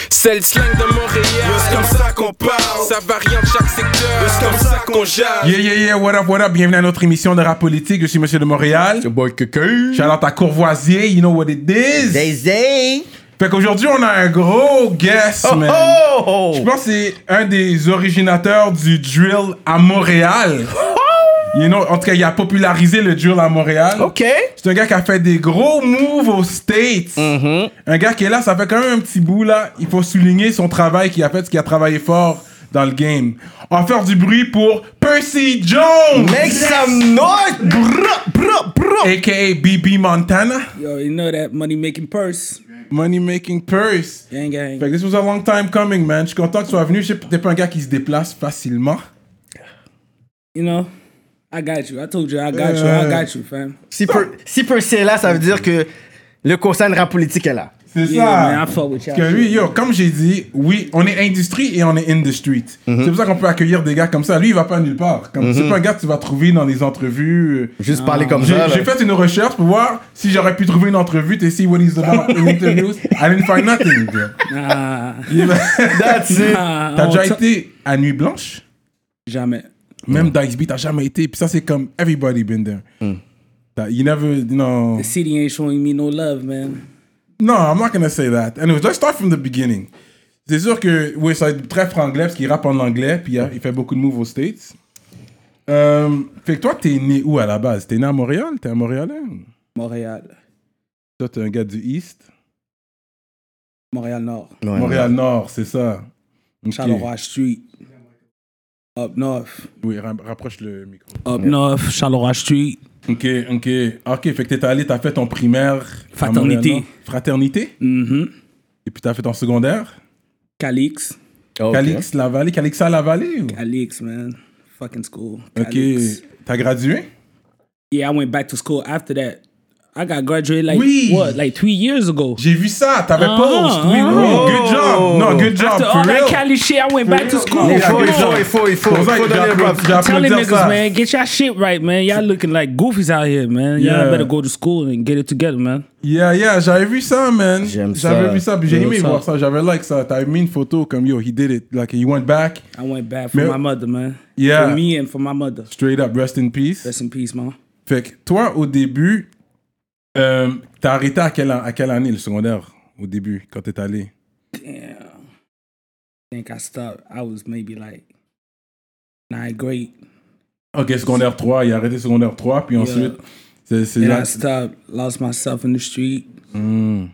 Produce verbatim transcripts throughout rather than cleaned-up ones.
C'est le slang de Montréal. C'est comme ça qu'on parle. Ça varie en chaque secteur. C'est comme ça qu'on jase. Yeah, yeah, yeah, what up, what up, bienvenue à notre émission de rap politique, je suis Monsieur de Montréal. C'est boy Cucu. Shout-out à Courvoisier, you know what it is. Zay Fait qu'aujourd'hui, on a un gros guest, man. Oh, oh. Je pense que c'est un des originateurs du drill à Montréal. You know, en tout cas, il a popularisé le drill à Montréal. OK. C'est un gars qui a fait des gros moves aux States. Mm-hmm. Un Un gars qui est là, ça fait quand même un petit bout là. Il faut souligner son travail qu'il a fait, parce qu'il a travaillé fort dans le game. On va faire du bruit pour Percy Jones! Make some noise! Brr, brr, brr. A K A B B Montana. Yo, you know that money making purse. Money making purse. Gang, gang. Fait que this was a long time coming, man. Je suis content que tu sois venu. Je sais que t'es pas un gars qui se déplace facilement. You know, I got you. I told you, I got you. I got you, fam. Si, per, si Percy est là, ça veut dire que le conseil de rap politique est là. C'est Yeah, ça. man, I fuck with y'all. Parce que lui, yo, comme j'ai dit, oui, on est industrie et on est in the street. Mm-hmm. C'est pour ça qu'on peut accueillir des gars comme ça. Lui, il va pas nulle part. Comme, C'est pas un gars que tu vas trouver dans les entrevues. Juste parler comme J'ai ça. j'ai fait une recherche pour voir si j'aurais pu trouver une entrevue to see what he's about in interviews. I didn't find nothing, bro. Nah, That's it. nah, T'as on déjà t- été à Nuit Blanche? Jamais. Même Dice Beat, t'as jamais été. Puis ça, c'est comme everybody been there. Mm. That you never, you know. The city ain't showing me no love, man. No, I'm not gonna say that. Anyways, let's start from the beginning. C'est sûr que, oui, ça va être très franglais parce qu'il rappe en anglais, puis il, il fait beaucoup de moves aux States. Euh, fait que toi, t'es né où à la base? T'es né à Montréal? T'es un Montréalais? Montréal. Toi, t'es un gars du East? Montréal Nord. Ouais, Montréal-Nord, c'est ça. Ok. Charleroi Street. Up North. Oui, ra- rapproche le micro. Up North, Charleroi Street. Ok, ok. Ok, fait que t'es allé, t'as fait ton primaire. à Fraternité. Montréal-Nord. Fraternité? Mm-hmm. Et puis t'as fait ton secondaire? Calix. OK. Calix, la vallée, Calixa, la vallée? ou? Calix, man. Fucking school. Ok. Calix. T'as gradué? Yeah, I went back to school after that. I got graduated like, Oui. what, like three years ago. J'ai vu ça, t'avais Ah, post. Oui, oui, ah. good job. Non, good job, After for all that real. Cali shit, I went back to school. Il Yeah, faut, good il faut, job. il faut, il faut. C'est pour ça Il faut que donner le j'ai props. applaudi- j'ai Tell the applaudi niggas, ça. man, get your shit right, man. Y'all looking like goofies out here, man. Y'all Yeah. better go to school and get it together, man. Yeah, yeah, j'avais vu ça, man. J'aime J'avais ça. vu ça, puis j'ai Yo, aimé ça. voir ça. J'avais like ça. T'avais mis une photo comme yo, he did it. Like he went back. I went back for Mais- my mother, man. Yeah. For me and for my mother. Straight up, rest in peace. Rest in peace, man. Fait que toi, au début, euh, t'as arrêté à quelle, à quelle année le secondaire? Au début, quand t'es allé? Damn. I think I stopped. I was maybe like ninth grade. Ok, secondaire trois, il a arrêté secondaire trois, puis ensuite, c'est c'est And là. I stopped, lost myself in the street. Mm.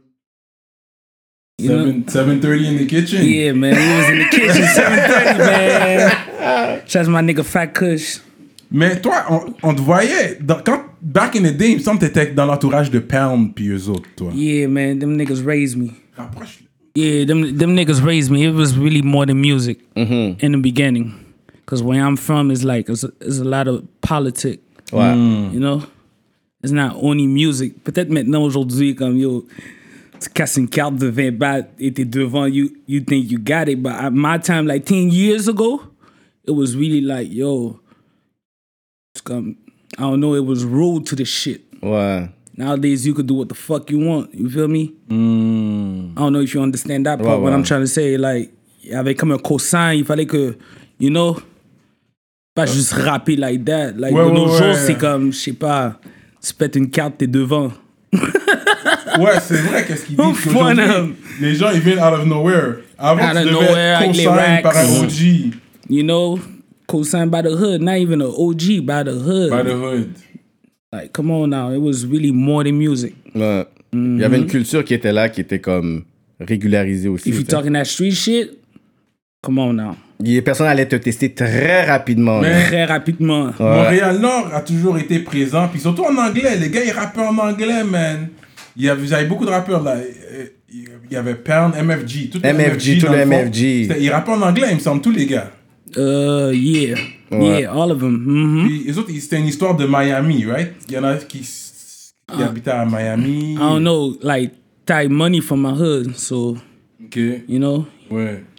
You know? seven seven thirty in the kitchen. Yeah, man. We was in the kitchen seven thirty, man. Shouts my nigga Fat Kush. Mais toi, on, on te voyait, dans, quand, back in the day, il me semble que t'étais dans l'entourage de Pound puis eux autres, toi. Yeah, man. Them niggas raised me. Rapproche. Yeah, them them niggas raised me. It was really more than music in the beginning. Cause where I'm from is like it's a, it's a lot of politics. Ouais. You know, it's not only music. Peut-être maintenant aujourd'hui comme yo, tu casses une carte de vingt bahts et t'es devant you, you think you got it. But at my time, like ten years ago, it was really like yo, it's come. I don't know. It was rude to the shit. Ouais. Nowadays, you could do what the fuck you want. You feel me? Mm. I don't know if you understand that part. Ouais, What ouais. I'm trying to say, like, il y avait comme un cosign, il fallait que, you know, pas juste rapper like that. Like, Ouais, de ouais, nos ouais. jours, c'est comme, je sais pas, tu pètes une carte, t'es devant. Ouais, c'est vrai, qu'est-ce qu'ils disent Fun, hein. qu'aujourd'hui, les gens, ils viennent out of nowhere. Avant, Out tu of devais nowhere, être avec les co-sign par un racks. O G. You know, cosign by the hood, not even an O G, by the hood. By the hood. Like, come on now, it was really more than music. Ouais. Il y avait une culture qui était là, qui était comme régularisée aussi. If you tu sais. talking that street shit, come on now. Les personnes allaient te tester très rapidement. Mais- là. Très rapidement. Ouais. Montréal-Nord a toujours été présent, puis surtout en anglais. Les gars, ils rappaient en anglais, man. Il y avait, vous avez beaucoup de rappeurs, là. Euh, Il y avait Pound, M F G. Tout le M F G, tout dans le fond. M F G. C'était- Ils rappaient en anglais, il me semble, tous les gars. Uh, yeah. Ouais. Yeah, all of them. Mhm. Puis les autres, ils- c'était une histoire de Miami, right? Il y en a qui, qui habitaient à Miami. I don't know, like, tie money from my hood, so, Ok, you know, ouais.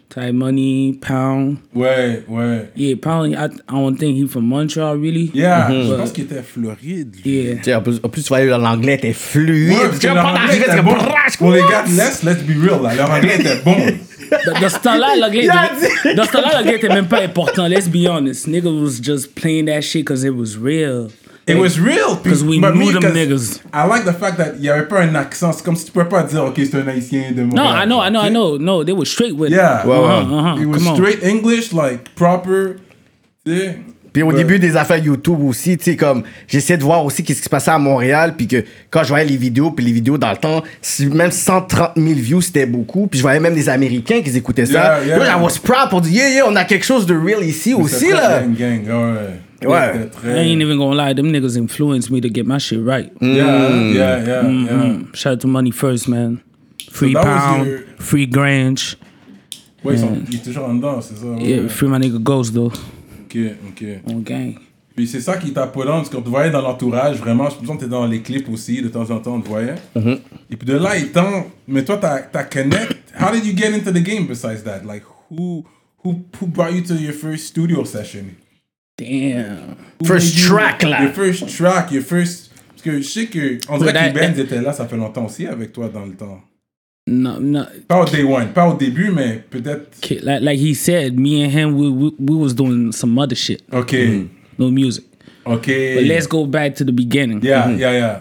Ty Money, Pound. Ouais, ouais. Yeah, Pound, I, I don't think he from Montreal, really. Yeah, Mm-hmm. je But- pense qu'il était Floride. lui. Yeah. Tu sais, en plus, en plus, tu voyais l'anglais était fluide. Ouais, parce que leur anglais était bon. Pour les gars de l'Est, let's be real, là, leur anglais était bon. Dans dans ce temps-là, l'anglais Il a était- dans ce temps-là, l'anglais était même pas important. Let's be honest. Nigga was just playing that shit because it was real. It was real. 'Cause we but knew me, them 'cause niggas. I like the fact that il n'y avait pas un accent. C'est comme si tu pouvais pas dire, OK, c'est un haïtien de Montréal. No, I know, I know, I Tu sais? know. No, they were straight with Yeah. it. Ouais, ouais. Uh-huh, uh-huh. It was Come on. straight English, like, proper. Tu sais? Puis au Ouais. début des affaires YouTube aussi, tu sais, comme, j'essayais de voir aussi qu'est-ce qui se passait à Montréal, puis que quand je voyais les vidéos, puis les vidéos dans le temps, si- même cent trente mille views, c'était beaucoup, puis je voyais même des Américains qui écoutaient ça. Yeah, yeah. Yo, I was proud pour dire, yeah, yeah, on a quelque chose de real ici aussi, C'était là. très Gang, gang, ouais. Ouais. C'était très- I ain't even gonna lie, them niggas influenced me to get my shit right. Yeah, yeah, yeah, yeah. Mm, shout out to Money First, man. Free that was Pound, your- Free Grange. Ouais, ils sont- il est toujours en dedans, c'est ça. ouais. Yeah, free my nigga Ghost, though. Ok, ok. On gang. Puis c'est ça qui t'a put on, parce qu'on te voyait dans l'entourage, vraiment, je pense que t'es dans les clips aussi, de temps en temps, on te voyait. Et puis de là étant, mais toi, t'as, t'as connect, how did you get into the game besides that? Like, who, who, who brought you to your first studio session? Damn. Who First made you- track, là. Your first track, your first... Parce que je sais que, on dirait Ouais, que that- Ben était là, ça fait longtemps aussi avec toi dans le temps. No, no. Pas au day one, pas au début, mais peut-être... Kid, Like, like he said, me and him, we, we, we was doing some other shit. Ok, No music. ok. But let's go back to the beginning. Yeah, yeah, yeah.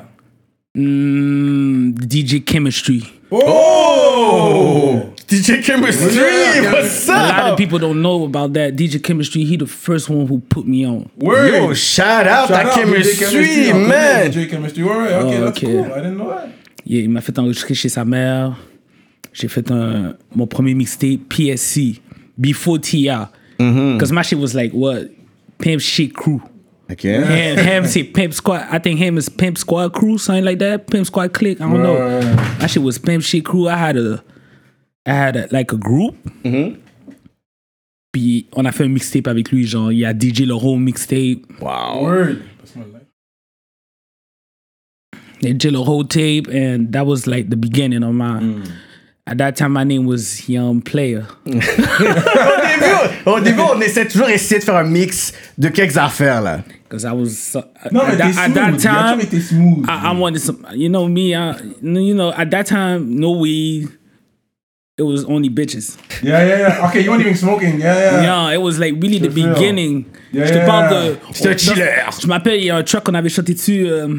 Mm, D J Chemistry. Oh! D J Chemistry, Yeah, what's A lot up? of people don't know about that. D J Chemistry, he the first one who put me on. Word! Yo, shout out Shout à out D J Chemistry, on connaît man. D J Chemistry, ouais, ouais, ok, Oh, that's ok. cool. I didn't know that. Yeah, il m'a fait enregistrer chez sa mère. J'ai fait un, mon premier mixtape, P S C, before T I. Because my shit was like, what? Pimp Shit Crew. Ok. Ham, Ham say Pimp Squad. I think Ham is Pimp Squad Crew, something like that. Pimp Squad Click. I don't know. Ouais. My shit was Pimp Shit Crew. I had a, I had a, like a group. Puis on a fait un mixtape avec lui, genre il y a D J le whole mixtape, Wow. Word. That's my life. D J le whole tape, and that was like the beginning of my. At that time, my name was Young Player. Au début, au début, on essaie toujours essayer de faire un mix de quelques affaires, là. Because I was so, Non, mais at, t'es that, at smooth. that Il a time, toujours été smooth. I, I wanted some. You know me, I, you know at that time, no weed. It was only bitches. Yeah, yeah, yeah. Okay, you weren't even smoking. Yeah, yeah. Yeah, it was like really the Je te feel. beginning. Yeah, Je te yeah, parle yeah. de. C'est un chiller. Je m'appelle, il y a un track qu'on avait chanté dessus, euh,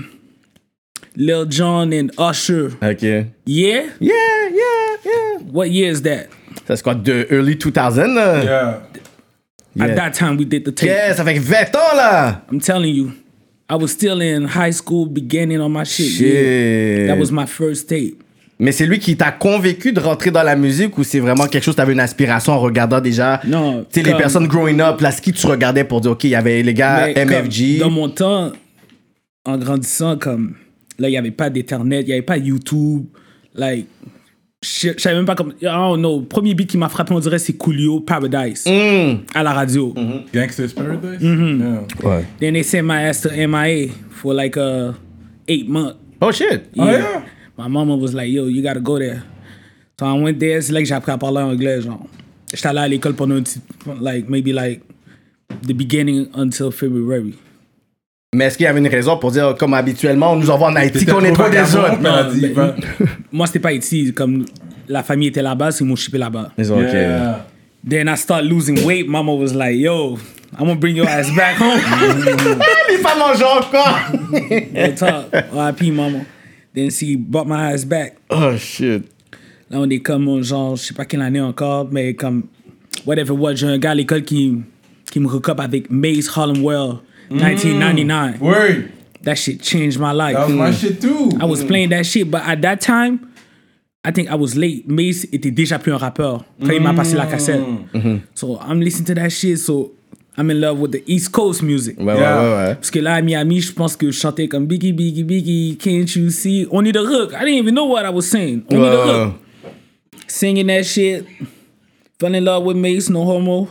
Lil Jon and Usher. Ok. Yeah, Yeah? yeah, yeah. What year is that? Ça, c'est quoi, de early two thousand, là? Yeah. At Yeah. that time, we did the tape. Yeah, ça fait vingt ans, là. I'm telling you, I was still in high school, beginning on my shit. Shit. Yeah. That was my first tape. Mais c'est lui qui t'a convaincu de rentrer dans la musique ou c'est vraiment quelque chose, t'avais une aspiration en regardant déjà, Non, tu sais, les comme- personnes growing up, là, ce qui tu regardais pour dire, OK, il y avait les gars Mais M F comme G. Dans mon temps, en grandissant, comme là, il n'y avait pas d'Internet, il n'y avait pas YouTube. Like, je je savais même pas comme. I don't know. Le premier beat qui m'a frappé, on dirait, c'est Coolio Paradise à la radio. Gangsta's Paradise? Mm-hmm. Yeah. Ouais. Then they sent my ass to M I A for like uh, eight months. Oh shit. Oh, yeah? My mama was like, yo, you gotta go there. So I went there. C'est là que j'ai appris à parler anglais, genre. J'étais allé à l'école pendant un petit, like, maybe like the beginning until February. Mais est-ce qu'il y avait une raison pour dire, comme habituellement, on nous envoie en Haïti, T'étais qu'on est trop des vagabond, autres? mais- Elle a dit, ben, va- moi, c'était pas ici. Comme la famille était là-bas, c'est ils m'ont shippé là-bas. Ils ont, OK. Yeah. Then I started losing weight. Mama was like, yo, I'm gonna bring your ass back home. Les femmes mangent encore! Real talk. R I P, mama. Then she brought my ass back. Oh shit. Là, on est comme, genre, je sais pas quelle année encore, mais comme, whatever it was, j'ai un gars à l'école qui, qui me hook up avec Maze Harlem Well, nineteen ninety-nine. Word. That shit changed my life. That was my shit too. I was playing that shit, but at that time, I think I was late. Maze était déjà plus un rappeur quand il m'a passé la cassette. So I'm listening to that shit, so I'm in love with the East Coast music. Ouais, Yeah. ouais, ouais, ouais. Parce que là, à Miami, je pense que je chantais comme Biggie, Biggie, Biggie, can't you see? Only the hook. I didn't even know what I was saying. Only the Ouais, ouais. hook. Singing that shit. Fell in love with Mace, no homo.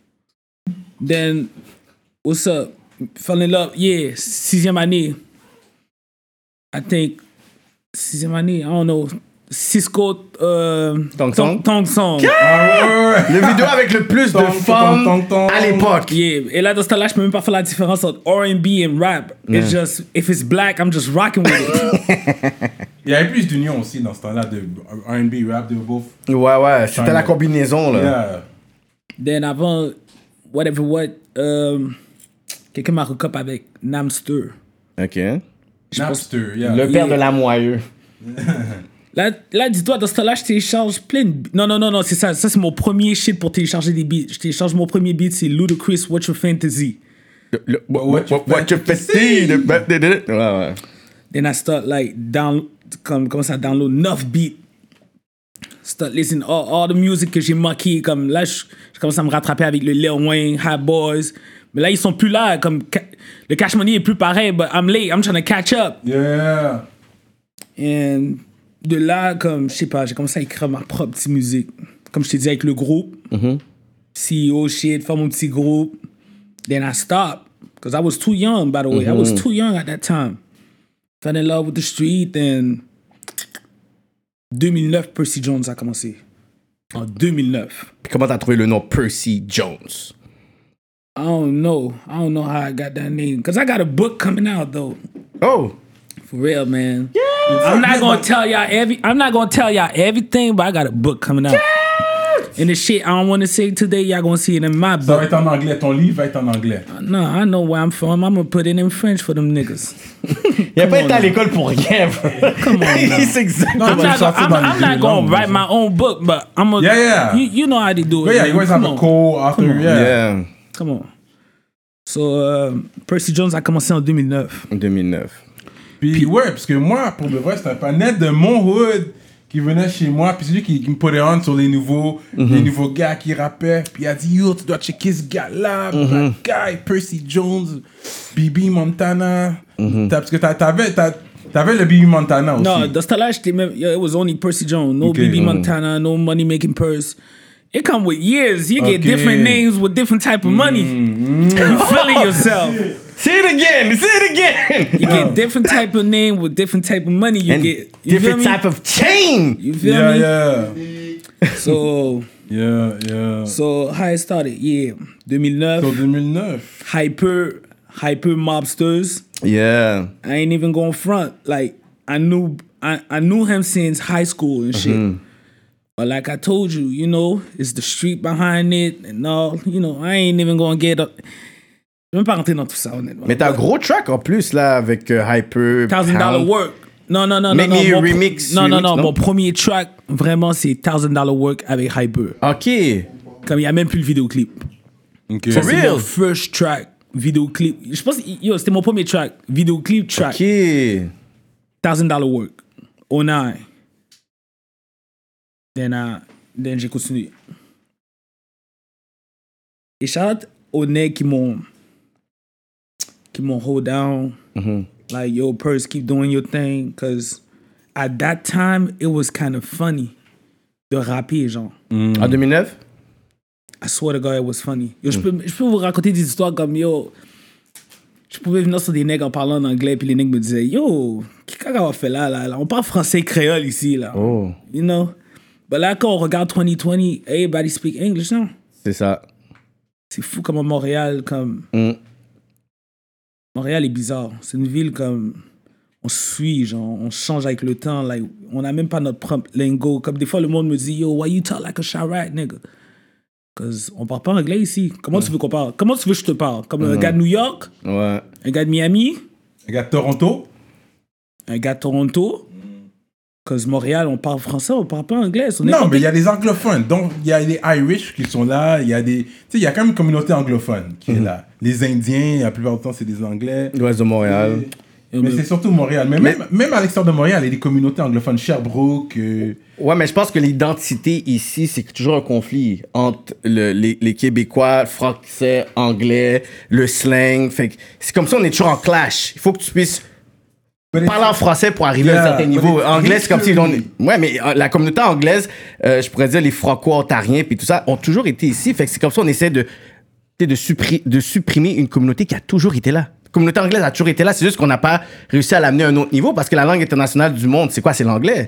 Then, what's up? Fell in love, yeah, sixième année. I think, sixième année, I don't know. Cisco euh, Tong Song. Tong Song. Ah ouais, ouais, ouais. Le vidéo avec le plus de Tong, femmes tong, tong, tong. à l'époque. Yeah. Et là, dans ce temps-là, je peux même pas faire la différence entre R and B et rap. It's just, if it's black, I'm just rocking with it. Il y avait plus d'union aussi dans ce temps-là de R and B, rap, de both. Ouais, ouais, c'était China. la combinaison, là. Yeah. Then avant, whatever what, euh, quelqu'un m'a recop avec Namster. OK. Napster, yeah. Le père Yeah. de la moyeux. Là, là dis-toi, dans ce temps-là, je télécharge plein de... Non, non, non, non, c'est ça. Ça, c'est mon premier shit pour télécharger des beats. Je télécharge mon premier beat, c'est Ludacris, What's Your Fantasy. Le, le, what, What you what, what you fancy? Le- Ouais, ouais. Then I start, like, down... Comme, comment ça, download neuf beats. Start listening all, all the music que j'ai manqué. Comme là, je, je commence à me rattraper avec le Lil Wayne, Hot Boys. Mais là, ils sont plus là. Comme, ca- le Cash Money est plus pareil, but I'm late. I'm trying to catch up. Yeah. Et de là, comme, je sais pas, j'ai commencé à écrire ma propre petite musique. Comme je t'ai dit, avec le groupe. C E O shit, faire mon petit groupe. Then I stopped. Because I was too young, by the way. I was too young at that time. Fell in love with the street. And deux mille neuf, Percy Jones a commencé. En deux mille neuf. Puis comment t'as trouvé le nom Percy Jones? I don't know. I don't know how I got that name. Because I got a book coming out, though. Oh! For real, man. I'm not gonna tell y'all every. I'm not gonna tell y'all everything, but I got a book coming out. And the shit I don't want to say today, y'all gonna see it in my Ça va book. être en anglais. Ton livre va être en anglais. No, I know where I'm from. I'm gonna put it in French for them niggas. Il a pas été à l'école pour rien, bro. Come on, now. Il sait exactement. I'm tu not, vas sortir I'm, dans les I'm deux not gonna langues, write ça. my own book, but I'm gonna. Yeah, yeah. You, you know how they do it. But yeah, man. you always Come have a on. co-author. Come on. Yeah. Yeah. Come on. So, uh, Percy Jones a commencé en deux mille neuf. deux mille neuf. Puis, ouais, parce que moi, pour de vrai, c'était un panel de mon hood qui venait chez moi. Puis c'est lui qui, qui me puttait on sur les nouveaux, les nouveaux gars qui rappaient. Puis il a dit, yo, tu dois checker ce gars-là, Black Guy, Percy Jones, B B Montana. T'as- Parce que t'a- t'avais, t'as- t'avais le B B Montana aussi. No, dans ce temps-là, j'étais même. Yo, it was only Percy Jones. No Okay. B B Montana, no money making purse. It come with years. You get Okay. different names with different type of money. You feeling yourself. Say it again! Say it again! You get different type of name with different type of money. You And get you feel different me? type of chain! You feel Yeah, me? yeah. So Yeah, yeah. so how it started? Yeah, deux mille neuf. Sur deux mille neuf. hyper hyper mobsters. Yeah. I ain't even going front. Like I knew I, I knew him since high school and shit. But like I told you, you know, it's the street behind it and all. You know, I ain't even gonna get up. Je vais même pas rentrer dans tout ça, honnêtement. Mais t'as un gros track en plus, là, avec euh, Hyper. Thousand Dollar Pound. Work. Non, non, non, Make non. me non mon remix, pro- non, non, remix, non, non? Mon premier track, vraiment, c'est Thousand Dollar Work avec Hyper. Ok. Comme il n'y a même plus le vidéoclip. Ok. Ça, c'est real? mon first track, vidéoclip. Je pense, yo, c'était mon premier track, vidéoclip track. Ok. Thousand Dollar Work. oh nine. Then, uh, then j'ai continué. Et shout out aux nègres qui m'ont qui m'ont hold down. Like, yo, Purse, keep doing your thing. Because at that time, it was kind of funny de rapper, genre. En deux mille neuf? I swear to God, it was funny. Yo, je, peux, je peux vous raconter des histoires comme, yo, je pouvais venir sur des nègres en parlant en anglais, puis les nègres me disaient, yo, qu'est-ce qu'on fait là, là, là? On parle français créole ici, là. Oh. You know? Mais là, quand on regarde twenty twenty, everybody speak English, non? C'est ça. C'est fou comme à Montréal, comme... Mm. Montréal est bizarre. C'est une ville comme... On suit, genre, on change avec le temps. Like, on n'a même pas notre propre lingo. Comme des fois, le monde me dit, yo, why you talk like a Chirac, nigga? Parce qu'on parle pas anglais ici. Comment tu veux qu'on parle? Comment tu veux que je te parle? Comme un gars de New York? Ouais. Un gars de Miami? Un gars de Toronto. Un gars de Toronto? Parce que Montréal, on parle français, on parle pas anglais. On est Non, comme- mais il y a des anglophones. Donc, il y a des Irish qui sont là. Il y a des... Tu sais, il y a quand même une communauté anglophone qui est là. Les Indiens, la plupart du temps, c'est des Anglais. L'Ouest de Montréal. Yo, Mais mais- c'est surtout Montréal. Mais, Mais- Même, même à l'extérieur de Montréal, il y a des communautés anglophones. Sherbrooke. euh, Ouais, mais je pense que l'identité ici, c'est toujours un conflit entre le- les, les Québécois, français, anglais, le slang. Fait que c'est comme ça, on est toujours en clash. Il faut que tu puisses but it's- parler en français pour arriver à Yeah, un certain but niveau. it's Anglais, c'est comme si on... history. Ouais, mais euh, la communauté anglaise, euh, je pourrais dire les franco-ontariens puis tout ça, ont toujours été ici. Fait que c'est comme ça, on essaie de, de, suppri- de supprimer une communauté qui a toujours été là. La communauté anglaise a toujours été là. C'est juste qu'on n'a pas réussi à l'amener à un autre niveau parce que la langue internationale du monde, c'est quoi? C'est l'anglais.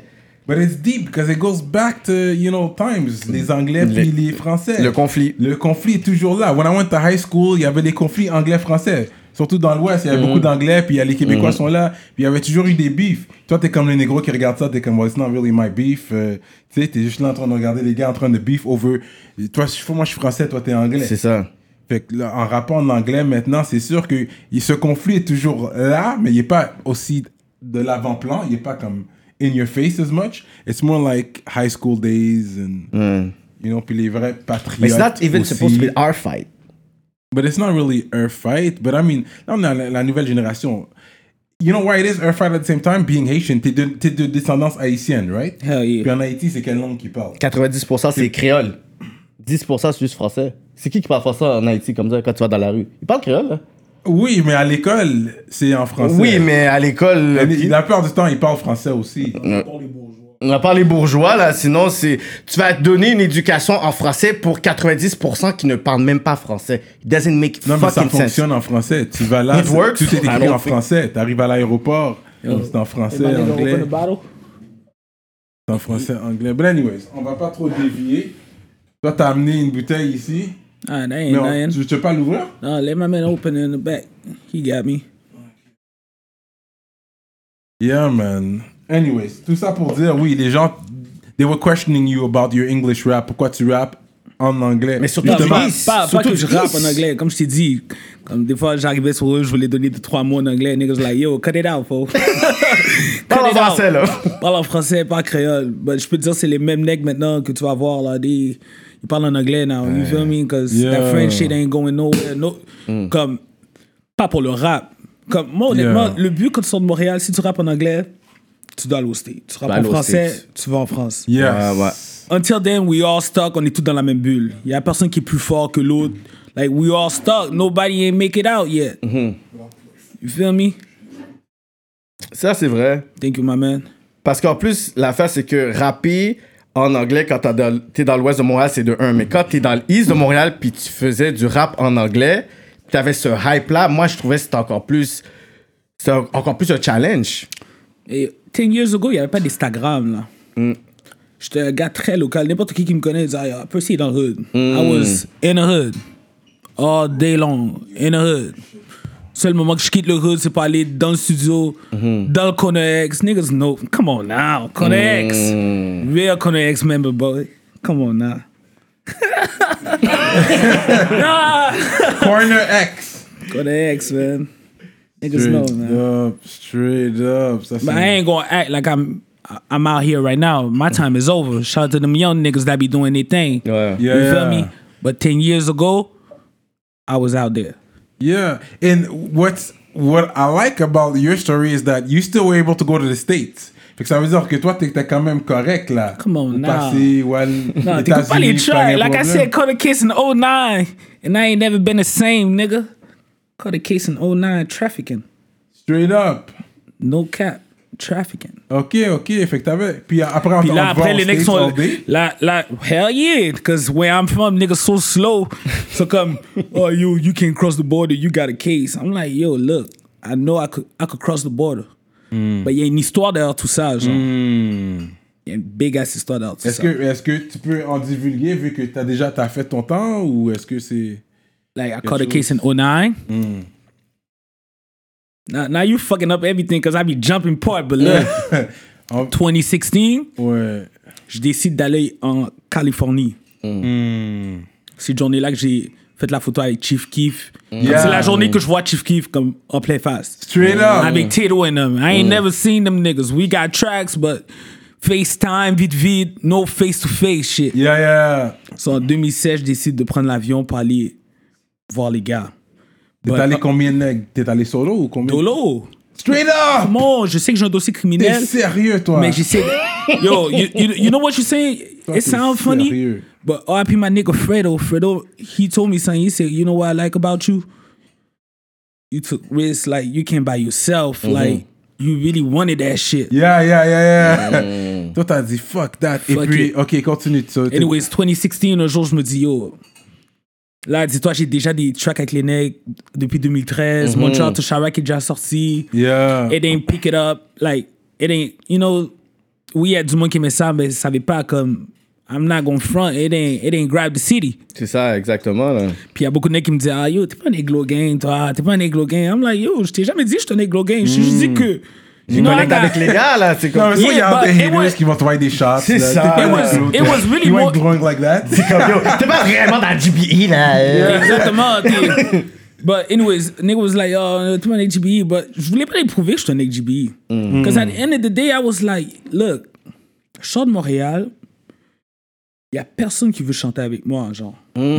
But it's deep because it goes back to, you know, times. Les Anglais Le- puis les Français. Le conflit. Le conflit est toujours là. When I went to high school, il y avait des conflits anglais-français. Surtout dans l'Ouest, il y avait beaucoup d'Anglais, puis les Québécois sont là, puis il y avait toujours eu des beefs. Toi, t'es comme les négros qui regardent ça, t'es comme, well, it's not really my beef. Euh, tu sais, t'es juste là en train de regarder les gars en train de beef over. Toi, je- moi, je suis français, toi, t'es anglais. C'est ça. Fait que là, en rappant en anglais maintenant, c'est sûr que il- ce conflit est toujours là, mais il n'est pas aussi de l'avant-plan. Il n'est pas comme in your face as much. It's more like high school days and, you know, puis les vrais patriotes. But it's not even aussi. supposed to be our fight. But it's not really our fight. But I mean, là, on a la, la nouvelle génération. You know why it is our fight at the same time? Being Haitian, t'es de, t'es de descendance haïtienne, right? Hell yeah. Puis en Haïti, c'est quelle langue qu'ils parlent? quatre-vingt-dix pour cent c'est créole. dix pour cent c'est juste français. C'est qui qui parle français en Haïti comme ça quand tu vas dans la rue? Ils parlent créole, là? Oui, mais à l'école, c'est en français. Oui, mais à l'école... La, la plupart du temps, ils parlent français aussi. On a parlé bourgeois, là, sinon c'est... Tu vas te donner une éducation en français pour quatre-vingt-dix pour cent qui ne parlent même pas français. It doesn't make Non, mais ça fucking sense. fonctionne en français. Tu vas là, It works. tout est I écrit don't en think- français. Tu arrives à l'aéroport, c'est en français, anglais. C'est en français, anglais. But anyways, on va pas trop dévier. Toi, t'as amené une bouteille ici. Ah, that ain't Mais on- nothing. tu tu veux pas l'ouvrir? No, let my man open it in the back. He got me. Yeah, man. Anyways, tout ça pour dire, oui, les gens, they were questioning you about your English rap. Pourquoi tu rappes en anglais? Mais surtout, Non, Justement, pas, East. pas, pas Surtout que je rappe East. en anglais. Comme je t'ai dit, comme des fois j'arrivais sur eux, je voulais donner deux, trois mots en anglais. Niggas like, yo, cut it out, fo. Parle en français, là. Parle en français, pas créole. But je peux te dire, c'est les mêmes necks maintenant que tu vas voir, là. Des, ils parlent en anglais now. You feel me? Because Yeah. that French shit ain't going nowhere. No, Comme, pas pour le rap. Comme, moi, honnêtement, Yeah. le but quand tu sors de Montréal, si tu rappes en anglais, tu dois aller au States. Tu rappes aller en aux français, States. tu vas en France. Yes. Ouais, ouais. Until then, we all stuck. On est tous dans la même bulle. Il y a personne qui est plus fort que l'autre. Like, we all stuck. Nobody ain't make it out yet. You feel me? Ça, c'est vrai. Thank you, my man. Parce qu'en plus, l'affaire, c'est que rapper en anglais quand t'es dans, t'es dans l'ouest de Montréal, c'est de un. Mais quand t'es dans l'east de Montréal puis tu faisais du rap en anglais, t'avais ce hype-là, moi, je trouvais que c'était encore plus... C'était encore plus un challenge. Et ten years ago, il n'y avait pas d'Instagram, là. J'étais un gars très local. N'importe qui qui me connaît disait, ah, Percy est dans le hood. I was in the hood. All day long. In the hood. Seul moment que je quitte le hood, c'est pour aller dans le studio, dans le Connex. Niggas know. Come on now. Connex. Real Connex member, boy. Come on now. Nah. Corner X. Connex, man. Niggas know, Straight man. up, straight up. Ça, But I c'est... ain't gonna act like I'm I'm out here right now. My time is over. Shout out to them young niggas that be doing their thing. Ouais. Yeah, You feel yeah. me? But ten years ago, I was out there. Yeah, and what's what I like about your story is that you still were able to go to the States. Fait que ça veut dire que toi, t'étais quand même correct, là. Come on Au now. passé, ouais, No, t'écoutes pas les tracks. Like I said, caught a case in oh nine, and I ain't never been the same, nigga. Caught a case in oh nine, trafficking. Straight up. No cap, trafficking. Ok, ok. Fait que t'avais... Puis après, on Puis on là, te voit après, aux les niggas States all sont day. là, là, hell yeah, because where I'm from, niggas so slow. So come, oh, you, you can't cross the border, you got a case. I'm like, yo, look, I know I could, I could cross the border. But il y a une histoire derrière tout ça, genre. Il y a une big ass histoire derrière tout Est-ce ça. que, est-ce que tu peux en divulguer vu que t'as déjà t'as fait ton temps ou est-ce que c'est... Like, I caught a case in oh nine. Now, now you fucking up everything because I be jumping part, but look, En- twenty sixteen, Ouais. je décide d'aller en Californie. Cette journée-là que j'ai fait la photo avec Chief Keef. Comme Yeah. C'est la journée que je vois Chief Keef comme en plein face. Straight up. I be titoing them. I ain't never seen them niggas. We got tracks, but FaceTime, vite vite, no face-to-face shit. Yeah, yeah. So en deux mille seize, je décide de prendre l'avion pour aller voir les gars. T'es But- allé combien de nègres? T'es allé solo ou combien? Dolo. Straight up! Bon, je sais que j'ai un dossier T'es criminel, sérieux, toi? mais j'essaie de... Yo, you, you, you know what you're saying? Toi, It t'es sounds funny, sérieux. but R I P my nigga Fredo. Fredo, he told me something. He said, you know what I like about you? You took risks like you came by yourself. Like, you really wanted that shit. Yeah, yeah, yeah, yeah. Toi, t'as dit fuck that. Et Fuck puis, it. ok, continue. So, t'es- Anyways, twenty sixteen, un jour, je me dis, yo, là, dis-toi, j'ai déjà des tracks avec les nègres depuis deux mille treize. Montreal to Chirac est déjà sorti. Yeah. It ain't pick it up. Like, it ain't, you know, oui, il y a du monde qui aimait ça, mais ça savait pas comme. I'm not gonna front, it ain't, it ain't grab the city. C'est ça, exactement. Là. Puis il y a beaucoup de mecs qui me disaient, ah yo, t'es pas un Eglo Gang, toi, t'es pas un Eglo Gang. I'm like, yo, je t'ai jamais dit que je suis un Eglo Gang. Je t'ai juste dit que. Je know, I connecte got- avec les gars, là. C'est Non, comme. mais ça, il y a Yeah, des but it haters was- qui vont t'envoyer des shots. C'est là. ça. T'es pas It was- là, it was really you more- ain't growing like that. Comme, yo, t'es pas vraiment dans le G B E, là. Exactement. t'es- But anyways, nigga was like, oh, t'es pas un G B E. But je voulais pas lui prouver que je suis un G B E. Because at the end of the day, I was like, look, je sors de Montréal, il y a personne qui veut chanter avec moi, genre.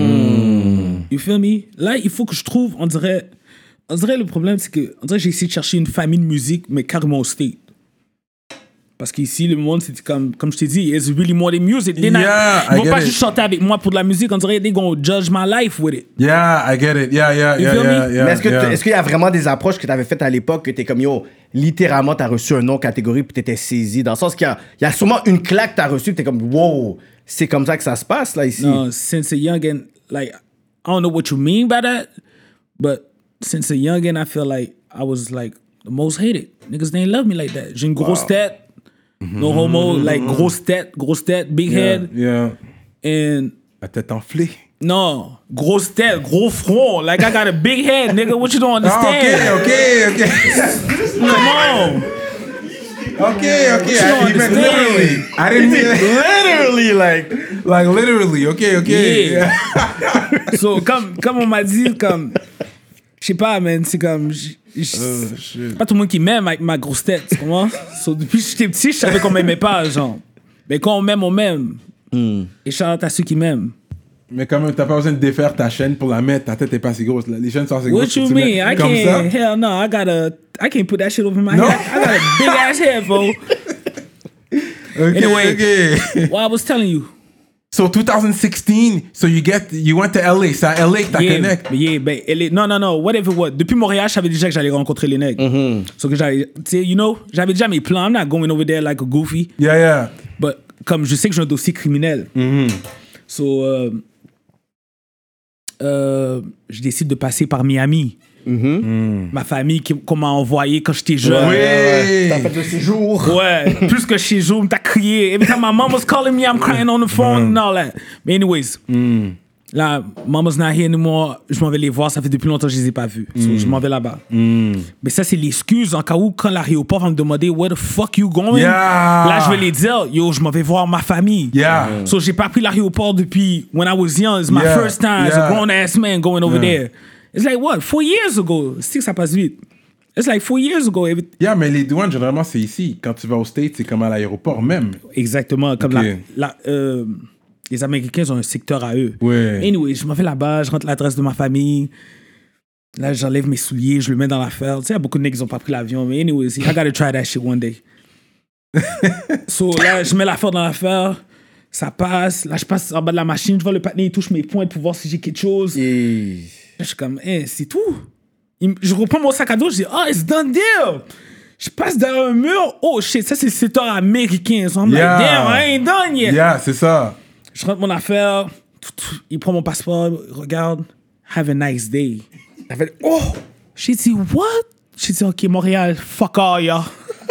You feel me? Là, il faut que je trouve, on dirait, on dirait le problème, c'est que, on dirait que j'ai essayé de chercher une famille de musique, mais carrément au state. Parce qu'ici, le monde, c'est comme, comme je t'ai dit, it's really more than music. They're not- Yeah, ils I vont get pas it. juste chanter avec moi pour de la musique, on dirait they gonna judge my life with it. Yeah, I get it. Yeah, yeah, You yeah, feel yeah, me? yeah. Mais est-ce que yeah. t- est-ce qu'il y a vraiment des approches que tu avais faites à l'époque que t'es comme yo, littéralement, t'as reçu un nom catégorie puis t'étais saisi? Dans le sens qu'il y a, il y a sûrement une claque que t'as reçue, t'es comme wow, c'est comme ça que ça se passe là ici. No, since a youngin, like I don't know what you mean by that, but since a youngin, I feel like I was like the most hated. Niggas didn't love me like that. J'ai une grosse tête, no homo, like grosse tête, grosse tête, big Yeah, head, yeah. and La tête enflée. no, grosse tête, gros front. Like I got a big head, nigga. What you don't Ah, understand? ok, ok, ok. Come on. Okay, okay. you don't I, he meant understand? literally. I didn't mean Literally, like. like literally. Okay, okay. Yeah. So comme comme on m'a dit comme je sais pas man, c'est comme j- j- Oh, shit. pas tout le monde qui m'aime avec ma grosse tête, tu comprends? So, depuis que j'étais petit, je savais qu'on m'aimait pas, genre. Mais quand on m'aime, on m'aime. Et shout out à ceux qui m'aiment. Mais quand même, t'as pas besoin de défaire ta chaîne pour la mettre. Ta tête est pas si grosse. là. Les chaînes sont assez What grosses. you tu mean? mets I comme can't. ça. Hell no, I got a. I can't put that shit over my No? head. I got a big ass head, bro. Okay, Anyway. okay. What I was telling you. So twenty sixteen, so you get, you went to L A. C'est à L A que t'as Yeah, connect. mais yeah, ben, elle est- non, non, non, whatever what. Depuis Montréal, je savais déjà que j'allais rencontrer les nègres. Mm-hmm. So que j'allais, tu sais, you know, j'avais déjà mes plans. I'm not going over there like a goofy. Yeah, yeah. But comme je sais que j'ai un dossier criminel. Mm-hmm. So, euh, euh, je décide de passer par Miami. Ma famille qui- qu'on m'a envoyé quand j'étais jeune. Oui. T'as fait le séjour. Ouais, plus que chez Joe, t'as crié. Every time my mom was calling me, I'm crying on the phone and all that. But anyways, là, mama's not here anymore. Je m'en vais les voir. Ça fait depuis longtemps que je les ai pas vus. So, je m'en vais là-bas. Mais ça, c'est l'excuse en cas où, quand l'aéroport va me demander where the fuck you going, Yeah. là, je vais les dire, yo, je m'en vais voir ma famille. Yeah. So, j'ai pas pris l'aéroport depuis when I was young. It's my Yeah. first time as a Yeah. grown ass man going over Yeah. there. It's like what? Four years ago. C'est que ça passe vite. It's like four years ago. Every- Yeah, mais les douanes, généralement, c'est ici. Quand tu vas au States, c'est comme à l'aéroport même. Exactement. Comme Ok. la, la, euh, les Américains ont un secteur à eux. Ouais. Anyway, je m'en vais là-bas, je rentre l'adresse de ma famille. Là, j'enlève mes souliers, je le mets dans l'affaire. Tu sais, il y a beaucoup de nègres qui n'ont pas pris l'avion. Mais anyways, I gotta try that shit one day. So là, je mets l'affaire dans l'affaire. Ça passe. Là, je passe en bas de la machine. Je vois le patiné, il touche mes pointes pour voir si j'ai quelque chose. Et... Je suis comme, eh, c'est tout. Il me- je reprends mon sac à dos, je dis, oh, it's done deal. Je passe derrière un mur. Oh shit, ça c'est le secteur américain. So I'm Yeah. like, damn, I ain't done yet. Yeah, c'est ça. Je rentre mon affaire. Tout, tout. Il prend mon passeport, il regarde. Have a nice day. T'as fait oh! J'ai dit, what? J'ai dit, ok, Montréal, fuck all, y'all.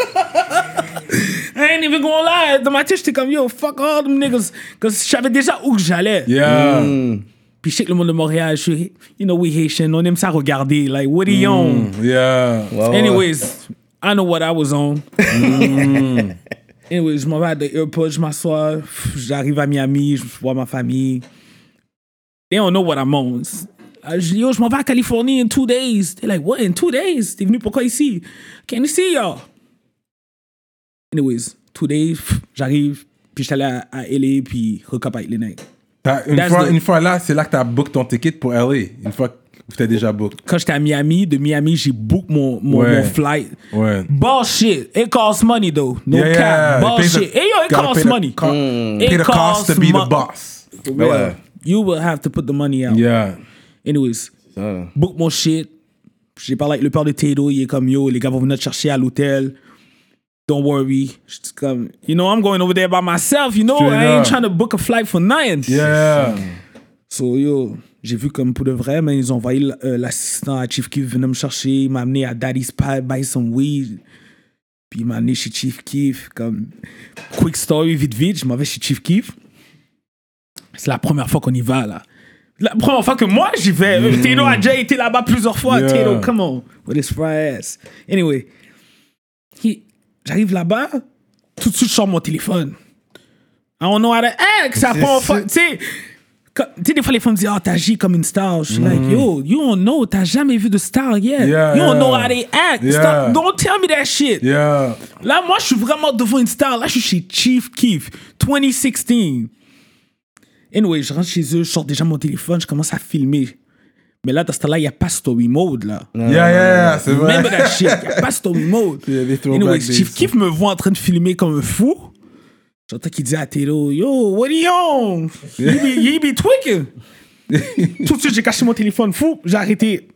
I ain't even gonna lie. Dans ma tête, j'étais comme, yo, fuck all them niggas. Parce que je savais déjà où que j'allais. Yeah. Puis je sais que le monde de Montréal, je suis, you know, we Haitian, on aime ça regarder. Like, what are you on? Yeah. Ouais, ouais. Anyways, I know what I was on. Anyways, je m'en vais à l'aéroport, je m'assois, pff, j'arrive à Miami, je vois ma famille. They don't know what I'm on. Ah, Je dis, yo, je m'en vais à Californie in two days. They're like, what, in two days? T'es venu pourquoi ici? Can you see y'all? Anyways, two days, pff, j'arrive, puis je suis allé à, à L A, puis recap avec les nègres. T'as- Une That's fois, the- une fois là, c'est là que t'as book ton ticket pour L A. Une fois que t'as déjà book. Quand j'étais à Miami, de Miami, j'ai book mon, mon, Ouais. mon flight. Ouais. Bullshit. It costs money, though. No Yeah, cap. yeah. It pays Bullshit. the- Hey, yo, it gotta costs pay the money. co- It Pay the cost to costs be mo- the boss. For real. Ouais. You will have to put the money out. Yeah. Anyways, Ça. book mon shit. J'ai parlé avec le père de Tato. Il est comme, yo, les gars vont venir te chercher à l'hôtel. Don't worry. J'étais comme, you know, I'm going over there by myself. You know, Straight I ain't up. trying to book a flight for nothing. Yeah. So, yo, j'ai vu comme pour de vrai, mais ils ont envoyé l- euh, l'assistant à Chief Keef venir me chercher. Il m'a amené à Daddy's Pie, buy some weed. Puis il m'a amené chez Chief Keef. Comme, quick story, vite, vite, je m'en vais chez Chief Keef. C'est la première fois qu'on y va, là. La première fois que moi, j'y vais. Mm. Tato a déjà été là-bas plusieurs fois. Yeah. Tato, come on, with his fry ass. Anyway, he, j'arrive là-bas, tout de suite, je sors mon téléphone. I don't know how to act. C'est la première fois, tu sais... Tu sais, des fois, les femmes me disent, oh, t'agis comme une star. Je suis mm. like, yo, you don't know, t'as jamais vu de star yet. Yeah, you don't yeah. know how they act. Yeah. Stop, don't tell me that shit. Yeah. Là, moi, je suis vraiment devant une star. Là, je suis chez Chief Keef, twenty sixteen. Anyway, je rentre chez eux, je sors déjà mon téléphone, je commence à filmer. Mais là, dans ce temps-là, il n'y a pas story mode, là. Yeah, yeah, yeah, c'est vrai. Remember that shit, il n'y a pas story mode. Yeah, anyway, Chief Keef me voit en train de filmer comme un fou. J'entends qu'il dit à Tato, yo, what are you on? You be, you be tweaking. Tout de suite, j'ai caché mon téléphone. Fou, j'ai arrêté.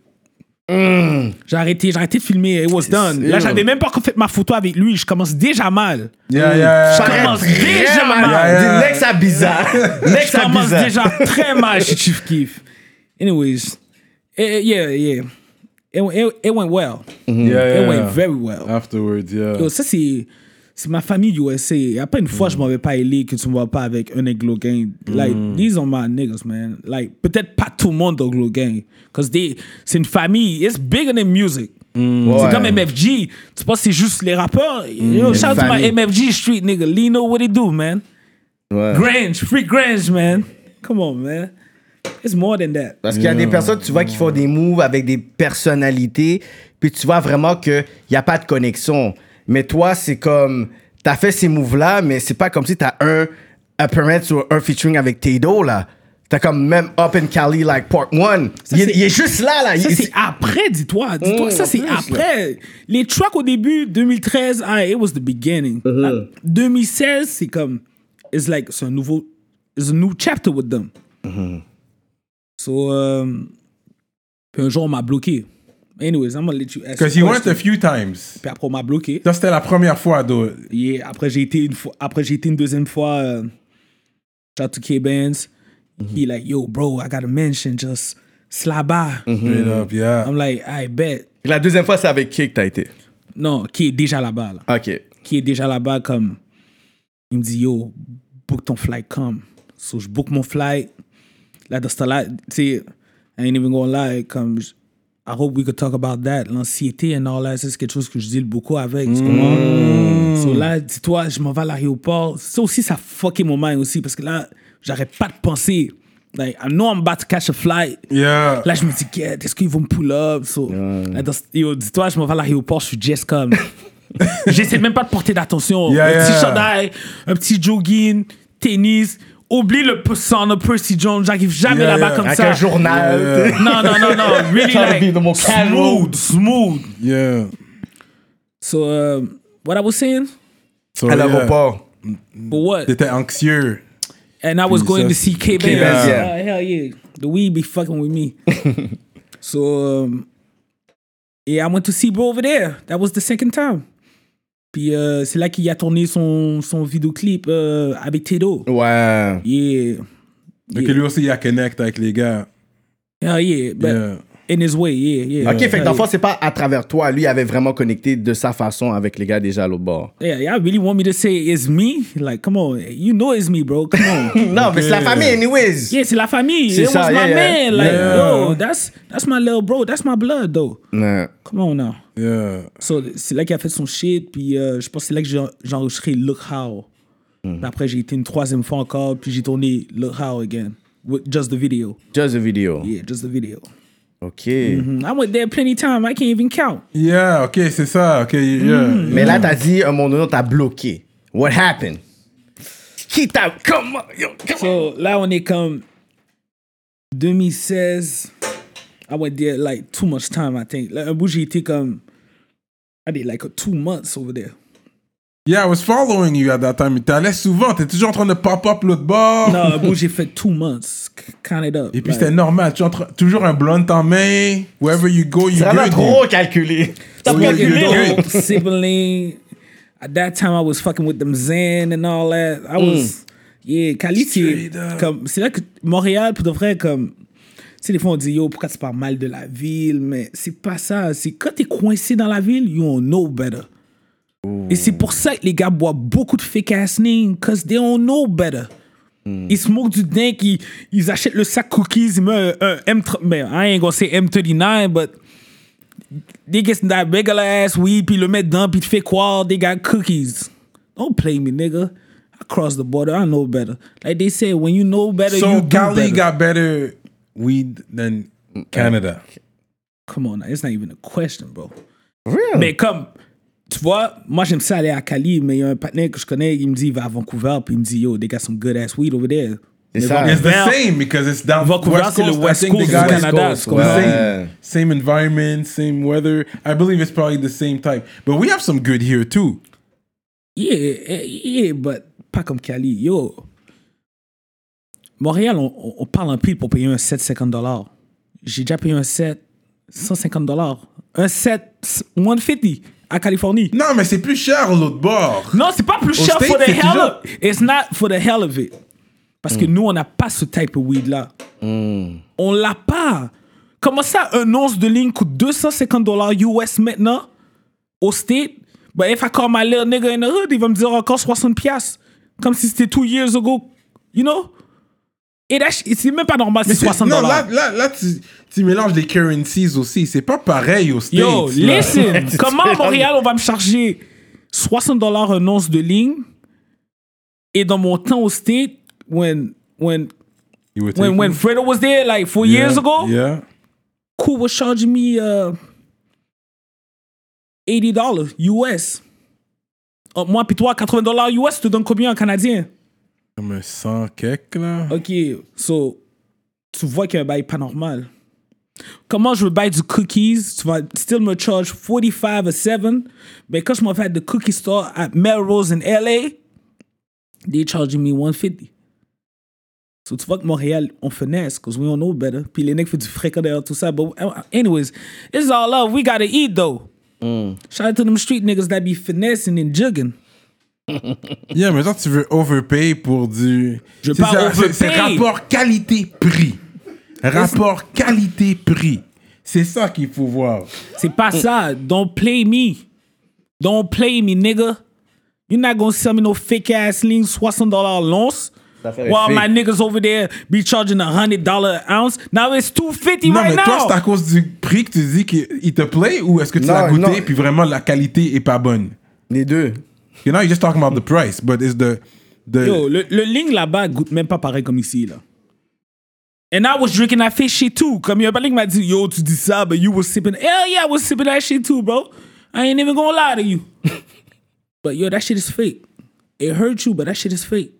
Mm. J'ai arrêté, j'ai arrêté de filmer. It was done. Là, j'avais même pas encore fait ma photo avec lui. Je commence déjà mal. Yeah, yeah, je commence déjà mal. Yeah, yeah. Next à bizarre. Next je commence déjà très mal chez Chief Keef. Anyways, it, yeah, yeah. It, it, it went well. Mm-hmm. Yeah, yeah. It went very well. Afterwards, yeah. Yo, ça, c'est... C'est ma famille U S A. Il n'y a pas une fois mm. je m'en vais pas à L A que tu me vois pas avec un Glow Gang. Like, mm. these are my niggas, man. Like, peut-être pas tout le monde dans Glow Gang. Parce que c'est une famille. It's bigger than music. Mm. C'est ouais. comme M F G. Tu penses que c'est juste les rappeurs? Mm. Yo, shout out to my M F G street nigga. Lino, what they do, man? Ouais. Grange, free Grange, man. Come on, man. It's more than that. Parce qu'il y a yeah. des personnes, tu vois, qui font des moves avec des personnalités, puis tu vois vraiment qu'il n'y a pas de connexion. Mais toi, c'est comme... T'as fait ces moves-là, mais c'est pas comme si t'as un appearance ou un featuring avec Tato, là. T'as comme même Up in Cali, like, part one. Ça, il, est, il est juste là, là. Ça, il, c'est après, dis-toi. Dis-toi mmh, ça, c'est plus, après. Là. Les tracks au début, deux mille treize, ah, it was the beginning. Mm-hmm. Là, deux mille seize, c'est comme... It's like, c'est un nouveau... It's a new chapter with them. Mm-hmm. So, um, puis un jour, on m'a bloqué. Anyways, I'm gonna let you ask. Because you went a few times. Puis après, on m'a bloqué. Ça, c'était la première fois, though. Yeah, après, j'ai été une fois, après, j'ai été une deuxième fois. Uh, shout out to K-Benz. Mm-hmm. He like, yo, bro, I gotta mention just Slaba. Mm-hmm. Straight up, yeah. I'm like, I bet. La deuxième fois, c'est avec qui que t'as été? Non, qui est déjà là-bas, là. OK. Qui est déjà là-bas, comme... Il me dit, yo, book ton flight, come. So, je book mon flight. Là, dans ce temps-là, tu sais, I ain't even gonna lie, comme... I hope we could talk about that. L'anxiété and all that, c'est quelque chose que je deal beaucoup avec. Mm. Tu comprends? So là, dis-toi, je m'en vais à l'aéroport. Ça aussi, ça fucké mon mind aussi, parce que là, j'arrête pas de penser. Like, I know I'm about to catch a flight. Yeah. Là, je me dis, yeah, est-ce qu'ils vont me pull up? So, yeah. Là, dans, yo, dis-toi, je m'en vais à l'aéroport, je suis just comme... J'essaie même pas de porter d'attention. Yeah, un yeah. petit chandail, un petit jogging, tennis... Oublie le son de Percy Jones, j'arrive jamais yeah, là-bas yeah. comme Avec ça. Avec un journal. Yeah. Non, non, non, non. Really like, smooth, smooth. Yeah. So, uh, what I was saying? So, à l'aéroport. Yeah. But what? T'étais anxieux. And I was Puis going ça, to see K-Benz. Yeah. Yeah. Uh, hell yeah. The weed be fucking with me. So, um, yeah, I went to see bro over there. That was the second time. Puis euh, c'est là qu'il a tourné son, son vidéoclip euh, avec Tato. Ouais. Yeah. Donc yeah. lui aussi, il a connect avec les gars. Yeah, yeah. But yeah. in his way, yeah, yeah. OK, yeah. fait que dans le fond, c'est pas à travers toi. Lui, il avait vraiment connecté de sa façon avec les gars déjà à l'autre bord. Yeah, yeah, I really want me to say it's me. Like, come on. You know it's me, bro. Come on. Non, okay. Mais c'est la famille, anyways. Yeah, c'est la famille. C'est It ça, was yeah, my yeah. man. Like, Yeah. yo, that's, that's my little bro. That's my blood, though. Ouais. Come on now. Yeah. So, c'est là qu'il a fait son shit. Puis euh, je pense que c'est là que j'ai, j'ai enregistré Look How. Mm. Puis après, j'ai été une troisième fois encore. Puis j'ai tourné Look How again. With just the video. Just the video. Yeah, just the video. OK. Mm-hmm. I went there plenty of time. I can't even count. Yeah, OK, c'est ça. OK, yeah. Mm. Mais là, t'as dit, à un moment donné, t'as bloqué. What happened? Qui t'a... Comment? Yo, come So, là, on est comme... deux mille seize... I went there like too much time, I think. Like, un bout, j'ai été comme... I did like a two months over there. Yeah, I was following you at that time. T'allais souvent, t'es toujours en train de pop-up l'autre bord. Non, un bout, j'ai fait two months. Count it up. Et puis like, c'était normal, tu entres toujours un blunt en main. Wherever you go, you C'est vraiment good. trop calculé. Stop Oui, fucking oui, dope, sibling. At that time, I was fucking with them Zen and all that. I was... Yeah, Cali, c'est... Comme, c'est là que Montréal, pour de vrai, comme... Tu sais, des fois, on dit, yo, pourquoi tu parles mal de la ville? Mais c'est pas ça. C'est quand t'es coincé dans la ville, you don't know better. Ooh. Et c'est pour ça que les gars boivent beaucoup de fake ass lean, because they don't know better. Mm. Ils smoke du dingue, ils, ils achètent le sac cookies, ils mettent un, un M trente, mais I ain't gonna say M thirty-nine, but they get that regular ass weed, puis le mettent dedans, puis tu fais quoi? They got cookies. Don't play me, nigga. I crossed the border, I know better. Like they say, when you know better, so you do Cali better. got better weed than Canada. Come on, it's not even a question, bro. Really? Mais comme, tu vois, moi j'aime ça aller à Cali, mais il y a un partenaire que je connais, il me dit, il va à Vancouver, puis il me dit, yo, they got some good ass weed over there. C'est ça. It's the same because it's down Vancouver, West c'est le Coast. West I think Coast they got du it. Canada. Coast, c'est comme ouais. ça. Same, same environment, same weather. I believe it's probably the same type. But we have some good here too. Yeah, yeah, but pas comme Cali. Yo, Montréal, on, on parle en pile pour payer un set cinquante dollars. J'ai déjà payé un set cent cinquante dollars. Un set cent cinquante à Californie. Non, mais c'est plus cher l'autre bord. Non, c'est pas plus Au cher States, for the c'est hell toujours- of it. It's not for the hell of it. Parce que nous, on n'a pas ce type of weed là. On l'a pas. Comment ça, un once de ligne coûte deux cent cinquante dollars U S maintenant au State? But if I call my little nigga in the hood, il va me dire encore soixante piastres. Comme si c'était two years ago. You know? Et là, c'est même pas normal, c'est Mais c'est- soixante non, dollars. là, là, là tu, tu mélanges les currencies aussi. C'est pas pareil aux States. Yo, là. listen, comment à Montréal, on va me charger soixante dollars un once de ligne et dans mon temps au State, when, when, You were when, taking- when Fredo was there, like four Yeah, years ago, Yeah. Cool was charging me uh, eighty dollars U S. Uh, moi, puis toi, quatre-vingts dollars U S, tu te donnes combien en canadien? Comme un cent quelque, là. OK, so, tu vois qu'il y a un bail pas normal. Comment je veux bail du cookies, tu vas still me charge forty-five a seven, mais quand je m'en fais at the cookie store at Melrose in L A, they charging me one fifty. So tu vois que Montréal, on finesse, because we don't know better. Puis les nègres font du fréquent derrière tout ça. But anyways, it's all love. We gotta eat, though. Mm. Shout out to them street niggas that be finessing and jugging. Yeah, mais toi, tu veux overpay pour du... Je veux C'est pas ça, overpay. c'est- C'est rapport qualité-prix. Rapport qualité-prix. C'est ça qu'il faut voir. C'est pas ça. Don't play me. Don't play me, nigga. You're not gonna sell me no fake ass lean soixante dollars l'once. While fake. my niggas over there be charging one hundred dollars an ounce. Now it's two fifty Non, right mais toi, now. c'est à cause du prix que tu dis qu'il te plaît ou est-ce que tu Non, l'as goûté non. puis vraiment la qualité est pas bonne? Les deux. You know, you're just talking about the price, but it's the... the Yo, le, le ligne là-bas goûte même pas pareil comme ici, là. And I was drinking that fake shit too. Comme il y a pas qui m'a dit, yo, tu dis ça, but you was sipping. Hell yeah, I was sipping that shit too, bro. I ain't even gonna lie to you. But yo, that shit is fake. It hurt you, but that shit is fake.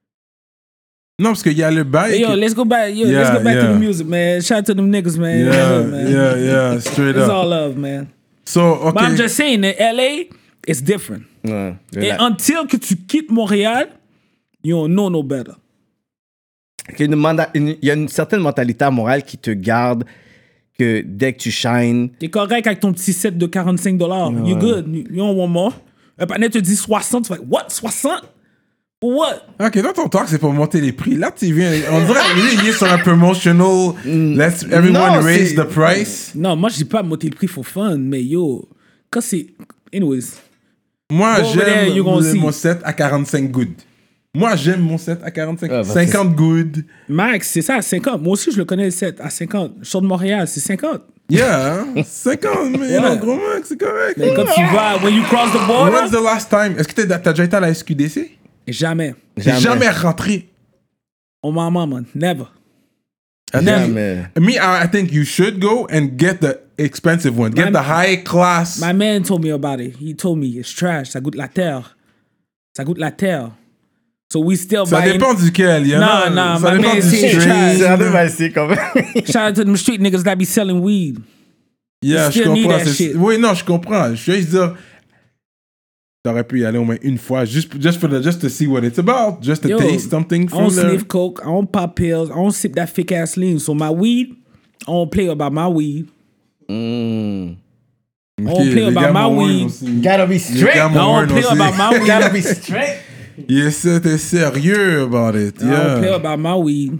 Non, parce qu'il y a le bail... Hey, yo, que- let's go back. Yo, Yeah, let's go back yeah. to the music, man. Shout out to them niggas, man. Yeah, Yeah, man. yeah, yeah, straight It's up. all love, man. So, okay. But I'm just saying, in L A, it's different. Ouais. Et La- until que tu quittes Montréal, you don't know no better. qu'il y a une manda- une- il y a une certaine mentalité à Montréal qui te garde que dès que tu shines, T'es correct avec ton petit set de quarante-cinq dollars. You good. You, you don't want more. Un panel te dit soixante. Tu fais, what? soixante? For what? Ok, dans ton talk, c'est pour monter les prix. Là, tu viens... On dirait lui, il est sur un promotional... Let's everyone Non, raise c'est- the price. Non, moi, je dis pas monter le prix for fun, mais yo, quand c'est... Anyways. Moi, Go over there, j'aime you gonna le- see. mon set à quarante-cinq good. Moi, j'aime mon set à quarante-cinq. Ah, bah, cinquante good. Max, c'est ça, à cinquante. Moi aussi, je le connais, le set, à cinquante. Je sors de Montréal, c'est cinquante. Yeah, hein? cinquante, mais Yeah. non, gros Max, c'est correct. Mais quand tu vas, when you cross the border, When's the last time? Est-ce que t'as t'as déjà été à la S Q D C? jamais. J'ai jamais rentré. On my mama, never. jamais. Me, I, I think you should go and get the expensive one. Get My- the high class. My man told me about it. He told me it's trash. Ça goûte la terre. Ça goûte la terre. So we still Ça buying. dépend duquel. Il y en a- Non, non, ça my dépend man du say strain. trash. C'est un peu facile quand même. Shout out to them street niggas that be selling weed. Yeah, You je still need comprends. that c'est- shit. Oui, non, je comprends. Je veux juste dire, t'aurais pu y aller au moins une fois, just, just, for the, just to see what it's about, just to Yo, taste something I from don't there. sniff coke. I don't pop pills. I don't sip that fake ass lean. So my weed, I don't play about my weed. Mm. I don't play about my weed. Gotta be Les straight. gars I don't play aussi. about my weed. Gotta be straight. Yes, t'es sérieux about it. I don't play Yeah. about my weed.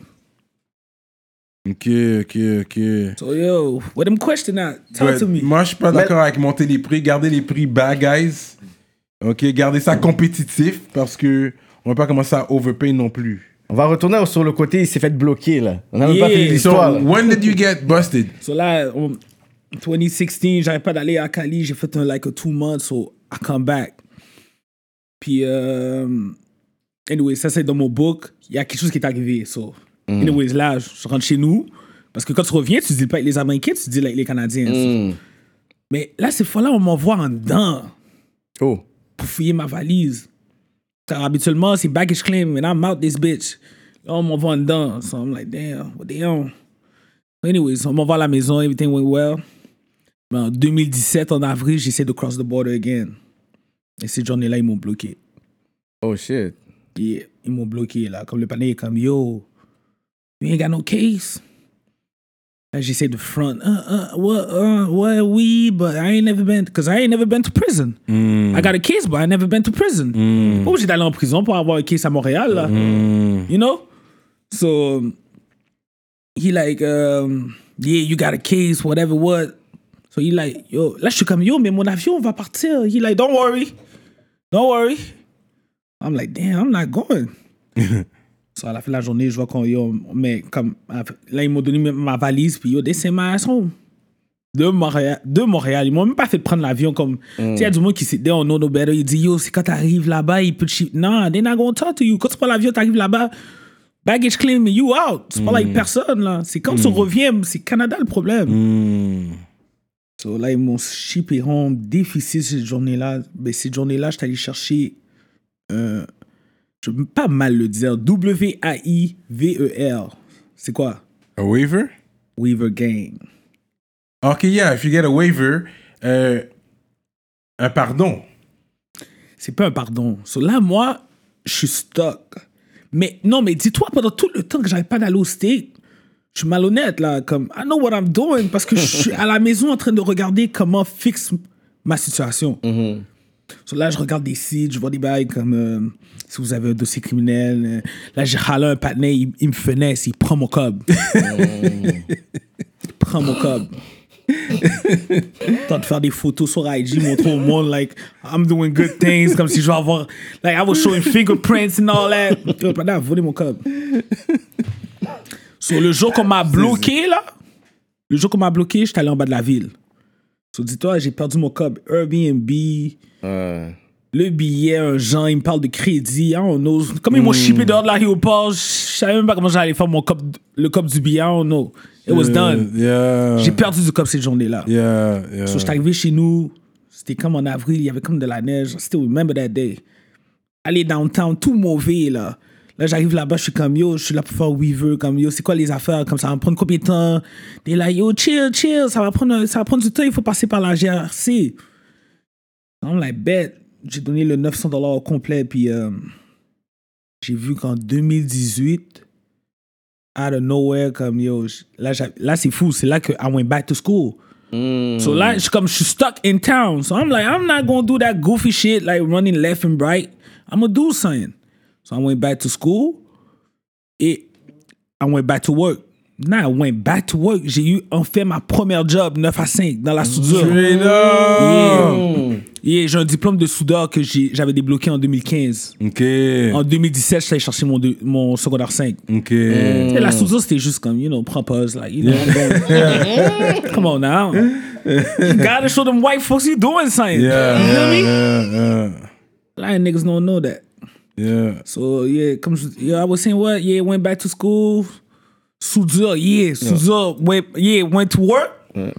Ok, ok, ok. So yo, what them question at? Talk Ouais, to me. moi, je suis pas d'accord avec monter les prix. Garder les prix bad, guys. Ok, gardez ça compétitif parce que on va pas commencer à overpay non plus. On va retourner sur le côté, il s'est fait bloquer, là. On n'a même Yeah. pas fini So, l'histoire. là. when did you get busted? So là, en twenty sixteen, j'arrête pas d'aller à Cali. J'ai fait un like a two months, so I come back. Puis, euh, anyway, ça c'est dans mon book. Il y a quelque chose qui est arrivé. So, Mm. anyways, là, je rentre chez nous. Parce que quand tu reviens, tu dis pas avec les Américains, tu dis avec les Canadiens. Mm. Mais là, ces fois-là, on m'envoie en dedans Oh. pour fouiller ma valise. Car habituellement, c'est baggage claim, and I'm out this bitch. Là, on m'envoie en dedans. So I'm like, damn, what they on? Anyways, on m'envoie à la maison, everything went well. Mais en deux mille dix-sept, en avril, j'essaie de cross the border again. Et cette journée-là, ils m'ont bloqué. Oh shit. Yeah, ils m'ont bloqué, là. Comme le panier est comme, yo, you ain't got no case. Là, j'essaie de front. Uh, uh, what, uh, what, oui, but I ain't never been, because I ain't never been to prison. Mm. I got a case, but I never been to prison. Mm. Pas obligé d'aller en prison pour avoir un case à Montréal, là. Mm. You know? So, he like, um, yeah, you got a case, whatever, what. So he like, yo, là, je suis comme, yo, mais mon avion va partir. He like, don't worry. Don't worry. I'm like, damn, I'm not going. So, à la fin de la journée, je vois qu'on, yo, mais comme, là, ils m'ont donné ma valise, puis yo, they sent my ass home. De Montréal, de Montréal. Ils m'ont même pas fait prendre l'avion comme. Mm. Tu sais, il y a du monde qui sit there, on know no better. Il dit, yo, c'est quand t'arrives là-bas, il peut te chip. Non, they're not gonna talk to you. Quand tu prends l'avion, t'arrives là-bas, baggage claim, you out. C'est pas Mm. like personne, là. C'est quand mm. tu reviens, c'est Canada le problème. Mm. So là, ils m'ont shippé home, déficit cette journée-là. Ben, cette journée-là, j'étais allé chercher. Euh, je veux pas mal le dire. W A I V E R. C'est quoi? A waiver? Weaver Gang. Ok, yeah, if you get a waiver, euh, un pardon. C'est pas un pardon. So là, moi, je suis stuck. Mais non, mais dis-toi, pendant tout le temps que j'arrête pas d'aller au States, je suis malhonnête, là. Comme, I know what I'm doing parce que je suis à la maison en train de regarder comment fixe ma situation. Mm-hmm. So là, je regarde des sites, je vois des bails comme euh, si vous avez un dossier criminel. Euh, là, j'ai râlé un patinet, il, il me finesse, il prend mon cob. Il prend mon cob. Temps de faire des photos sur I G, montrer au monde, like, I'm doing good things, comme si je vais avoir, like, I was showing fingerprints and all that. Yo, pendant, a volé mon cob. So, le jour qu'on m'a bloqué, là, le jour qu'on m'a bloqué, j'étais allé en bas de la ville. So, dis-toi, j'ai perdu mon cob. Airbnb, Euh. le billet, un genre, il me parle de crédit, I don't know. Comme ils m'ont shippé dehors de l'aéroport, je savais même pas comment j'allais faire mon cob, le cob du billet, I don't know. It was done. Yeah. J'ai perdu du cob cette journée-là. Yeah, yeah. So, j'étais arrivé chez nous, c'était comme en avril, il y avait comme de la neige. I still remember that day. Aller downtown, tout mauvais, là. Là, j'arrive là-bas, je suis comme, yo, je suis là pour faire Weaver, comme, yo, c'est quoi les affaires, comme ça va me prendre combien de temps? T'es là, yo, chill, chill, ça va prendre, ça va prendre du temps, il faut passer par la G R C. I'm like, bet. J'ai donné le neuf cents dollars au complet, puis euh, j'ai vu qu'en deux mille dix-huit, out of nowhere, comme, yo, là, là c'est fou, c'est là que I went back to school. Mm. So là, je, comme, je suis stuck in town. So I'm like, I'm not gonna do that goofy shit, like running left and right. I'm gonna do something. So I went back to school et I went back to work. Now I went back to work. J'ai eu en fait ma première job neuf à cinq dans la soudure. Straight up. Yeah. Yeah, j'ai un diplôme de soudeur que j'ai- j'avais débloqué en deux mille quinze. Ok. En deux mille dix-sept, je suis allé chercher mon, deux- mon secondaire cinq. Ok. Tu sais, la soudure, c'était juste comme, you know, prends pause, like, you know, I'm going- come on now. You gotta show them white folks you doing something. Yeah, You feel yeah, me? yeah, yeah. A lot of niggas don't know that. Yeah. So, yeah, comme je, yeah, I was saying what? Yeah, went back to school. Soudure, yeah, soudure, went, yeah, went to work. Ouais.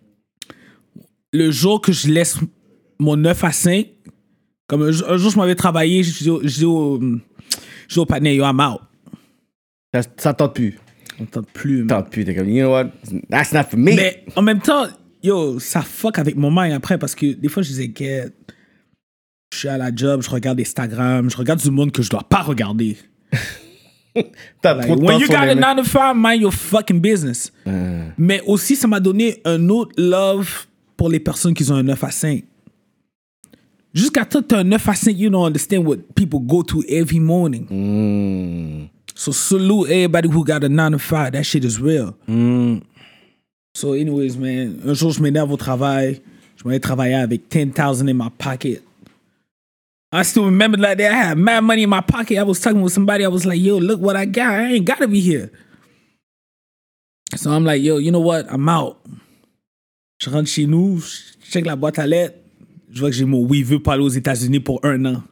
Le jour que je laisse mon neuf à cinq, comme un, jour- un jour, je m'avais travaillé, je dis au, je dis au, je dis au partner, yo, I'm out. Ça, ça tente plus. On tente plus, man. Tente plus. T'es comme, you know what? That's not for me. Mais en même temps, yo, ça fuck avec mon mind après parce que des fois, je disais, get, je suis à la job, je regarde Instagram, je regarde du monde que je dois pas regarder. T'as Like, trop de when temps you sur got les a mains. nine to five, mind your fucking business. Mais aussi, ça m'a donné un autre love pour les personnes qui ont un neuf à cinq. Jusqu'à temps que tu as un neuf à cinq, you don't understand what people go to every morning. Mm. So salute everybody who got a nine to five. That shit is real. So anyways, man, un jour, je m'énerve au travail. Je m'en ai travaillé avec ten thousand in my pocket. I still remember that day. I had mad money in my pocket. I was talking with somebody. I was like, yo, look what I got. I ain't gotta be here. So I'm like, yo, you know what? I'm out. Je rentre chez nous, je check la boîte à lettres. Je vois que j'ai mon oui, veut pas aller aux États-Unis pour un an.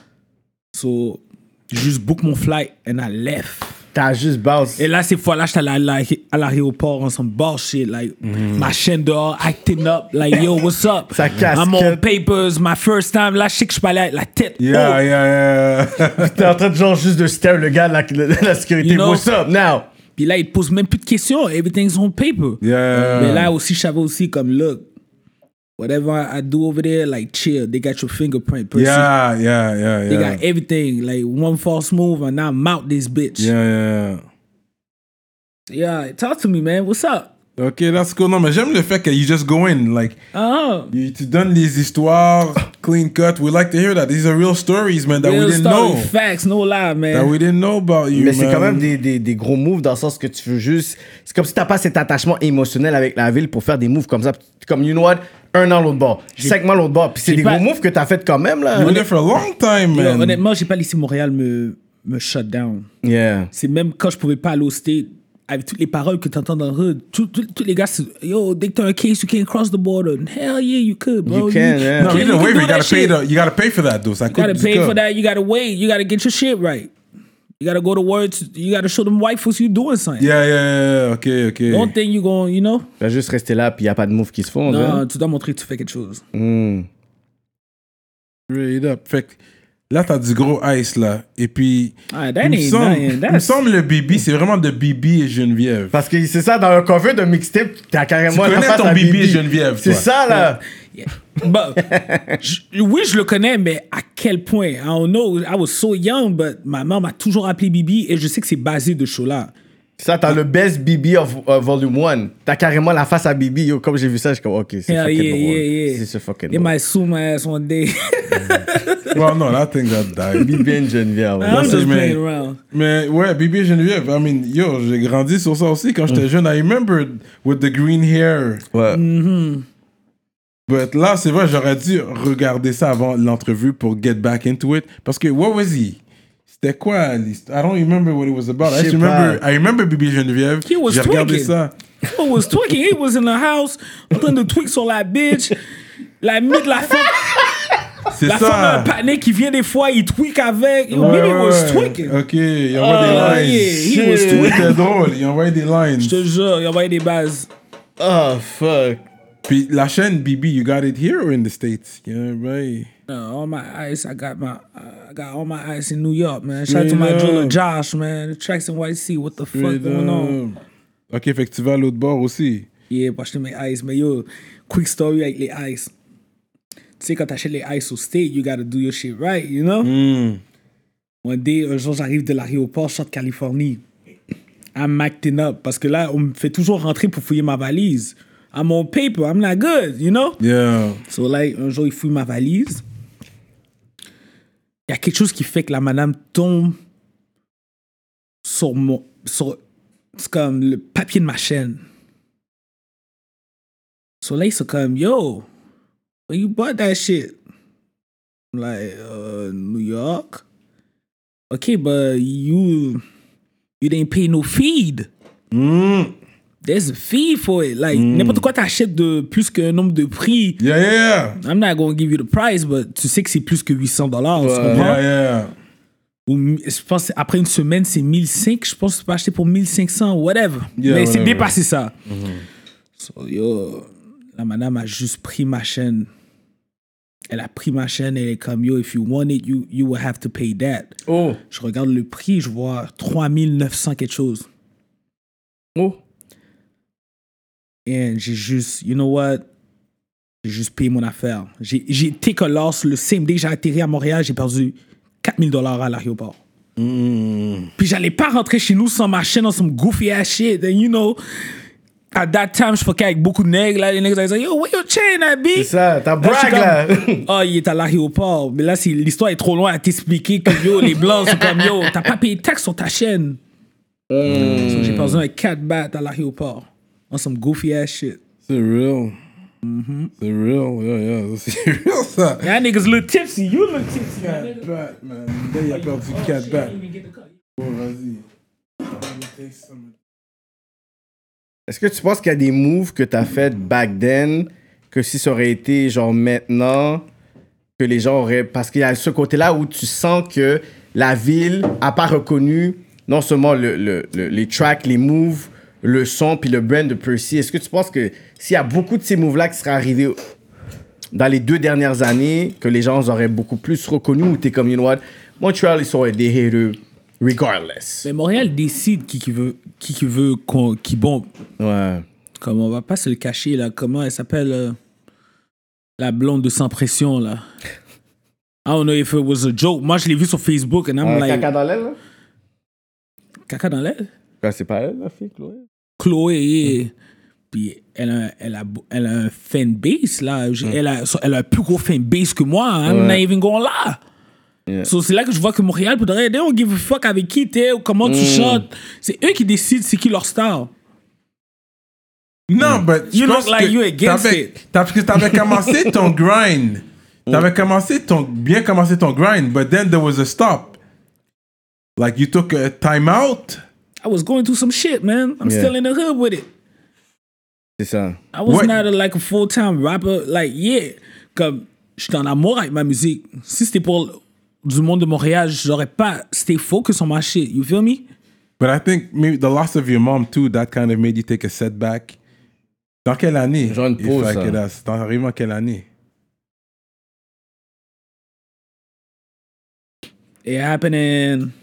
So, juste book mon flight and I left. T'as juste bounce. Et là, ces fois-là, j'étais à, la, à l'aéroport on some bullshit. Like, mm. ma chaîne dehors, acting up. Like, yo, what's up? Sa casquette. I'm on papers, my first time. Là, je sais que je peux aller avec la tête. Yeah, haute. yeah, yeah. T'es en train de genre juste de stare le gars de la, de la sécurité. You know? What's up now? Puis là, il te pose même plus de questions. Everything's on paper. Yeah. Mais là aussi, je savais aussi comme, look, whatever I do over there, like, chill. They got your fingerprint. Person. Yeah, yeah, yeah, yeah. They got everything. Like, one false move and I'm out this bitch. Yeah, yeah. Yeah, talk to me, man. What's up? Ok, that's cool. Non, mais j'aime le fait que you just go in. Like, Uh-huh. you, tu donnes les histoires clean cut. We like to hear that. These are real stories, man, that Real we didn't story, know. Facts, no lie, man. That we didn't know about you, Mais c'est man. quand même des, des, des gros moves dans le sens que tu veux juste. C'est comme si t'as pas cet attachement émotionnel avec la ville pour faire des moves comme ça. Comme, you know what? Un an l'autre bord, cinq mois l'autre bord. Puis c'est J'ai des pas- gros moves que t'as fait quand même, là. You were there for a long time, Yo, man. honnêtement, j'ai pas laissé Montréal me, me shut down. Yeah. C'est même quand je pouvais pas aller au State, avec toutes les paroles que t'entends dans le hood, tous tous- tous les gars, c'est, yo, dès que t'as un case, you can't cross the border. Hell yeah, you could, bro. You can, yeah. No, can- you didn't can wait, do but you that gotta pay shit. the, you gotta pay for that, though. Ça You gotta coûte pay du for cob. that. You gotta wait. You gotta get your shit right. You gotta go to work. You gotta show them white folks you doing something. Yeah, yeah, yeah. Ok, ok. Don't think you going, you know? Tu vas juste rester là, puis y a pas de moves qui se font. Non, hein. tu dois montrer que tu fais quelque chose. Mm. Straight up. Fait que là, t'as du gros ice, là. Et puis, Ah, that il me ain't semble, nothing. il me That's- semble le Bibi, c'est vraiment de Bibi et Geneviève. Parce que c'est ça, dans un cover de mixtape, t'as carrément Tu la connais face ton à Bibi Bibi. et Geneviève, C'est toi. ça, là. Yeah. But, je- oui, je le connais, mais à quel point? I don't know. I was so young, but ma mère m'a toujours appelé Bibi et je sais que c'est basé de show là. Ça, t'as le best Bibi of uh, Volume one. T'as carrément la face à Bibi. Yo, comme j'ai vu ça, je suis comme, ok, c'est Yeah, fucking yeah, drôle. yeah, yeah. C'est ce fucking They drôle. might sue my ass one day. Well, no, that thing got died. Bibi and Geneviève. I'm c'est- just mais- playing around. Mais ouais, Bibi et Geneviève, I mean, yo, j'ai grandi sur ça aussi quand j'étais jeune. I remember with the green hair. Ouais. But là, c'est vrai, j'aurais dû regarder ça avant l'entrevue pour get back into it. Parce que, what was he? C'était quoi l'histoire? I don't remember what it was about. I Je just sais remember, pas. I remember Bibi et Geneviève. He was J'ai regardé tweaking. ça. He was tweaking. He was in the house en train de tweak sur la bitch. La mythe, la femme, C'est la femme a un ça. panier qui vient des fois, il tweak avec. Yo, Ouais, Bibi ouais, was ouais. tweaking. Ok, il envoie Oh, des yeah, lines. he was Shit, tweaking. C'était drôle, il envoyait des lines. Je te jure, il envoyait des bases. Oh, fuck. Puis la chaîne Bibi, you got it here or in the States? Yeah, right. Uh, all my ice, I got my, uh, I got all my ice in New York, man. Shout out to my Straight jeweler up. Josh, man. The tracks in White Sea, what the fuck Straight going on? up. Ok, fait que tu vas à l'autre bord aussi. Yeah, pour acheter mes ice, mais yo, quick story avec les ice. Tu sais, quand t'achètes les ice au state, you gotta do your shit right, you know? Mm. One day, un jour, j'arrive de l'aéroport, je sors de Californie. I'm acting up, parce que là, on me fait toujours rentrer pour fouiller ma valise. I'm on paper, I'm not good, you know? Yeah. So, like, un jour, il fouille ma valise. Il y a quelque chose qui fait que la madame tombe sur mon... Sur, c'est comme le papier de ma chaîne. So, là, ils sont comme, yo, where you bought that shit? I'm like, uh, New York. Okay, but you... You didn't pay no feed. Mm. There's a fee for it. Like, n'importe quoi t'achètes de plus qu'un nombre de prix. Yeah, yeah, yeah. I'm not gonna give you the price, but tu sais que c'est plus que huit cents dollars. Tu Ouais. comprends? Yeah, yeah. Ou, mi- je pense que après une semaine, c'est mille cinq. Je pense que tu peux acheter pour mille cinq cents, whatever. Yeah, Mais c'est whatever. dépassé ça. So, yo, la madame a juste pris ma chaîne. Elle a pris ma chaîne et elle est comme, yo, if you want it, you, you will have to pay that. Oh. Je regarde le prix, je vois trois mille neuf cents quelque chose. Oh. Et j'ai juste, you know what? J'ai juste payé mon affaire. J'ai, j'ai take a loss le same day que j'ai atterri à Montréal, j'ai perdu quatre mille dollars à l'aéroport. Mm. Puis j'allais pas rentrer chez nous sans ma chaîne, dans some goofy ass shit. And you know, at that time, je fuckais avec beaucoup de nègres. Là, les nègres, ils disaient, yo, where your chain at, B? C'est ça, t'as Là, je suis brag, là. comme, oh, il est à l'aéroport. Mais là, c'est, l'histoire est trop loin à t'expliquer que, yo, les blancs sont comme, yo, t'as pas payé de taxe sur ta chaîne. So, j'ai perdu un quatre bahts à l'aéroport. On some goofy ass shit. C'est real. C'est real, yeah, yeah. C'est real, ça. Y'all niggas look tipsy. You look tipsy. Cat bat, man. Là, il a perdu cat bat. Oh, vas-y. Est-ce que tu penses qu'il y a des moves que t'as fait back then que si ça aurait été genre maintenant, que les gens auraient... Parce qu'il y a ce côté-là où tu sens que la ville a pas reconnu non seulement le, le, le, les tracks, les moves, le son puis le brand de Percy. Est-ce que tu penses que s'il y a beaucoup de ces moves-là qui seraient arrivés dans les deux dernières années, que les gens auraient beaucoup plus reconnus ou t'es comme, you know what, Montréal, ils sont des haters regardless. Mais Montréal décide qui, qui veut, qui, qui veut qu'on, qui bombe. Ouais. Comme on va pas se le cacher, là. Comment elle s'appelle euh, la blonde de Sans Pression, là. I don't know if it was a joke. Moi, je l'ai vu sur Facebook and I'm Euh, like... caca dans l'aile, là? Caca dans l'aile? Ben, c'est pas elle, la fille, Chloé. Chloé, yeah. Puis elle a, elle, a, elle a un fanbase, là. J'ai- Elle, a, elle a un plus gros fanbase que moi. I'm not even going là. Yeah. So, c'est là que je vois que Montréal, pour de vrai, they don't give a fuck avec qui t'es ou comment tu chantes. C'est eux qui décident c'est qui leur star. Non, but You je look pense like que you against t'avais- it. t'as- Parce que t'avais commencé ton grind. T'avais commencé ton, bien commencé ton grind, but then there was a stop. Like you took a time out. I was going through some shit, man. I'm Yeah. still in the hood with it. C'est ça. I was What- not a, like a full-time rapper. Like, yeah. Comme, j'étais en amour avec ma musique. Si c'était pour du monde de Montréal, j'aurais pas stay focus on my shit. You feel me? But I think maybe the loss of your mom too, that kind of made you take a setback. Dans quelle année? Genre une If pause, I ça. could ask, T'en arrives en quelle année? It happened in...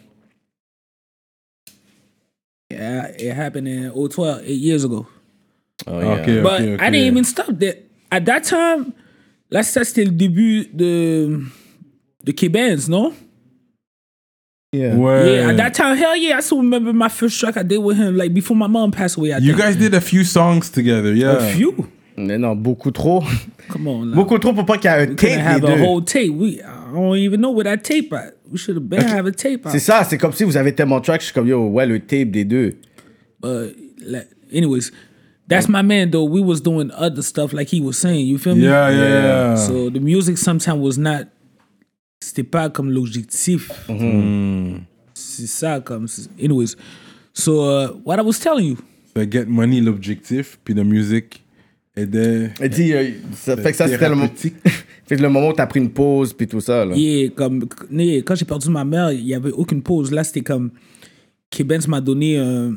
Yeah, it happened in oh twelve, eight years ago. Oh, yeah. Okay, But okay, okay. I didn't even stop there. At that time, là, ça, c'était le début de... de K-Benz, non? Yeah. Ouais. Yeah, at that time, hell yeah, I still remember my first track I did with him, like before my mom passed away. I You think. guys did a few songs together, yeah. A few? Mais non, beaucoup trop. Come on, now. Beaucoup trop pour pas qu'il y ait un We couldn't tape have des a deux. whole tape. We, I don't even know where that tape at. We should have been have a tape out. C'est ça, c'est comme si vous avez tellement de tracks, je suis comme, yo, ouais, le tape des deux. But like, anyways, that's my man though. We was doing other stuff like he was saying. You feel me? Yeah, yeah, yeah. So the music sometimes was not. C'était pas comme l'objectif. C'est ça comme. Anyways, so uh, what I was telling you. So get money, l'objectif, puis la musique aidait. Elle dit, euh, ça fait que ça, c'était le moment. thérapeutique. Fait que le moment où t'as pris une pause, puis tout ça, là. Yeah, comme yeah, quand j'ai perdu ma mère, il y avait aucune pause. Là, c'était comme K-Benz m'a donné un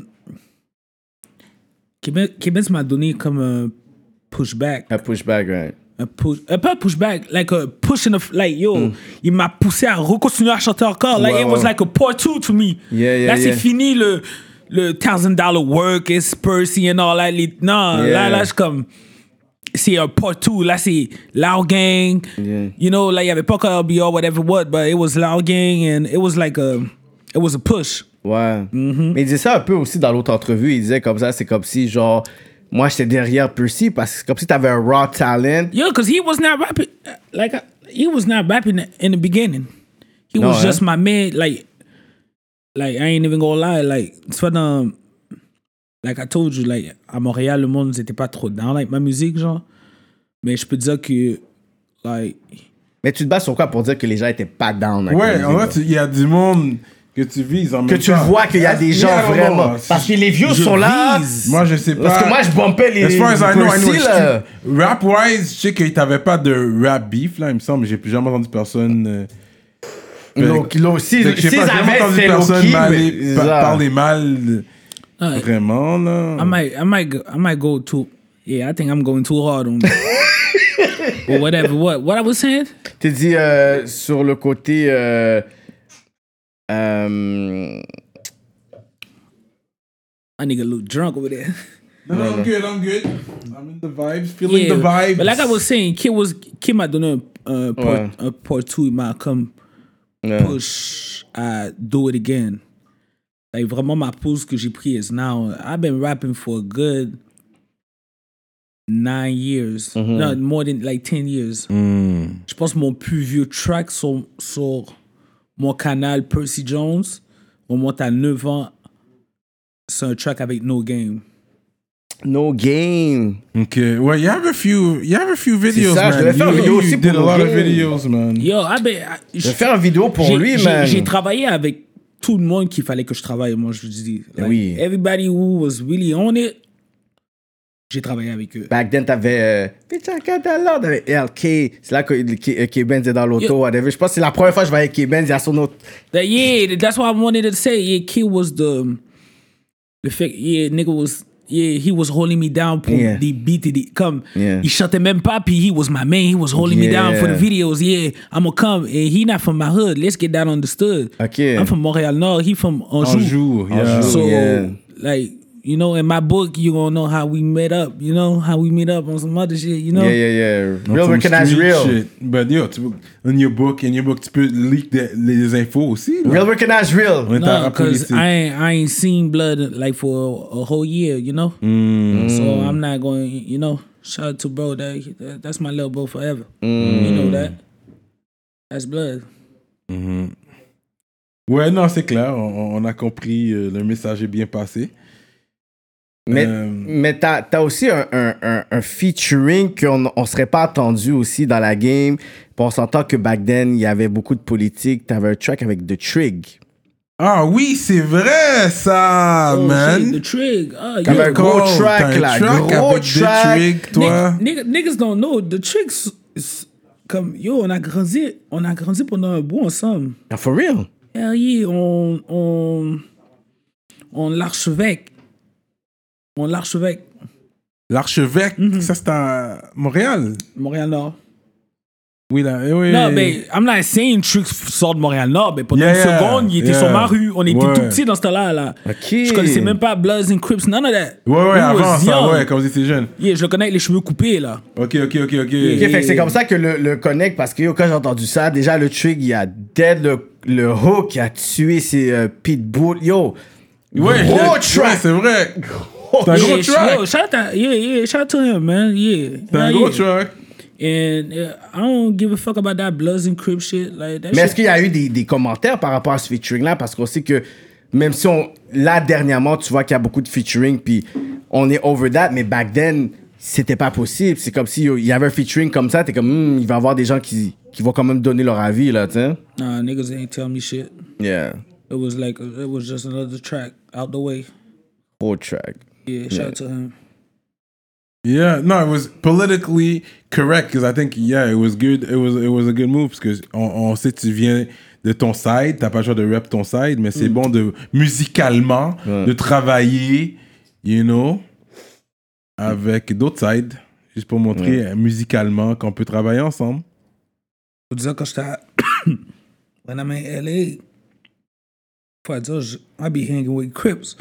K-Benz K-Benz m'a donné comme un pushback, Un pushback, right? un push, euh, pas un pushback, like a push in the like yo, il m'a poussé à recontinuer à chanter encore. Like Ouais, it was ouais. like a part two to me. Yeah, yeah, là, c'est yeah. fini le le thousand dollar work, it's Percy and all that. Les- Non, Yeah. là, là, je suis comme c'est un part two. Là, c'est Loud Gang. Yeah. You know, like, il n'y avait pas encore L B R, whatever what, but it was Loud Gang and it was like a, it was a push. Ouais. Mm-hmm. Mais il disait ça un peu aussi dans l'autre entrevue. Il disait comme ça, c'est comme si, genre, moi, j'étais derrière Percy parce que c'est comme si t'avais un raw talent. Yeah, because he was not rapping, uh, like, uh, he was not rapping in the beginning. He No, was eh? just my man, like, like, I ain't even gonna lie, like, tu vois, dans, like I told you, like, à Montréal, le monde n'était pas trop down, like, ma musique, genre. Mais je peux te dire que, like, Mais tu te bases sur quoi pour dire que les gens étaient pas down avec Ouais, la en musique, fait, il y a du monde que tu vises en que même tu temps. vois qu'il y a des gens Yeah, vraiment. non, Parce que les vieux je sont là. vise. Moi, je sais pas. Parce que moi, je bumpais les. As far as I know, I know. Percy, là. Rap-wise, je sais que t'avais pas de rap beef, là, il me semble. J'ai plus jamais entendu personne. Euh, Low- low- si fait que j'ai s'ils pas jamais avaient, entendu c'est personne low-key, mal- mais- pa- ça. parler mal. de- uh, Vraiment, là. I might, I might, go, I might go too. Yeah, I think I'm going too hard on. Or whatever. What? What I was saying? T'es dit euh, sur le côté. Euh, euh, I nigga look drunk over there. No, no, I'm good, I'm good. I'm in the vibes, feeling Yeah, the vibes. but like I was saying, Kid was Kid m'a donné un, un, part, Ouais. un part two, il m'a comme yeah. push à do it again. Like vraiment ma pause que j'ai pris is now. I've been rapping for a good nine years, no more than like ten years. Je pense que mon plus vieux track sur, sur mon canal Percy Jones remonte à neuf ans. C'est un track avec No Game. No game. Ok, ouais, you have a few, you have a few videos, ça, je man. devais faire you, une vidéo you aussi did a pour lot No of Game. videos, man. Yo, I be, I- Je vais faire une vidéo pour j'ai- lui, j'ai- man. J'ai travaillé avec tout le monde qu'il fallait que je travaille, moi, je dis. Like, Oui. Everybody who was really on it, j'ai travaillé avec eux. Back then, t'avais. Euh, Bitch, I got that lot. T'avais L K. C'est là que K- K-Benz est dans l'auto, Yo. whatever. Je pense que c'est la première fois que je voyais K-Benz. Il y a son autre. That, yeah, that's what I wanted to say. Yeah, Kid was the, the fact, yeah, nigga was, yeah, he was holding me down pour Yeah. des beats et des, comme, Yeah. il chantait même pas, puis he was my man, he was holding me down for the Yeah. videos, yeah, I'ma come, and he not from my hood, let's get that understood. Okay. I'm from Montréal Nord, he from Anjou. Anjou, yeah. Anjou. So, Yeah. like, you know, in my book, you gonna know how we met up, you know, how we meet up on some other shit, you know? Yeah, yeah, yeah. On Real some recognize street real. shit. But yo, tu peux, in your book, in your book, tu peux leak des- les infos aussi. là. Real recognize real. On est No, à because politique. I ain't, I ain't seen blood like for a, a whole year, you know? So I'm not going, you know, shout out to bro, that, that that's my little bro forever. You know that? That's blood. Ouais, non, c'est clair. On, on a compris. euh, le message est bien passé. Mais, Euh, mais t'as, t'as aussi un, un, un, un featuring qu'on on serait pas attendu aussi dans la game. Puis on s'entend que back then, il y avait beaucoup de politique. T'avais un track avec The Trig. Ah oui, c'est vrai, ça, Oh, man. shit, the trig. Ah, T'avais yeah. un gros Cool. track, T'as un là, track gros avec des track. tricks, toi. Nigga, niggas don't know. The tricks, is- comme, yo, on a grandi, on a grandi pendant un bout ensemble. Ah, for real? Hell yeah, on, on, on l'archevêque. On l'archevêque, L'archevêque, ça c'est à Montréal. Montréal-Nord. Oui, là. eh oui. Non, mais I'm not saying Tricks sort de Montréal-Nord, mais pendant Yeah, une seconde, il était yeah. sur ma rue. On était Ouais. tout petits dans ce temps-là. Là. OK. Je connaissais même pas Bloods and Crips, none of that. Ouais, ouais, We avant was ça, young. ouais, quand vous étiez jeune. Yeah, je le connais avec les cheveux coupés, là. Ok, ok, ok, ok. Ok, fait que c'est comme ça que le, le connect, parce que yo, quand j'ai entendu ça, déjà le Trig, il a dead le, le hook, il a tué ses euh, pitbulls. Yo, Ouais, gros yeah, track. ouais, c'est vrai. C'est un Yeah, gros track. Yo, shout out, yeah, yeah, shout out to him, man. Yeah. C'est un Yeah, gros yeah. track. And uh, I don't give a fuck about that Bloods and Crips shit. Like, that Mais est-ce shit. qu'il y a eu des, des commentaires par rapport à ce featuring-là? Parce qu'on sait que même si on. Là, dernièrement, tu vois qu'il y a beaucoup de featuring, puis on est over that, mais back then, c'était pas possible. C'est comme si yo, il y avait un featuring comme ça, t'es comme, hmm, il va y avoir des gens qui, qui vont quand même donner leur avis, là, tu sais. Nah, niggas ain't tell me shit. Yeah. It was like, it was just another track out the way. Whole track. Yeah, shout out to him. Yeah, no, it was politically correct because I think yeah, it was good. It was it was a good move parce que on, on sait que tu viens de ton side, t'as pas le choix de rap ton side, mais c'est bon de musicalement de travailler, you know, avec d'autres sides, juste pour montrer euh, musicalement qu'on peut travailler ensemble. Faut dire quand j'étais à- when I'm in L A, faut dire, je- I be hanging with Crips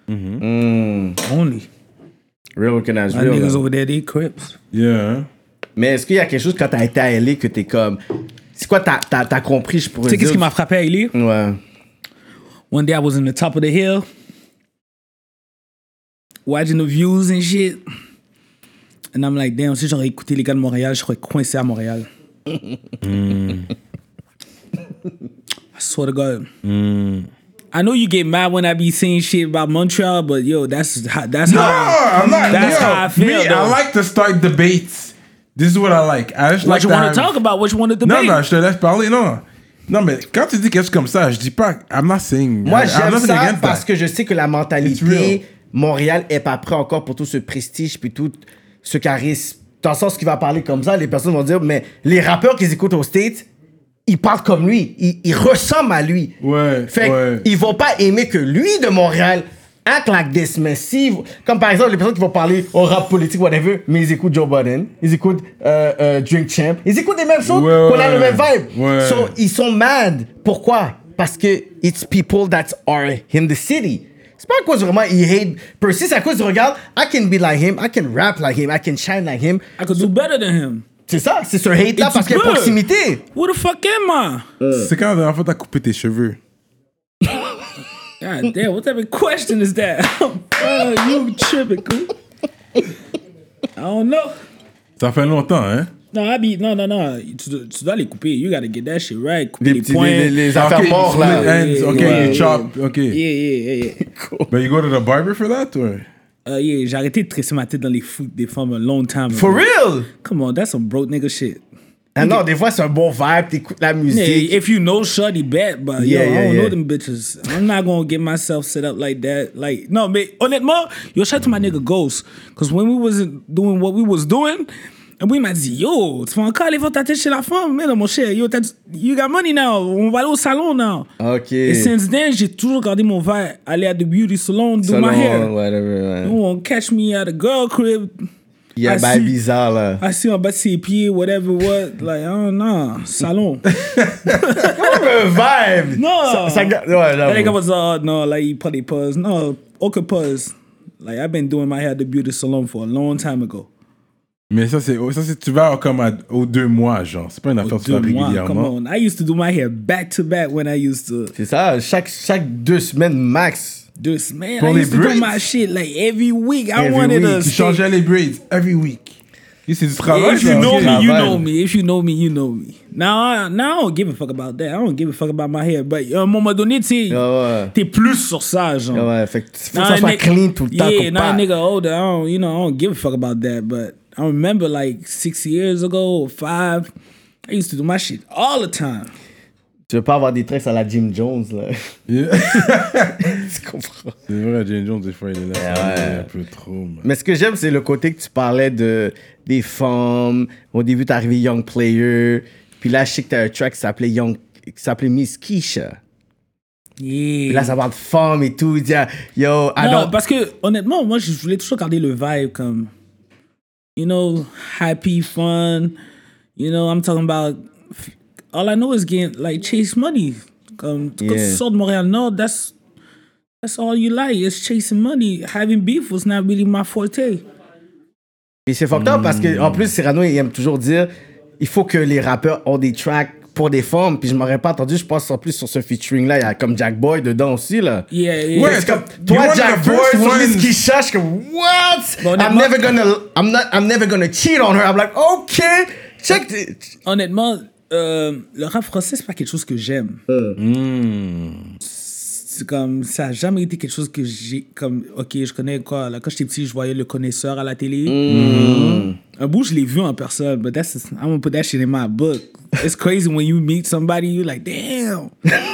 Mm. only. Real recognize My real. niggas là. over there, they Crips. Yeah. Mais est-ce qu'il y a quelque chose quand t'as été à L A que t'es comme. C'est quoi t'as, t'as, t'as compris, je pourrais Tu sais dire? qu'est-ce qui m'a frappé à L A? Ouais. One day I was in the top of the hill, watching the views and shit. And I'm like, damn, si j'aurais écouté les gars de Montréal, je serais coincé à Montréal. I swear to God. I know you get mad when I be saying shit about Montreal, but yo, that's how, that's No, how I'm not. that's yo, how I feel. Me, though. I like to start debates. This is what I like. I just what like you to want have- to talk about? What you want to debate? Non, non, je te laisse parler, non. Non, mais quand tu dis quelque chose comme ça, je dis pas. I'm not saying. Moi, I- I'm j'aime nothing ça against parce that. que je sais que la It's real. mentalité, Montréal est pas prêt encore pour tout ce prestige puis tout ce charisme. Dans le sens qu'il va parler comme ça, les personnes vont dire, mais les rappeurs qu'ils écoutent aux States, ils parlent comme lui, ils, ils ressemblent à lui. Ouais, Fait ouais. qu'ils vont pas aimer que lui de Montréal act like this, mais si, comme par exemple les personnes qui vont parler au rap politique, whatever, mais ils écoutent Joe Budden, ils écoutent euh, euh, Drink Champ, ils écoutent les mêmes choses, Ouais, qu'on a ouais. le même vibe. Ouais. So, ils sont mad. Pourquoi? Parce que it's people that are in the city. C'est pas à cause vraiment ils hate Percy, c'est à cause de regarde, I can be like him, I can rap like him, I can shine like him. I could do better than him. C'est ça, c'est ce hate-là It's parce qu'il y a good. proximité. Who the fuck am I? C'est quand la dernière fois t'as coupé tes cheveux? God damn, what type of question is that? uh, you tripping, cool? I don't know. Ça fait longtemps, hein? Non, I be, non, non, non. Tu, dois- tu dois les couper. You gotta get that shit right. Couper Les les, petits points. les, les, les Ah, affaires okay, mortes split là. ends, okay, Yeah, you yeah, chop, okay. Yeah, yeah, yeah, yeah. But you go to the barber for that, or? Uh, yeah, j'ai arrêté de tresser ma tête dans les foot des femmes a long time ago. For real? Come on, that's some broke nigga shit. Ah non, des fois, c'est un bon vibe, t'écoutes la musique. Yeah, if you know Shorty, bet, but Yeah, yo, yeah, I don't yeah. know them bitches. I'm not gonna get myself set up like that. Like, no, mais honnêtement, yo, shout out to my nigga Ghost. Because when we wasn't doing what we was doing, and we m'a dit, yo, tu vas encore aller faire ta tête chez la femme? Mais non, mon cher, yo, you got money now. On va aller au salon now. OK. Et since then, j'ai toujours gardé mon vibe, aller à the beauty salon, do Salon, my hair. whatever, ouais. You won't catch me at a girl crib. Il y a I bail see- bizarre, là. Assis en bas de ses pieds, whatever, what. Like, oh non, salon. Un vibe! Non! Ça, ça, ouais, That j'avoue. nigga was uh, no, like he probably pause. No, okay, pause. Like I've been doing my hair at the beauty salon for a long time ago. Mais ça, c'est, ça, c'est tu vas comme à- aux deux mois, genre. C'est pas une affaire que tu fais Deux mois, come régulièrement. on. I used to do my hair back to back when I used to. C'est ça, chaque, chaque deux semaines max. This man, Pour I les used to do braids? my shit like every week. I Every wanted week. to. Tu stay- changeais les braids every week. Et c'est du travail, If you ça, know ok. me, you Travail. know me. If you know me, you know me. Now, I, now I don't give a fuck about that. I don't give a fuck about my hair. But à un moment donné, tu sais, Ah ouais. t'es plus sur ça, genre. Ah ouais, fait que faut que Now ça a soit nigga- clean tout le temps. Yeah, qu'on now a part. nigga older, I don't, you know, I don't give a fuck about that. But I remember like six years ago or five, I used to do my shit all the time. Tu veux pas avoir des traits à la Jim Jones, là. Yeah. Tu comprends? C'est vrai, Jane Jones, des fois, il est là. Ouais, ça ouais. devient un peu trop, man. Mais ce que j'aime, c'est le côté que tu parlais de, des femmes. Au début, t'es arrivé Young Player. Puis là, je sais que t'as un track qui s'appelait Young, qui s'appelait Miss Keisha. Yeah. Puis là, ça parle de femmes et tout. Il dit, ah, yo, I Non, don't... parce que honnêtement, moi, je voulais toujours garder le vibe comme, you know, happy, fun. You know, I'm talking about. All I know is getting like chase money. Comme quand Yeah. tu sors de Montréal-Nord, that's that's all you like. It's chasing money. Having beef was not really my forte. Et c'est fucked up parce que, en plus, Cyrano, il aime toujours dire, il faut que les rappeurs ont des tracks pour des femmes. Puis je m'aurais pas entendu, je pense en plus sur ce featuring-là, il y a comme Jack Boy dedans aussi, là. Yeah, yeah. Ouais, C'est comme, You toi, want Jack the Boy, first sur one? Miss Keisha, je suis comme, what? Bon, I'm honnêtement- never gonna, I'm not, I'm never gonna cheat on her. I'm like, okay, check. the- Honnêtement, euh, le rap français, c'est pas quelque chose que j'aime. C'est comme, ça a jamais été quelque chose que j'ai, comme, ok, je connais quoi, là, quand j'étais petit, je voyais Le Connaisseur à la télé. Un bout, je l'ai vu en personne, but that's, I'm gonna put that shit in my book. It's crazy when you meet somebody, you're like, damn.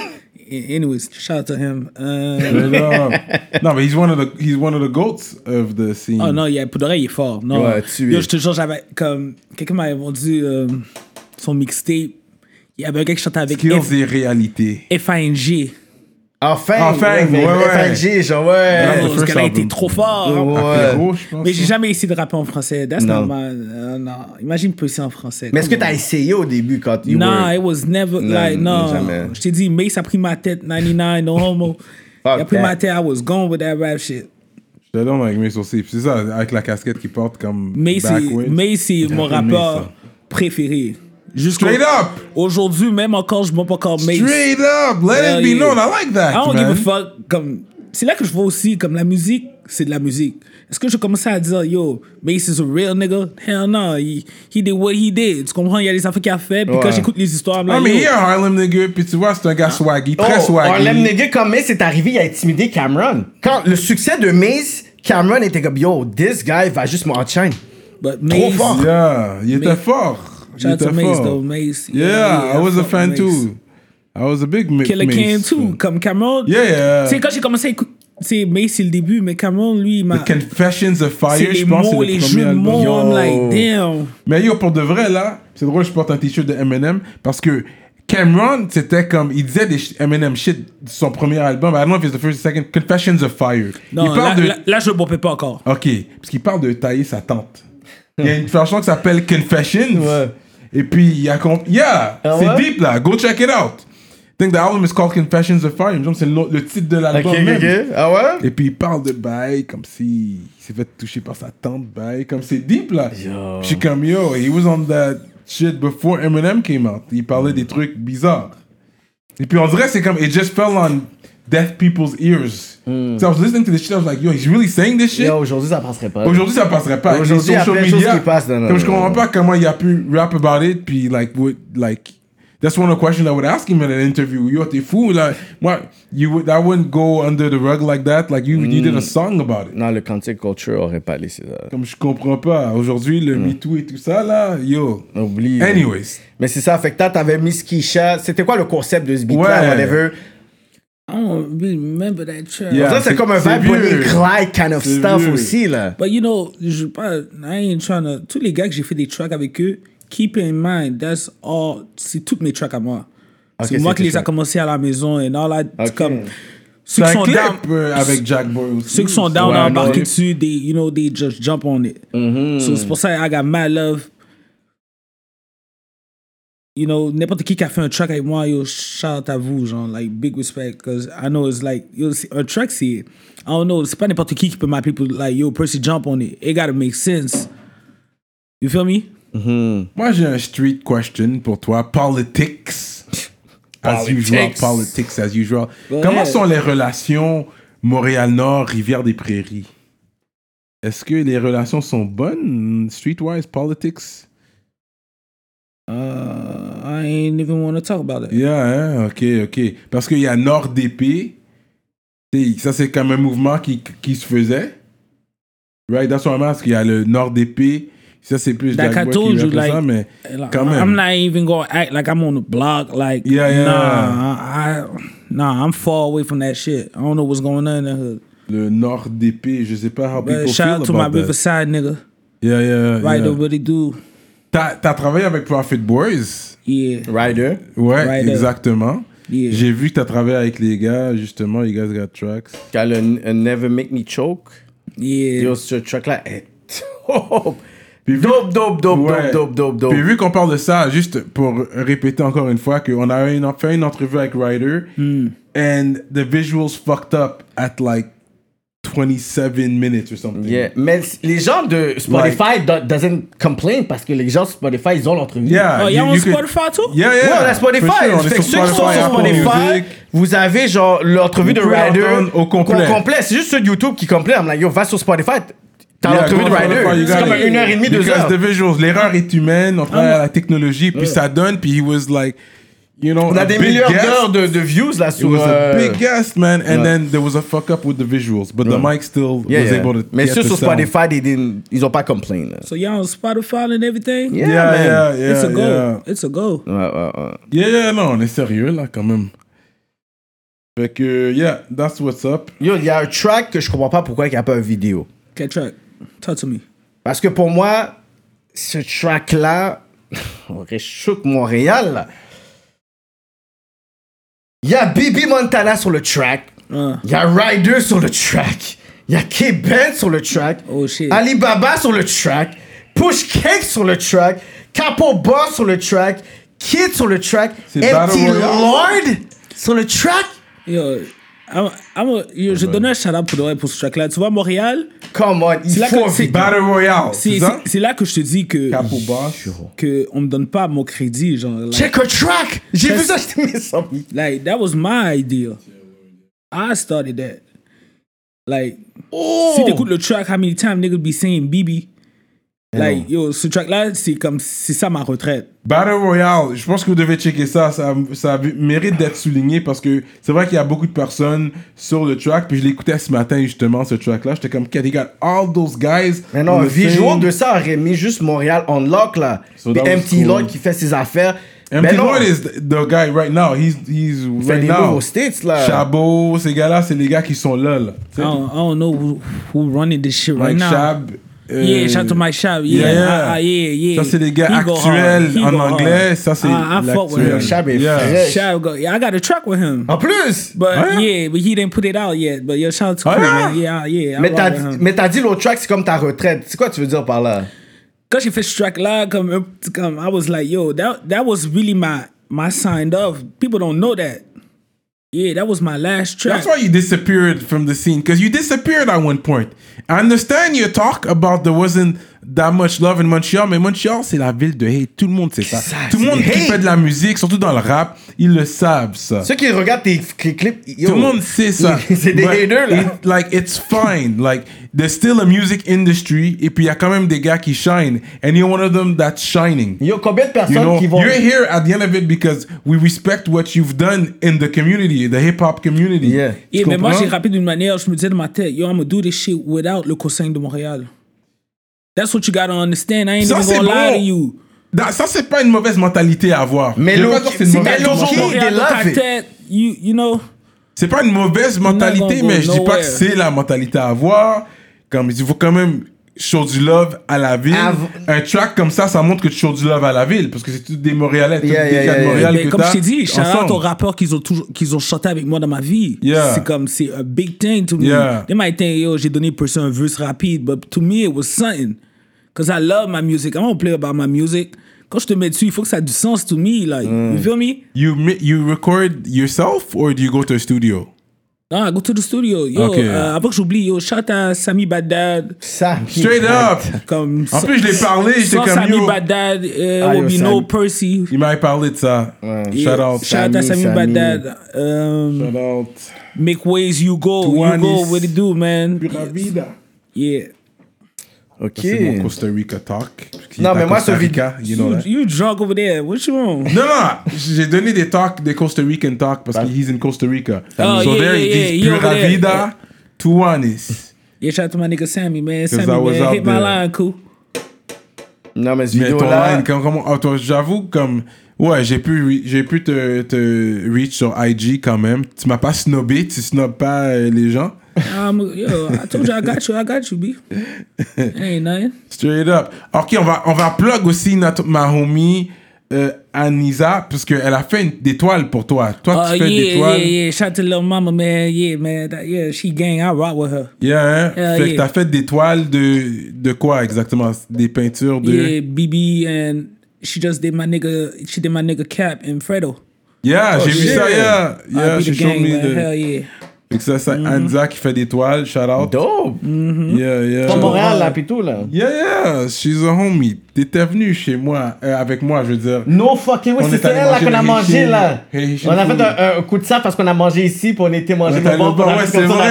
Anyways, shout out to him. Euh, no, no, but he's one of the he's one of the goats of the scene. oh non, il y a, pour de vrai, il est fort. Non, Ouais, tu yo, es. je te jure, j'avais, comme, quelqu'un m'avait vendu euh, son mixtape. Il y avait un gars qui chantait avec Skills F- et réalité. F A N G. Enfin, Enfin, ouais, ouais, ouais. F N G, genre, ouais. the Oh, ce first gars-là album. était trop fort. Ouais. Après gros, je pense. Mais j'ai jamais essayé de rapper en français. That's Non. not my. euh, non. Imagine pousser en français. Mais est-ce que Come t'as on. essayé au début quand you Non, were... it was never Non, like no. jamais. Je t'ai dit, Mace a pris ma tête, ninety-nine, no homo. Il a Fuck pris that. ma tête, I was gone with that rap shit. J'étais là avec Mace aussi. Puis c'est ça, avec la casquette qu'il porte comme Mace, c'est- backwards. Mace, c'est mon J'appelle Mace, rappeur ça. préféré. Jusqu'au- Straight up! Aujourd'hui, même encore, je m'en pas encore Mace. Straight up! Let Hell it be yeah. known. I like that, I don't man. give a fuck. Comme, c'est là que je vois aussi, comme la musique, c'est de la musique. Est-ce que je commençais à dire, yo, Mace is a real nigga? Hell no, he, he did what he did. Tu comprends? Il y a des affaires qu'il a fait, puis Ouais. quand j'écoute les histoires, I'm I like, mean, yo, he a Harlem nigga, puis tu vois, c'est un gars swaggy, Oh, très swaggy. Harlem Nigga comme Mace est arrivé, il a intimidé Cameron. Quand le succès de Mace, Cameron était comme, yo, this guy va juste m'enchaîner. but trop Mace, fort. Yeah, il était Mais- fort. Il shout out to était Mace, fort. though, Mace. Yeah, I was a fuck fan Mace. too. I was a big Ma- Killer Mace Cam too, fan. comme Cameron. Yeah, yeah. Tu sais, quand j'ai commencé à écouter, c'est Mace, c'est le début, mais Cameron, lui, il m'a. The Confessions of C'est Fire, les je pense, mots, c'est les le jeux premier de mots, album. I'm like, damn. Mais yo, pour de vrai, là, c'est drôle, je porte un t-shirt de Eminem parce que Cameron, c'était comme, il disait des sh- Eminem shit de son premier album. I don't know if it's the first or second. Confessions of Fire. Non, il parle là, de. là, là, je ne bompais pas encore. Ok, parce qu'il parle de tailler sa tante. Il y a une chanson qui s'appelle Confessions. Ouais. Et puis, il y a. com- Yeah! Ah c'est ouais? deep là. Go check it out. I think the album is called Confessions of Fire. Il me semble que c'est le, le titre de Ok, l'album. ok, même. ok. Ah ouais? Et puis il parle de bail comme si il s'est fait toucher par sa tante bail comme c'est deep là. Yo. Je suis comme yo, he was on that shit before Eminem came out. Il parlait des trucs bizarres. Et puis on dirait que c'est comme it just fell on deaf people's ears. So I was listening to this shit, I was like yo, he's really saying this shit. Yo, aujourd'hui, ça passerait pas. Aujourd'hui ça passerait pas. Avec Aujourd'hui, les il y a social plein de choses media, qui passent dans- comme je comprends pas comment il a pu rap about it puis like with, like That's one of the questions I would ask him in an interview. Yo, t'es fou, là. Moi, you would, that wouldn't go under the rug like that. Like, you, mm. you did a song about it. Non, le cancel culture aurait pas laissé ça. Comme je comprends pas. Aujourd'hui, le mm. MeToo et tout ça, là, yo. Oublie. Anyways. Mais c'est ça, fait que t'avais Miss Keisha. C'était quoi le concept de ce beat-là, ouais. whatever? I don't really remember that track. Yeah, ça, c'est, c'est comme un vibe Bonnie Clyde kind of c'est stuff vieux. aussi, là. But you know, je pas, I ain't trying to. Tous les gars que j'ai fait des tracks avec eux, keep in mind, that's all. C'est toutes mes tracks à moi. Okay, c'est moi qui les tracks. a commencé à la maison et all that. Okay. Comme, C'est ceux qui un sont clip down, euh, avec Jack Boy aussi. ceux qui sont down Ouais, à embarquer non. dessus, they, you know, they just jump on it. Mm-hmm. So c'est pour ça I got mad love. You know, n'importe qui qui a fait un track avec moi, yo, shout out à vous, genre, like, big respect, because I know it's like, yo, un track, c'est, I don't know, c'est pas n'importe qui qui peut m'appeler pour, like, yo, Percy, jump on it. It gotta make sense. You feel me? Mm-hmm. Moi, j'ai un street question pour toi. Politics. As usual. Politics, as usual. Ouais. Comment sont les relations Montréal-Nord, Rivière-des-Prairies? Est-ce que les relations sont bonnes, streetwise, politics? Uh, I ain't even want to talk about it. Yeah, hein? ok, ok. Parce qu'il y a Nord-D P. Ça, c'est comme un mouvement qui, qui se faisait. Right? That's what I'm asking. Il y a le Nord-D P. Ça, c'est plus Like Jack I Boy told qui you, rappelle like, ça, mais like, quand même. I'm not even gonna act like I'm on the block. Like, Yeah, yeah. nah, I, nah, I'm far away from that shit. I don't know what's going on in the hood. Le Nord-D P, je sais pas how people But shout feel out to my about that. Riverside nigga. Yeah, yeah, Right, yeah. what they do. T'as, t'as travaillé avec Profit Boys? Yeah. Rider. Ouais, Rider. exactement. Yeah. J'ai vu que t'as travaillé avec les gars, justement, you guys got tracks. Quand le uh, Never Make Me Choke. Yeah. Yo, ce track-là est dope. Puis vu- Dope, dope, dope, Ouais. dope, dope, dope, dope. Puis vu qu'on parle de ça, juste pour répéter encore une fois, qu'on a une, fait une entrevue avec Ryder, Hmm. and the visuals fucked up at like twenty-seven minutes or something. Yeah. Mais les gens de Spotify do- doesn't complain parce que les gens de Spotify, ils ont l'entrevue. Yeah. Oh, you- y'all on you could- Spotify too? Yeah, yeah. Ouais, on a Spotify. For sure, on est Fait que sur ceux qui sont Spotify, sur Apple Spotify, Music. vous avez genre l'entrevue de Vous pouvez Ryder l'entendre au complet. complet. C'est juste ceux de YouTube qui complainent. I'm like, yo, va sur Spotify. T'as Yeah, l'entrevue de go on Spotify, Ryder. you C'est got comme it. une heure et demie, deux Because heures. the visuals, l'erreur est humaine, on travaille Ah. à la technologie, puis ça donne, puis he was like, you know, On a des big millions guest. d'heures de, de views là It sur. was a euh, big guest, man, and yeah. then there was a fuck up with the visuals, but the mic still Yeah, was yeah. able to Mais get ceux the sur sound. Spotify, they didn't- ils ont pas complain. Là. So y'all on Spotify and everything? Yeah, Yeah, man. yeah, yeah, It's a go. yeah. It's a go. Ouais, ouais, ouais. Yeah, yeah, non, on est sérieux là quand même. Fait que, yeah, that's what's up. Yo, il y a un track que je comprends pas pourquoi il n'y a pas une vidéo. Get track. Talk to me. Parce que pour moi, ce track-là, aurait choqué Montréal. là. Il y a Bibi Montana sur le track. Uh, Il y a Ryder sur le track. Il y a K-Ben sur le track. Oh, shit. Alibaba sur le track. Push Cake sur le track. Capo Boss sur le track. Kid sur le track. C'est M Battle T Royale. Lord sur le track. yo, I'm, I'm a, yo, je donnais un shout-out pour, de vrai pour ce track-là. Tu vois, Montréal, Come on, il C'est là faut que- c'est- vite. Battle Royale, c'est, c'est ça? c'est, c'est là que je te dis que, Capo Boss. que on me donne pas mon crédit. Genre, like, Check a track. J'ai vu Check- ça, j'étais mis ça. like, that was my idea. I started that. Like, Oh. si t'écoutes le track, how many times niggas be saying Bibi? Like, yo, ce track-là, c'est comme, c'est ça ma retraite. Battle Royale, je pense que vous devez checker ça, ça, ça mérite d'être souligné parce que c'est vrai qu'il y a beaucoup de personnes sur le track, puis je l'écoutais ce matin justement, ce track-là, j'étais comme, he got all those guys. Mais non, on un the visual same- de ça aurait mis juste Montréal on lock là. So Puis that was M T cool. Lloyd qui fait ses affaires. M Mais T non, Lloyd is the guy right now, he's, he's il fait right des now. moves aux States là. Chabot, ces gars-là, c'est les gars qui sont là, là. Tu I sais, don't, I don't know who, who running this shit right Mike now. Chab. euh, Yeah, shout out to Mike Shab. Yeah, yeah. ah, ah, yeah, yeah. Ça, c'est les gars He go actuels hard. He en go anglais, hard. ça, c'est Ah, I fuck with l'actuel. him. Chab est Yeah. frais. Shab go. Yeah, I got a track with him. En plus. But Ouais. yeah, but he didn't put it out yet. But yo, shout out to Ah, Cool, yeah? man. Yeah, yeah. I Mais rock t'as, with him. mais t'as dit l'autre track, c'est comme ta retraite. C'est quoi tu veux dire par là? Quand j'ai fait ce track-là, comme, comme, I was like, yo, that, that was really my, my signed off. People don't know that. Yeah, that was my last track. That's why you disappeared from the scene, because you disappeared at one point. I understand your talk about there wasn't that much love in Montreal, mais Montreal, c'est la ville de hate. Tout le monde sait ça. Ça, Tout le c'est monde qui hate. fait de la musique, surtout dans le rap, ils le savent, ça. Ceux qui regardent tes tes clips, yo, Tout le monde sait ça. c'est des But haters, là. it- like, it's fine. Like, there's still a music industry, et puis il y a quand même des gars qui shine. And you're one of them that's shining. Yo, combien de personnes You know, qui vont... you're here at the end of it because we respect what you've done in the community, the hip-hop community. Yeah. Yeah, Tu mais moi, comprends? j'ai rappé d'une manière, je me disais dans ma tête, yo, I'm gonna do this shit without le cosign de Montréal. That's what you gotta understand. I ain't Ça, even c'est gonna lie bon. to you. Da- Ça, c'est pas une mauvaise mentalité à avoir. Mais Je veux l'eau- pas dire que c'est une c'est mauvaise mais l'eau- mentalité. Qui Montréal they dans ta love it. tête, you, you know. C'est pas une mauvaise mentalité, gonna mais go je dis pas nowhere. que c'est la mentalité à avoir. Comme il faut quand même show du love à la ville. Av- Un track comme ça, ça montre que tu show du love à la ville, parce que c'est tous des Montréalais, tous Yeah, des yeah, gars de yeah, Montréal Mais que comme je t'as t'ai dit, shout out ensemble. aux rappeurs qu'ils ont toujours, qu'ils ont chanté avec moi dans ma vie. Yeah. C'est comme, c'est a big thing to me. Yeah. They might think, yo, j'ai donné personne un verse rapide, but to me, it was something. Because I love my music. I don't play about my music. Quand je te mets dessus, il faut que ça ait du sens to me. Like, Mm. you feel me? You mi- you record yourself or do you go to a studio? Non, I go to the studio. Yo, Ok. euh, avant que j'oublie, yo, shout à Sami Baddad. Ça. Straight up. Comme, En plus, je l'ai parlé, j'étais sans comme Sami yo. Baddad, euh, Ah, will yo, be Sami. no Percy. Il m'avait parlé de ça. Yeah. Shout out. Shout out à Sami, Sami Sami. Baddad. Um, Shout out. Make ways, you go. You Tuanis. go, what it do, man? Pura vida. Yeah. OK. C'est mon Costa Rica talk. Qui Non, est à mais moi, Costa ce Rica, you know You, that. you drunk over there. What you want? Non, non, j'ai donné des talks, des Costa Rican talks parce qu'il he's in Costa Rica. Oh, so yeah, there yeah, he yeah, is, he over Pura there. Vida, Tuanis. Yeah, shout out to my nigga Sammy, man. Sammy, I was man, out hit my there. line, cool. Non, mais ce Mais ton vidéo-là... line, comme, comment, oh, toi, j'avoue, comme, ouais, j'ai pu, re- j'ai pu te, te reach sur I G quand même. Tu m'as pas snobé, tu snobs pas euh, les gens. Um, yo, I told you I got you. I got you, B. Ain't nothing. Straight up. Ok, on va, on va plug aussi notre, ma homie euh, Anisa, parce qu'elle a fait une, des toiles pour toi. Toi, Oh, tu fais yeah, des toiles. yeah, yeah. Shout out to little mama, man. Yeah, man. That, yeah, she gang. I rock with her. Yeah, hein? Hell fait que yeah. t'as fait des toiles de, de quoi exactement? Des peintures de... Yeah, B B, and she just did my nigga, she did my nigga Cap and Fredo. Yeah, j'ai vu shit. ça, yeah. Yeah, I be she the showed gang, me man. the... Hell yeah. Fait que ça, c'est Anza qui fait des toiles, shout out. Dope. Yeah, yeah. Pas Montréal, là, pis tout, là. Yeah, yeah, she's a homie. T'étais venu chez moi, euh, avec moi, je veux dire. No fucking way, On c'est est allé elle là manger qu'on a le mangé Haitian- là. Haitian On a fait food. un, un coup de ça parce qu'on a mangé ici, puis on était On mangé est le allé bon. au bar, ouais, c'est vrai.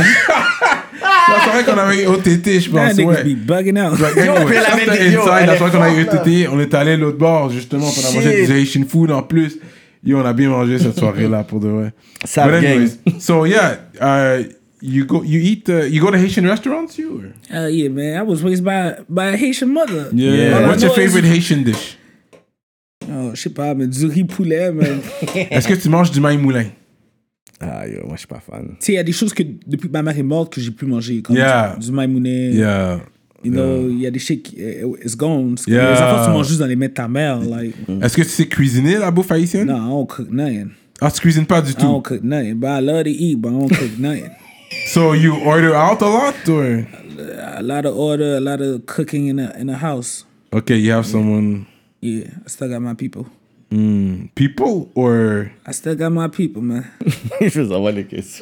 Non, c'est vrai qu'on avait eu O T T, je That pense, niggas ouais. be bugging out. Like, Yo, anyway, puis elle ça, avait c'était dit, yo, inside, elle la est fois qu'on a eu forte, E T T, on est allé à l'autre bord, justement, pour Shit. manger du Haitian food en plus. Yo, on a bien mangé cette soirée-là, pour de vrai. Ça But gang. anyways, so yeah, uh, you go, you eat, uh, you go to Haitian restaurants, you? Or? Hell yeah, man. I was raised by by a Haitian mother. Yeah. All I What's your know is- favorite Haitian dish? Oh, je sais pas, mais du riz poulet, man. Est-ce que tu manges du maï moulin? Ah, yo, moi, je suis pas fan. Tu sais, il y a des choses que depuis que ma mère est morte que j'ai plus mangé. Comme Yeah. du, du maïmounet. Yeah. You know, il y a des shit qui, eh, it's gone. Parce que Yeah. Les enfants, tu manges juste dans les mains de ta mère. Like, Est-ce que tu sais cuisiner la bouffe haïtienne? no, I don't cook nothing. Ah, tu cuisines pas du I don't tout. cook nothing. But I love to eat, but I don't cook nothing. So you order out a lot, or? A lot of order, a lot of cooking in the, in the house. Okay, you have someone, Yeah, I still got my people. mm, people, or? I still got my people, man. Je vous envoie les questions.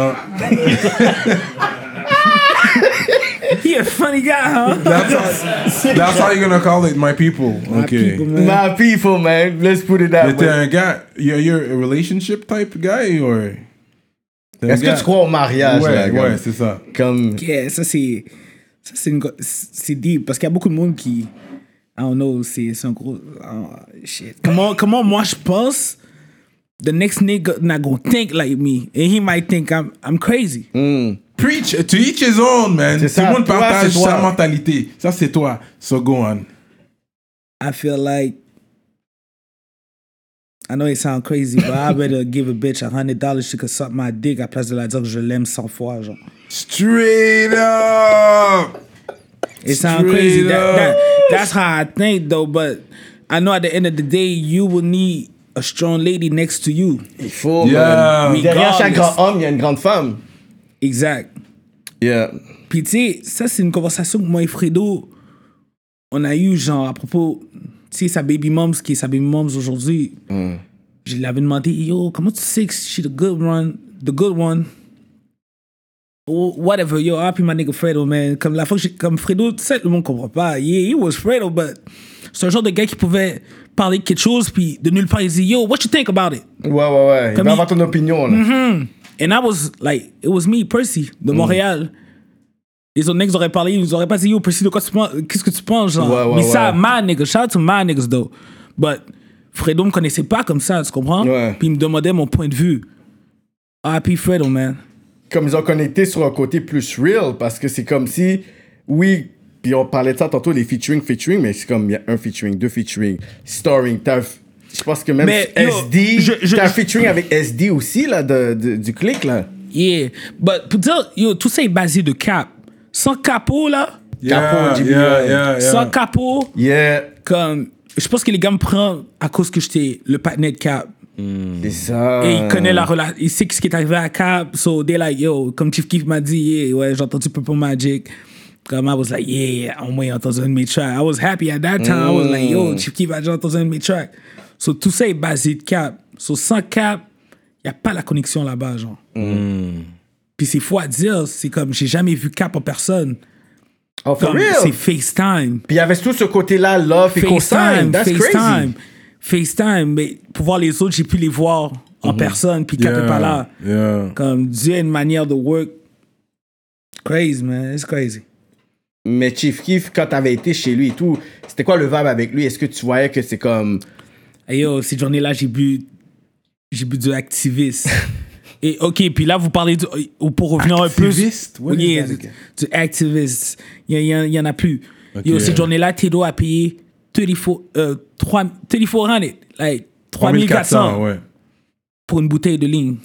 He a funny guy, huh? That's how, that's how you're gonna call it, my people. My Okay. people, man. My people, man. Let's put it that Mais t'es way. un gars, you're, you're a relationship type guy, or? T'es un Est-ce que gars- tu crois au mariage, Ouais, là, ouais, comme- c'est ça. Comme... Yeah, ça c'est ça c'est une go- c'est deep parce qu'il y a beaucoup de monde qui I don't know, c'est c'est un gros oh, shit. Comment comment moi je pense the next nigga not gonna think like me and he might think I'm I'm crazy. Mm. Preach, to each his own, man. C'est Tout le ça, monde toi, partage c'est toi. sa mentalité. Ça, c'est toi. So go on. I feel like I know it sound crazy, but I better give a bitch a hundred dollars she could suck my dick à place de la dire que je l'aime cent fois, genre. Straight up! It sounds Straight crazy. That, up. that, that's how I think, though. But I know at the end of the day, you will need a strong lady next to you. Il faut, Yeah. man. Derrière chaque Regardless. grand homme, il y a une grande femme. Exact. Yeah. Puis tu sais, ça c'est une conversation que moi et Fredo, on a eu genre à propos, tu sais, sa baby moms, qui est sa baby moms aujourd'hui. Je lui avais demandé, yo, comment tu sais que she the good one, the good one? whatever, yo, R I P my nigga Fredo, man. Comme la fois que j'ai, comme Fredo, tu sais, le monde comprend pas. Yeah, he was Fredo, but c'est un genre de gars qui pouvait parler de quelque chose, puis de nulle part, il dit, yo, what you think about it? Ouais, ouais, ouais. Il Comme va il- avoir ton opinion, là. Mm-hmm. And I was like, it was me, Percy, de Montréal. Les autres niggas auraient parlé, ils nous auraient pas dit, yo, Percy, de quoi tu penses? Qu'est-ce que tu penses, genre? Ouais, ouais, Mais ça, ouais. my niggas, shout out to my niggas, though. But Fredo me connaissait pas comme ça, tu comprends? Ouais. Puis il me demandait mon point de vue. R I P Fredo, man. Comme ils ont connecté sur un côté plus real, parce que c'est comme si, oui, puis on parlait de ça tantôt, les featuring, featuring, mais c'est comme, il y a un featuring, deux featuring, starring, t'as, je pense que même Mais, yo, S D, je- je- t'as un je- featuring avec S D aussi, là, de, de- du clic, là. Yeah. But pour dire, yo, tout ça est basé de cap. Sans capot, là, Yeah, Capo, J B L. yeah, yeah, yeah. sans capot, Yeah, comme, je pense que les gars me prennent à cause que j'étais le partenaire de cap. c'est ça. Et il connaît la relation, il sait ce qui est arrivé à Cap. So they like, yo, comme Chief Keef m'a dit, yeah, ouais, j'ai entendu Purple Magic. Comme I was like, yeah, au moins, j'ai entendu un de mes tracks. I was happy at that time. I was like, yo, Chief Keef a déjà entendu un de mes tracks. So tout ça est basé de Cap. So sans Cap, il n'y a pas la connexion là-bas, genre. Puis c'est fou à dire, c'est comme, j'ai jamais vu Cap en personne. Oh, for Comme, real? c'est FaceTime. Puis il y avait tout ce côté-là, love et consigne. FaceTime, That's FaceTime, crazy. FaceTime. Mais pour voir les autres, j'ai pu les voir en personne, puis Cap Yeah, est pas là. yeah. Comme Dieu a une manière de work. Crazy, man. It's crazy. Mais Chief Keef, quand t'avais été chez lui et tout, c'était quoi le vibe avec lui? Est-ce que tu voyais que c'est comme... Hey yo, cette journée-là, j'ai bu, j'ai bu du activiste. Et ok, puis là, vous parlez du, pour revenir Activiste? un What peu. is Yeah, that du, again? du activiste. Il y, en- il y en a plus. Ok. Yo, cette journée-là, Tedo a payé trente-quatre, euh, trois- trente-quatre cents, like trois mille quatre cents ouais. pour une bouteille de ligne.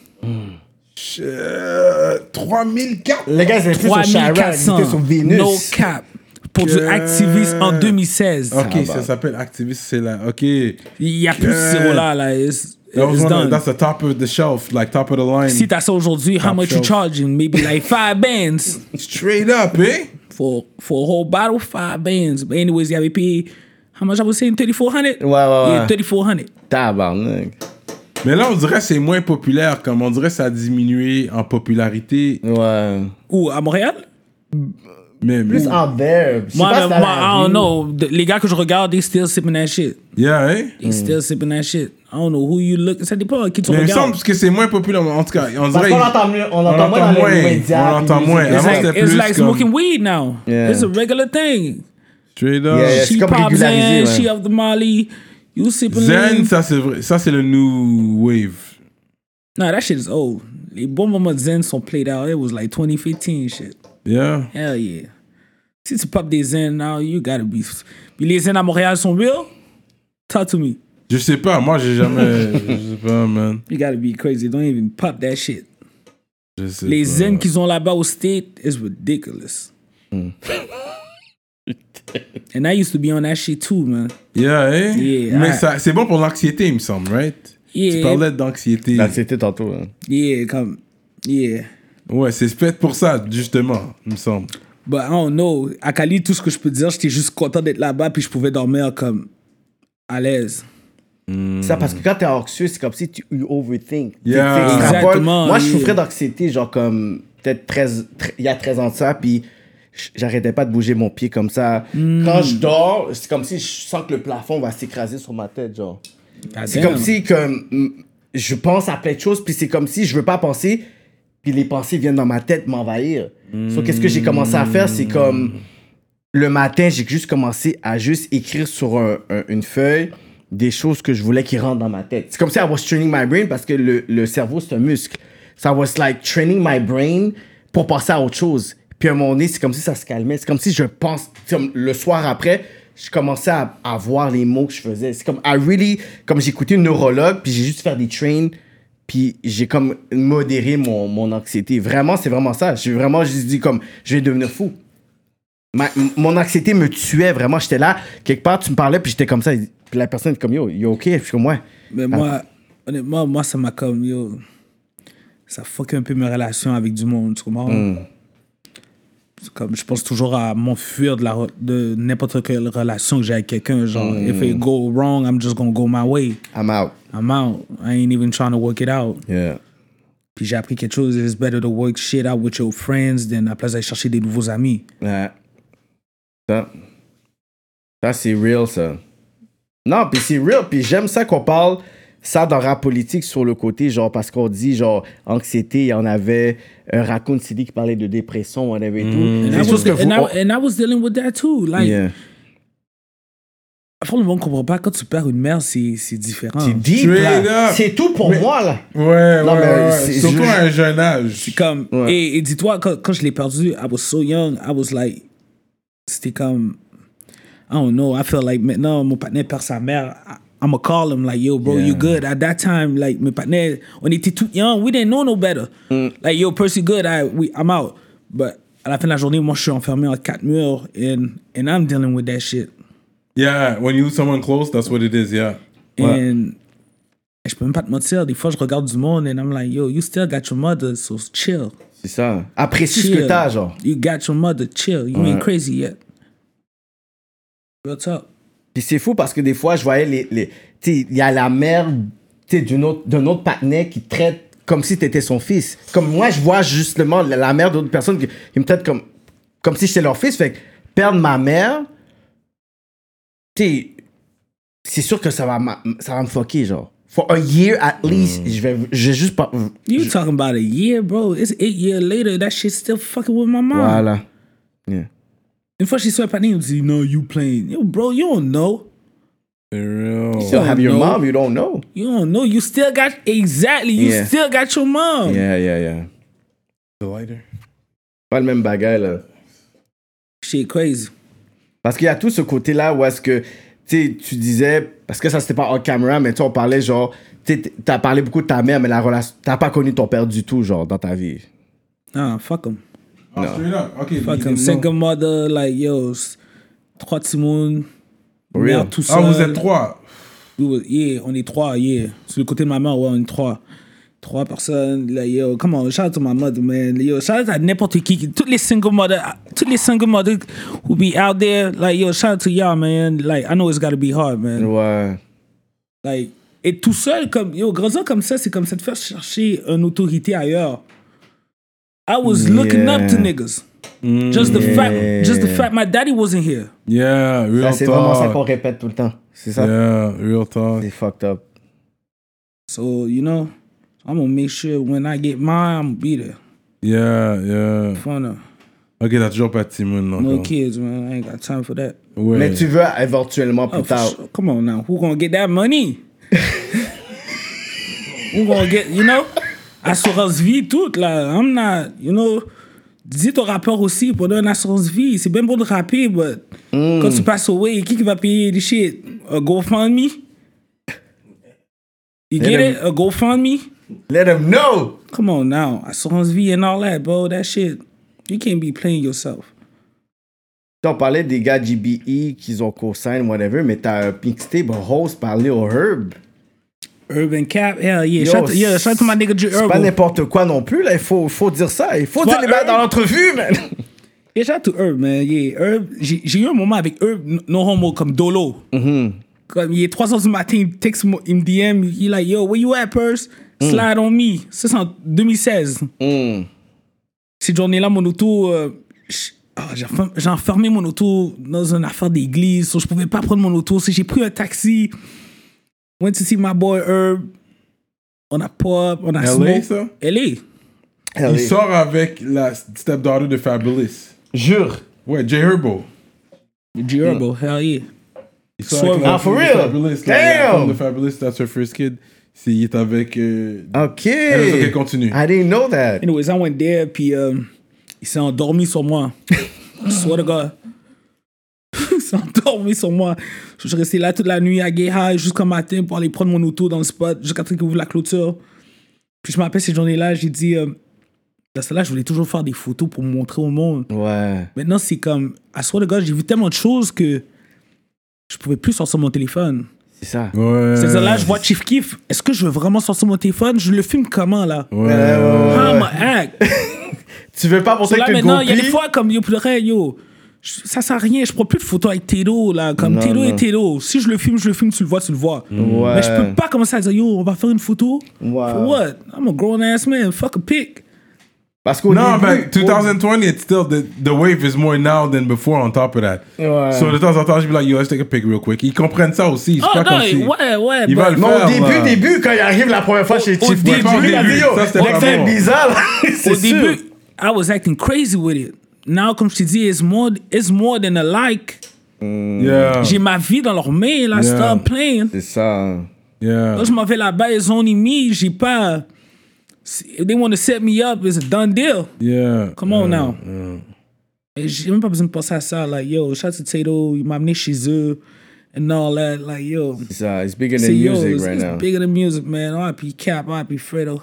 Euh, trois mille quatre. Les gars, ils étaient sur Chirac, ils étaient sur trois mille quatre cents. Vénus. No cap. Pour du Que- activiste en deux mille seize. Ok, Ah, ça bah. s'appelle activiste, c'est là. Ok. Il y a plus de Que- zéro là. là. It's, That was it's one of- done. that's the top of the shelf, like top of the line. Si t'as ça aujourd'hui, how Top much you shelf. charging? Maybe like five bands Straight up, eh? for for a whole bottle, five bands. But anyways, il avait payé, how much I was saying, thirty-four hundred? Ouais, ouais, ouais. Yeah, thirty-four hundred. Tabarnak. Mais là, on dirait que c'est moins populaire, comme on dirait que ça a diminué en popularité. Ouais. Où, à Montréal? Mais, Plus out there. Je sais Moi, pas moi, si dans la I don't rue. know. The- Les gars que je regarde, they still sipping that shit. yeah, eh? They still sipping that shit. I don't know who you look. Ça dépend à qui tu Mais il me regardes. semble que c'est moins populaire, en tout cas. On Parce dirait qu'on l'entend mieux, on l'entend moins dans les médias. On l'entend puis moins. musique. It's Avant, like, c'était it's plus like comme- smoking weed now. Yeah. It's a regular thing. Straight up. Yeah, yeah. She C'est comme pops régularisé, in, ouais. she up the molly. You sipping Zen, lean. ça c'est vrai. Ça c'est le new wave. Nah, that shit is old. Les bons moments de Zen sont played out. It was like twenty fifteen shit. Yeah. Hell yeah. Si tu pop des Zen now, you gotta be. Puis les Zen à Montréal sont real? Talk to me. Je sais pas, moi j'ai jamais. Je sais pas, man. You gotta be crazy. Don't even pop that shit. Je sais Les pas. Zen qu'ils ont là-bas au State is ridiculous. And I used to be on that shit too, man. Yeah, eh? Yeah, Mais I- ça, c'est bon pour l'anxiété, il me semble, right? Tu Yeah, parlais d'anxiété. Là, c'était tantôt. Hein. yeah, comme, yeah. Ouais, c'est fait pour ça, justement, il me semble. But I don't know. À Cali, tout ce que je peux dire, j'étais juste content d'être là-bas puis je pouvais dormir comme à l'aise. C'est ça, parce que quand t'es anxieux, c'est comme si tu you overthink. Tu- Yeah. tu extrapoles. Exactement, Moi, je yeah. souffrais d'anxiété, genre comme peut-être treize, tre- il y a treize ans de ça, puis j- j'arrêtais pas de bouger mon pied comme ça. Hmm. Quand je dors, c'est comme si je sens que le plafond va s'écraser sur ma tête, genre. C'est Damn. comme si comme, mm, je pense à plein de choses, puis c'est comme si je veux pas penser, puis les pensées viennent dans ma tête m'envahir. So, qu'est-ce que j'ai commencé à faire, c'est comme le matin, j'ai juste commencé à juste écrire sur un- un- une feuille des choses que je voulais qui rentrent dans ma tête. C'est comme si I was training my brain parce que le, le cerveau, c'est un muscle. So I was like training my brain pour passer à autre chose. Puis à un moment donné, c'est comme si ça se calmait. C'est comme si je pense, comme le soir après, je commençais à, à voir les mots que je faisais. C'est comme, I really, comme j'écoutais une neurologue, puis j'ai juste fait des trains, puis j'ai comme modéré mon, mon anxiété. Vraiment, c'est vraiment ça. J'ai vraiment juste dit comme, je vais devenir fou. Ma- m- mon anxiété me tuait vraiment. J'étais là, quelque part, tu me parlais, puis j'étais comme ça. Puis la personne est comme, yo, you ok? Puis je suis comme, ouais. Mais moi, honnêtement, moi, ça m'a comme, yo, ça fuck un peu mes relations avec du monde, tu comprends? C'est comme, je pense toujours à m'enfuir de, la re- de n'importe quelle relation que j'ai avec quelqu'un. Genre, if it go wrong, I'm just gonna go my way. I'm out. I'm out. I ain't even trying to work it out. Yeah. Puis j'ai appris quelque chose, it's better to work shit out with your friends than à place d'aller chercher des nouveaux amis. Ouais. Ça, ça c'est real, ça. Non, puis c'est real. Puis j'aime ça qu'on parle ça dans rap politique sur le côté, genre, parce qu'on dit, genre, anxiété, il y en avait un Raccoon City qui parlait de dépression, on avait tout. And, C'est I juste was, que and, vous- I, and I was dealing with that too. Like, Yeah. Après, le monde ne comprend pas. Quand tu perds une mère, c'est, c'est différent. C'est deep, Straight là. up. C'est tout pour Mais- moi, là. Ouais, Non, ouais, mais ouais. c'est- Surtout je- à un jeune âge. C'est comme... Ouais. Et, et dis-toi, quand, quand je l'ai perdu, I was so young, I was like... C'était comme... I don't know, I feel like maintenant, mon partenaire perd sa mère, I, I'm gonna call him like, yo, bro, Yeah. you good? At that time, like, mes partenaires, on était tout young, we didn't know no better. Mm. Like, yo, Percy good, I, we, I'm out. But à la fin de la journée, moi, je suis enfermé en quatre murs, and, and I'm dealing with that shit. Yeah, when you lose someone close, that's what it is, yeah. And je peux même pas te mentir, des fois je regarde du monde and I'm like, yo, you still got your mother, so chill. C'est ça. Apprécie ce Chill. que t'as, genre. You got your mother, chill. You Ouais. ain't crazy yet. Real talk. Puis c'est fou parce que des fois, je voyais les. les tu sais, il y a la mère tu sais, d'une autre, d'un autre partenaire qui traite comme si t'étais son fils. Comme moi, je vois justement la, la mère d'autres personnes qui, qui me traitent comme, comme si j'étais leur fils. Fait que perdre ma mère, tu sais, c'est sûr que ça va, m'a- ça va me fucker, genre. For a year at least, je vais, je vais juste pas. You talking about a year, bro. It's eight years later, that shit still fucking with my mom. Voilà. Yeah. Une fois, she swept her name, she no, you playing. Yo, bro, you don't know. For real. You still have your know. mom, you don't know. You don't know. You still got, exactly, you Yeah. still got your mom. Yeah, yeah, yeah. The lighter. Pas le même bagage, là. Shit crazy. Parce qu'il y a tout ce côté-là où est-ce que, tu sais, tu disais, parce que ça c'était pas on camera, mais tu sais, on parlait genre, tu sais, t'as parlé beaucoup de ta mère, mais la relation, t'as pas connu ton père du tout, genre, dans ta vie. Nah, fuck him. Oh, straight up. Okay. Fuck you him. know. Single mother, like, yo, s- trois petits monde, For mère real? tout seul. Ah, vous êtes trois. We was- yeah, on est trois, yeah. Sur le côté de ma mère, ouais, on est trois. Trois personnes, like, yo, come on, shout out to my mother, man. Yo, shout out à n'importe qui. Toutes les single mothers, toutes les single mothers who be out there, like, yo, shout out to y'all, man. Like, I know it's gotta be hard, man. Ouais. Like, et tout seul, comme, yo, grandir comme ça, c'est comme ça de faire chercher une autorité ailleurs. I was looking up to Yeah. niggas. Just the fact, just the fact my daddy wasn't here. Yeah, real Ça, c'est vraiment ça qu'on talk. répète tout le temps. C'est ça? Yeah, real talk. C'est fucked up. So, you know, I'm gonna make sure when I get mine, I'm gonna be there. Yeah, yeah. Fun of. Ok, t'as toujours pas de Timon, non? No kids, man. I ain't got time for that. Ouais. Mais tu veux éventuellement plus Oh, for tard. sure. Come on now. Who gonna get that money? Who gonna get, you know? Assurance vie, toute, là. I'm not, you know. Dis ton rappeur aussi pour donner une assurance vie. C'est bien beau de rapper, but quand tu passes away, qui qui va payer des shit? A GoFundMe? You get Let it? A GoFundMe? Let them know! Come on now. Assurance vie and all that, bro. That shit, you can't be playing yourself. On parlait des gars G B E qui ont co-sign, whatever, mais t'as un mixtape, un host par Lil Herb. Urban Cap, hell yeah. Yo, Shout, yeah, shout out to my nigga J C'est pas Urban. n'importe quoi non plus, là. Il faut, faut dire ça. Il faut Toi, dire les bails Herb- dans l'entrevue, man. Yeah, shout out to Herb, man. Yeah, Herb, j'ai j'ai eu un moment avec Herb, no- no homo, comme Dolo. Comme il est trois heures du matin, il me texte, moi- il me D M, il est like, yo, where you at, Purse? Slide on me. Ça, c'est en deux mille seize. Mm. Cette journée-là, mon auto, euh, j- ah, j'ai enfer- j'ai enfermé mon auto dans une affaire d'église, so je pouvais pas prendre mon auto. So j'ai pris un taxi, went to see my boy Herb. On a pop, on a L A, smoke. ça? L A. Il sort avec la stepdaughter de Fabulous. Jure. Ouais, J Herbo. J Urban, hell yeah. Il sort Swerve. avec la Ah, for fille de real? Fabulous, là, Damn! la femme de Fabulous, that's her first kid. C'est, il est avec... Euh... OK. Elle, ok, continue. I didn't know that. Anyways, I went there, puis euh, il s'est endormi sur moi. I swear to God. Il s'est endormi sur moi. Je suis resté là toute la nuit à Gay High jusqu'au matin pour aller prendre mon auto dans le spot jusqu'à ce qu'il ouvre la clôture. Puis je me rappelle cette journée-là, j'ai dit... Euh, dans celle-là, je voulais toujours faire des photos pour me montrer au monde. Ouais. Maintenant, c'est comme... I swear to God, j'ai vu tellement de choses que je pouvais plus sortir mon téléphone. C'est ça. Ouais. C'est-à-dire là, je vois Chief Keef. Est-ce que je veux vraiment sortir mon téléphone? Je le filme comment, là? Ouais. Ouais, ouais, How ouais. I'ma act? Tu veux pas So montrer là, que tu maintenant, il y a des goupilles? fois, comme, yo, pour le vrai, yo, je- ça sert à rien. Je prends plus de photos avec Tedo, là. Comme Non, Tedo non. et Tedo. Si je le filme, je le filme, tu le vois, tu le vois. Ouais. Mais je peux pas commencer à dire, yo, on va faire une photo. Ouais. For what? I'm a grown ass man. Fuck a pic. Parce qu'au No, début, but twenty twenty, it's still the the wave is more now than before. On top of that, Ouais. so de temps en temps, je be like, yo, let's take a pic real quick. Ils comprennent ça aussi. C'est Oh pas non, comme si ouais, ouais. ils but- veulent le Mais au faire. début, là. début, quand il arrive la première fois chez Au- au Chief Keef, début, lui, il a dit, yo, ça, c'était pas c'est bon. bizarre, là. C'est Au sûr. début, I was acting crazy with it. Now, comme je te dis, it's more, it's more than a like. Yeah, J'ai ma vie dans leurs mains, là, Yeah. stop playing. C'est ça. yeah. Là, je m'en vais là-bas, ils ont mis, j'ai pas. If they want to set me up, it's a done deal. Yeah. Come on now. Et j'ai même pas besoin de penser à ça. Like, yo, shout out to Tato, il m'a amené chez eux, and all that. Like, yo. C'est ça. It's bigger than C'est yo, music it's, right it's now. bigger than music, man. R I P Cap, R I P Fredo.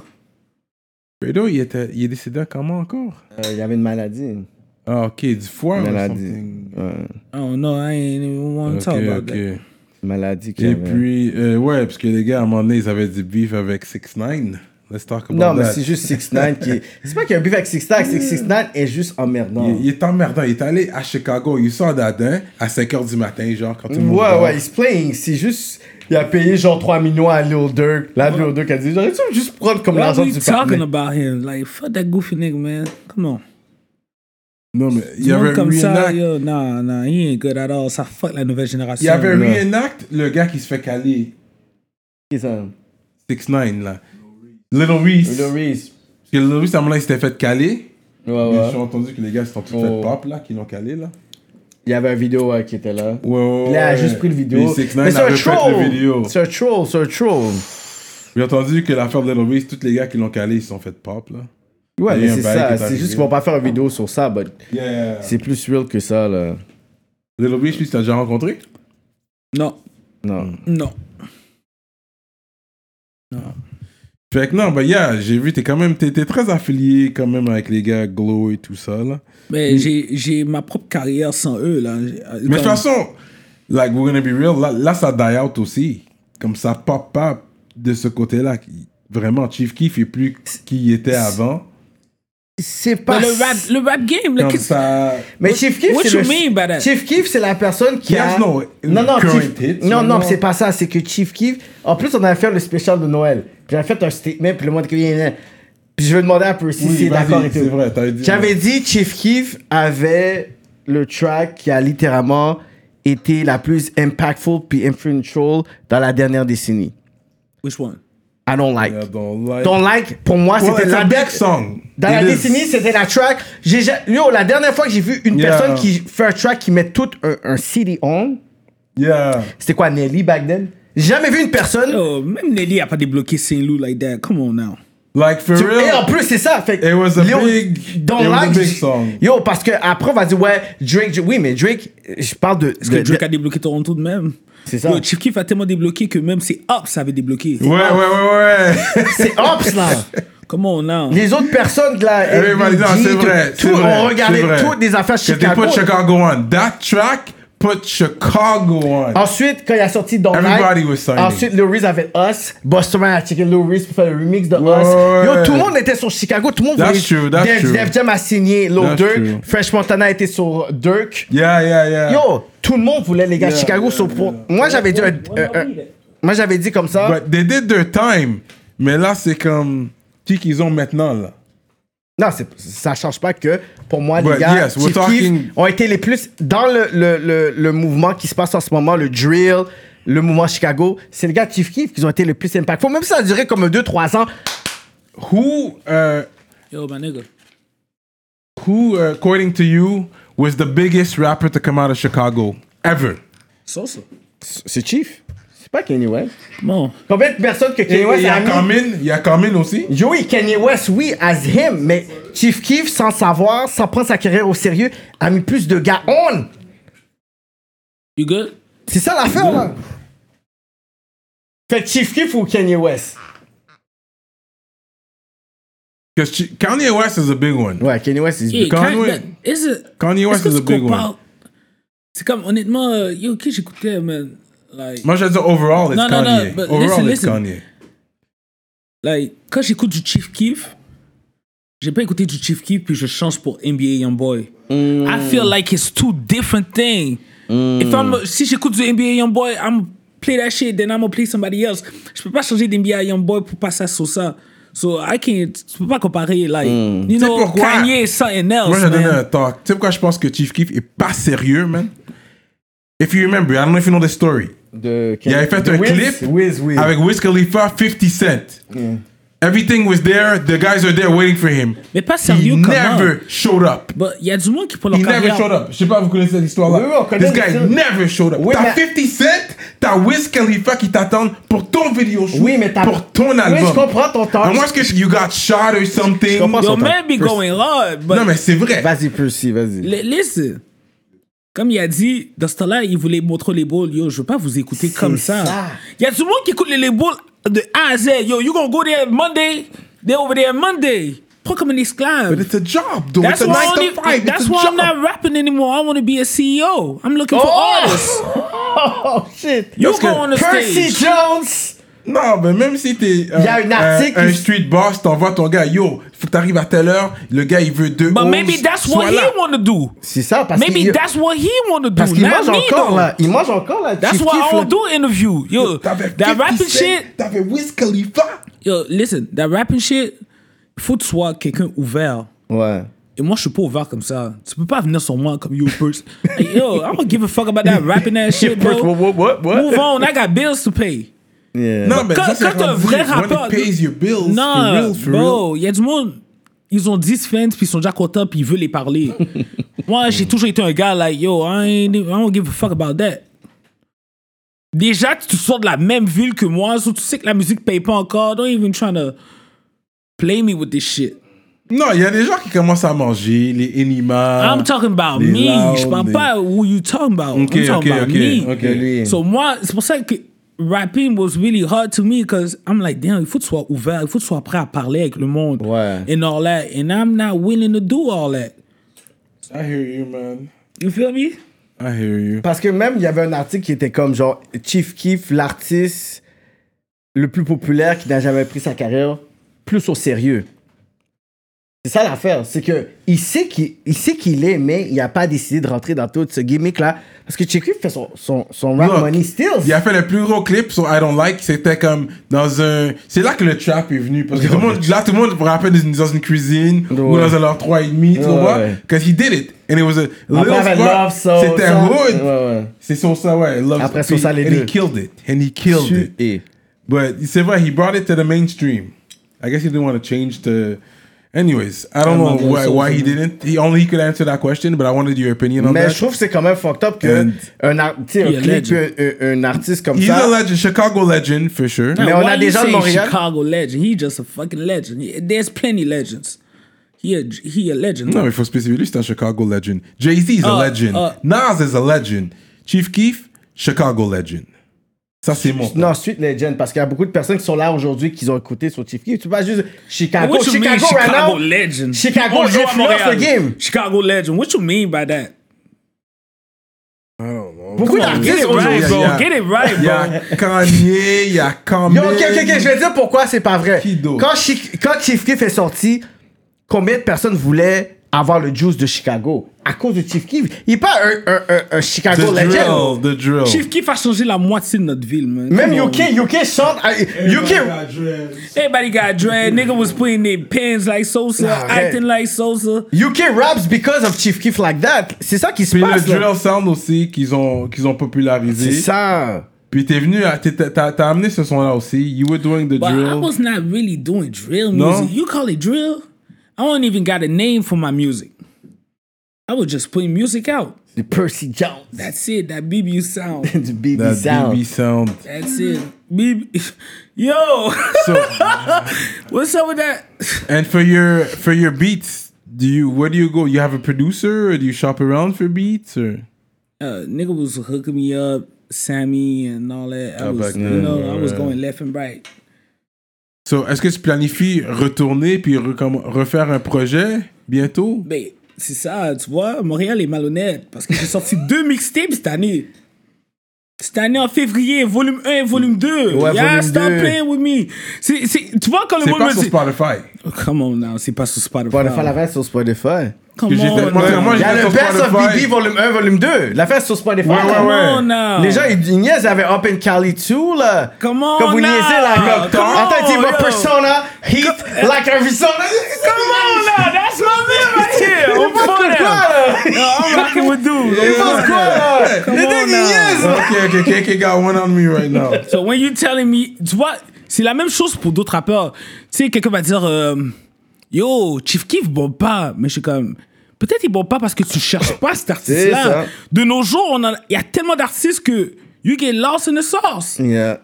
Fredo, il, était, il est décédé comment encore? Euh, Il y avait une maladie. Ah, ok, du foie Une ou maladie. something. Ouais. I don't know, I ain't even want to Ok, talk about ok. that. Une maladie qu'il Et avait. puis, euh, ouais, parce que les gars, à un moment donné, ils avaient du beef avec six nine. Let's talk about Non, mais that. c'est juste six neuf qui est... C'est pas qu'il y a un beef avec six neuf, c'est que six neuf est juste emmerdant. Il, il est emmerdant. Il est allé à Chicago. Il sort d'Adin à cinq heures du matin, genre, quand tout le monde Ouais, dort. ouais, he's playing. C'est juste... Il a payé genre trois millions à Lil Durk. Là, Lil Durk a dit, j'aurais-tu juste prendre comme Why l'argent are we du talking partenaire. about him? Like, fuck that goofy nigga, man. Come on. Non, mais il y Du monde avait un comme ça, reenact. yo, nah, nah, he ain't good at all. Ça fuck la nouvelle génération. Il y avait un Non. reenact, le gars qui se fait caler. Qui ça? six neuf là. Little Reese. Lil Reese. Parce que Little Reese, à un moment, il s'était fait caler. Ouais, Mais ouais. J'ai entendu que les gars se sont tous Oh. fait pop, là, qui l'ont calé, là. Il y avait une vidéo ouais, qui était là. Ouais, ouais, Il a ouais. juste pris le vidéo. Et six Mais neuf c'est a un refait troll. le vidéo. C'est un troll, c'est un troll. J'ai entendu que l'affaire de Little Reese, tous les gars qui l'ont calé, ils se sont fait pop, là. Ouais, Il y mais a un c'est bail qui ça. est C'est arrivé. juste qu'ils vont pas faire une vidéo sur ça, but Yeah. c'est plus real que ça, là. Little Reese, lui, tu l'as déjà rencontré? Non, Non. non. Fait que non, bah yeah, j'ai vu, t'es quand même, t'es, t'es très affilié quand même avec les gars Glow et tout ça, là. Mais j'ai, j'ai ma propre carrière sans eux, là. J'ai- Mais de toute comme- façon, like, we're gonna be real, là, là ça die out aussi. Comme ça pop pas de ce côté-là. Vraiment, Chief Keef est plus qui il était avant. C'est pas... Mais le rap, le rap game, là, Comme qu'est-ce- ça... Mais Chief Keef, What c'est you le... mean by that? Chief Keef, c'est la personne qui He a... has no non, non, current Chief... hits, non, right non, now. c'est pas ça. C'est que Chief Keef... En plus, on avait fait le spécial de Noël. Puis j'avais fait un statement, puis le monde qui vient... Puis je vais demander un peu si Oui, c'est vas-y, d'accord et tout. c'est vrai, t'avais dit... J'avais dit Chief Keef avait le track qui a littéralement été la plus impactful puis influential dans la dernière décennie. Which one? I don't like. Yeah, don't like... Don't like, pour moi, Well, c'était it's la a big dernière... song. Dans la It is. décennie, c'était la track. J'ai, ja- yo, la dernière fois que j'ai vu une Yeah. personne qui fait un track qui met tout un, un C D on, Yeah. c'était quoi, Nelly back then? J'ai jamais vu une personne. Yo, même Nelly a pas débloqué Saint-Loup like that. Come on now. Like, for Tu- real... Et en plus, c'est ça. Fait que It was a Léo, big- don't it was a like, big song. Yo, parce que après on va dire, ouais, Drake, oui, mais Drake, je parle de. Est-ce que de- Drake de- a débloqué Toronto de même? C'est ça. Yo, Chief Keef a tellement débloqué que même ses Ops avaient débloqué. Ouais, ouais, ouais, ouais. C'est Ops, là. Come on now. Les autres personnes de la. Everybody, non, L B G, c'est vrai, tout, c'est vrai, on regardait c'est vrai. toutes les affaires Que they Chicago. put Chicago on. That track put Chicago on. Ensuite, quand il a sorti Don't Everybody Like, was signing. ensuite, Lil Reese avait Us. Busta Rhymes a checké Lil Reese pour faire le remix de Ouais, Us. ouais, Yo, ouais. tout le monde était sur Chicago. Tout le monde That's voulait. true, that's Def, true. Def Jam a signé Lil That's Durk. true. Fresh Montana était sur Durk. Yeah, yeah, yeah. Yo, tout le monde voulait les gars de Yeah, Chicago. yeah, sur pour- Moi, j'avais dit un- un- un- Moi, j'avais dit comme ça. But they did their time. Mais là, c'est comme... Qui qu'ils ont maintenant, là? Non, c'est- ça change pas que pour moi, les But gars, yes, we're Chief Keef talking- ont été les plus dans le, le, le, le mouvement qui se passe en ce moment, le drill, le mouvement Chicago. C'est les gars de Chief Keef qui ont été les plus impactful. Même si ça a duré comme deux trois ans. Who, uh, Yo, my nigga. who, uh, according to you, was the biggest rapper to come out of Chicago ever? Sosa. C'est Chief. C'est pas Kanye West. Come on. Combien de personnes que Et Kanye il West y a a mis? Common, il y a Common aussi. Yo, oui, Kanye West, oui, as him. Mais Chief Keef, sans savoir, sans prendre sa carrière au sérieux, a mis plus de gars on. You good? C'est ça l'affaire, là. Fait que Chief Keef ou Kanye West? Because Kanye West is a big one. Ouais, Kanye West, is Yeah, Conway- Kanye- is it- Kanye West est-ce is que a tu big one. compares- C'est comme, honnêtement, euh, yo, qui j'écoutais, man? Like, Moi, je veux dire, overall, it's No, no, no, Kanye. but overall, listen, it's listen. Kanye. like, quand j'écoute du Chief Keef, j'ai pas écouté du Chief Keef puis je change pour N B A Youngboy. Mm. I feel like it's two different things. Mm. If I'm, si j'écoute du N B A Youngboy, I'm play that shit, then I'm gonna play somebody else. Je peux pas changer d'N B A Youngboy pour passer à Sosa. So I can't, tu peux pas comparer, like, mm. you know, Kanye is something else, Moi, j'ai donné man. un talk. Tu sais pourquoi je pense que Chief Keef est pas sérieux, man? If you remember, I don't know if you know the story. De, Il avait fait de un Wiz? clip Wiz, Wiz. avec Wiz Khalifa, fifty Cent. Yeah. Everything was there. The guys are there waiting for him. Mais pas sérieux He comment? never showed up. But il y a du monde qui pour leur He carrière. never showed up. Je sais pas, vous connaissez cette histoire-là. Oui, oui, on connaît This guy l'histoire. never showed up. Oui, T'as mais- fifty Cent, t'as Wiz Khalifa qui t'attendent pour ton vidéo shoot, Oui, mais t'as- pour ton Oui, album. je comprends ton temps. À moins que you got shot or something. Je comprends Yo, son man be temps. going hard, but Non, mais c'est vrai. Vas-y, Percy, vas-y. L- listen. Comme il a dit, dans ce temps-là, il voulait montrer les labels. Yo, je veux pas vous écouter comme ça. ça. Il y a du monde qui écoute les labels de A à Z. Yo, you gonna go there Monday, they're over there Monday. Pas comme un esclave. But it's a job, though. That's it's a why, nine only, to five. that's it's a why job. I'm not rapping anymore. I want to be a C E O. I'm looking for artists. Oh, shit. You Parce go que on the Percy stage. Jones! Non, mais même si t'es euh, Il y a un article un, un qui- street boss, t'envoies ton gars, yo, faut que t'arrives à telle heure, le gars il veut deux But onze, maybe that's sois what là. he want to do. C'est ça, parce Maybe qu'il that's what he want to do. parce qu'il not mange me, encore, though. là. Il mange encore, là. That's Chief why Keef, I là. don't do interview. Yo, T'avais that fifty rapping Cent, shit. T'avais Wiz Khalifa. Yo, listen, that rapping shit, faut que tu sois quelqu'un ouvert. Ouais. Et moi, je suis pas ouvert comme ça. Tu peux pas venir sur moi comme you person. Like, yo, I don't give a fuck about that rapping ass shit, bro. What, what, what? Move on, I got bills to pay. Yeah. Non, mais Quand, ça, c'est quand t'as un rendu, vrai when rappeur. it pays your bills, non, for real, for bro, il y a du monde. Ils ont dix fans, puis ils sont déjà contents, puis ils veulent les parler. Moi, j'ai toujours été un gars like, yo, I, ain't, I don't give a fuck about that. Déjà, tu sors de la même ville que moi, so tu sais que la musique paye pas encore. Don't even try to play me with this shit. real. Non, il y a des gens qui commencent à manger, les Enima. I'm talking about les me. loud, Je parle les- pas who you talking about. Ok, I'm talking ok, about ok, me. ok. Lui. So moi, c'est pour ça que rapping was really hard to me because I'm like, damn, il faut que tu sois ouvert, il faut que tu sois prêt à parler avec le monde. Ouais. And all that. And I'm not willing to do all that. I hear you, man. You feel me? I hear you. Parce que même, il y avait un article qui était comme genre Chief Keef, l'artiste le plus populaire qui n'a jamais pris sa carrière plus au sérieux. C'est ça l'affaire, c'est que il sait qu'il il sait qu'il est, mais il n'a pas décidé de rentrer dans tout ce gimmick-là. Parce que Chief Keef fait son, son, son rap Look, money still. Il a fait le plus gros clip sur I Don't Like. C'était comme dans un. C'est là que le trap est venu. Parce que tout le monde, là, tout le monde me rappelle dans une cuisine ou Ouais. dans un leur trois et demi, tu Ouais, vois. ouais. Because he did it. And it was a little Après, avec spot. Love, So- C'était Ça- hood. Ouais, ouais. C'est sur ça, ouais. Love, Après, puis- sur ça, les and deux. he killed it. And he killed it. Et But c'est vrai, he brought it to the mainstream. I guess he didn't want to change the. Anyways, I don't I'm know not gonna why, say why he something. didn't. He only he could answer that question, but I wanted your opinion on Mais that. je trouve que c'est quand même fucked up que And- un, ar- tu sais, un He a clip, legend. un, un, un artiste comme He's ça. a legend, Chicago legend for sure. Mais Now, on why a des you gens de say Montréal. Chicago legend. He just a fucking legend. He- There's plenty legends. He a, he a legend. Non, mais il faut spécifier, lui, c'est un Chicago legend. Jay-Z is a Uh, legend. uh. Nas is a legend. Chief Keef, Chicago legend. Ça, c'est mon. Non, Street Legend, parce qu'il y a beaucoup de personnes qui sont là aujourd'hui qui ont écouté sur Chief Keef. Tu vas juste Chicago. What you Chicago, mean, right Chicago now. legend? Chicago People joue à influence Montréal. the game. Chicago legend. What you mean by that? Beaucoup Get d'artistes it right, aujourd'hui. bro. yeah. Get it right, Il y a bro. Kanye, il y a Common. Yo, ok, ok, ok, je vais dire pourquoi c'est pas vrai. Qui d'autre? Quand, Chi- quand Chief Keef est sorti, combien de personnes voulaient avoir le juice de Chicago? À cause de Chief Keef. Il n'est pas un, un, un, un The Chicago Legend. drill, the drill. Chief Keef a changé la moitié de notre ville, man. Même Come on, U K, U K chante. euh, U K. Everybody got dread. Nigga was putting their pens like Sosa, Nah, acting hey. like Sosa. U K raps because of Chief Keef like that. C'est ça qui se Puis le passe. là. drill sound aussi qu'ils ont, qu'ils ont popularisé. C'est ça. Puis t'es venu, à- t'es- t'as t'as amené ce son-là aussi. You were doing the But I drill. was not really doing drill No? music. You call it drill? I don't even got a name for my music. I was just putting music out. Du Percy Jones. That's it. That B B sound. Du B B That Sound. B B sound. That's it. B B. Yo, So, what's up with that? and for your for your beats, do you where do you go? You have a producer, or do you shop around for beats, or? Uh, nigga was hooking me up, Sammy and all that. I Oh, was, back you then, know, I was ouais. going left and right. So, est-ce que tu planifies retourner puis recomm- refaire un projet bientôt? Mais c'est ça, tu vois, Montréal est malhonnête parce que j'ai sorti deux mixtapes cette année. Cette année en février, volume un et volume deux. Ouais, yeah, volume stop deux. playing with me. C'est, c'est, tu vois quand le C'est monde pas me sur dit... Spotify. Oh, come on now, c'est pas sur Spotify. Spotify, l'affaire sur Spotify. Come Que j'étais- on moi, now. moi, Il y a j'étais le sur Best of Spotify. B B volume un, volume deux. L'affaire sur Spotify. Ouais, ouais, Come ouais. on now. Les gens, ils, ils niaisent avec Up in Cali two, là. Come on Quand vous now. niaisez, là. Comme, Come on, attends, il dit, yo. my persona, heat, like Arizona. Come on now, that's my man right here. Il I'm pense for que them. quoi, là? Yo, I'm rocking with dudes. Il pense quoi, là? Come Les on deux, ils now. niaisent. Ok, ok, K K got one on me right now. So when you telling me, tu vois, c'est la même chose pour d'autres rappeurs. Tu sais, quelqu'un va dire, euh, yo, Chief Keef bon pas, mais je suis comme, peut-être il bon pas parce que tu cherches pas cet C'est artiste-là. ça. De nos jours, on a- il y a tellement d'artistes que you get lost in the sauce. Yeah.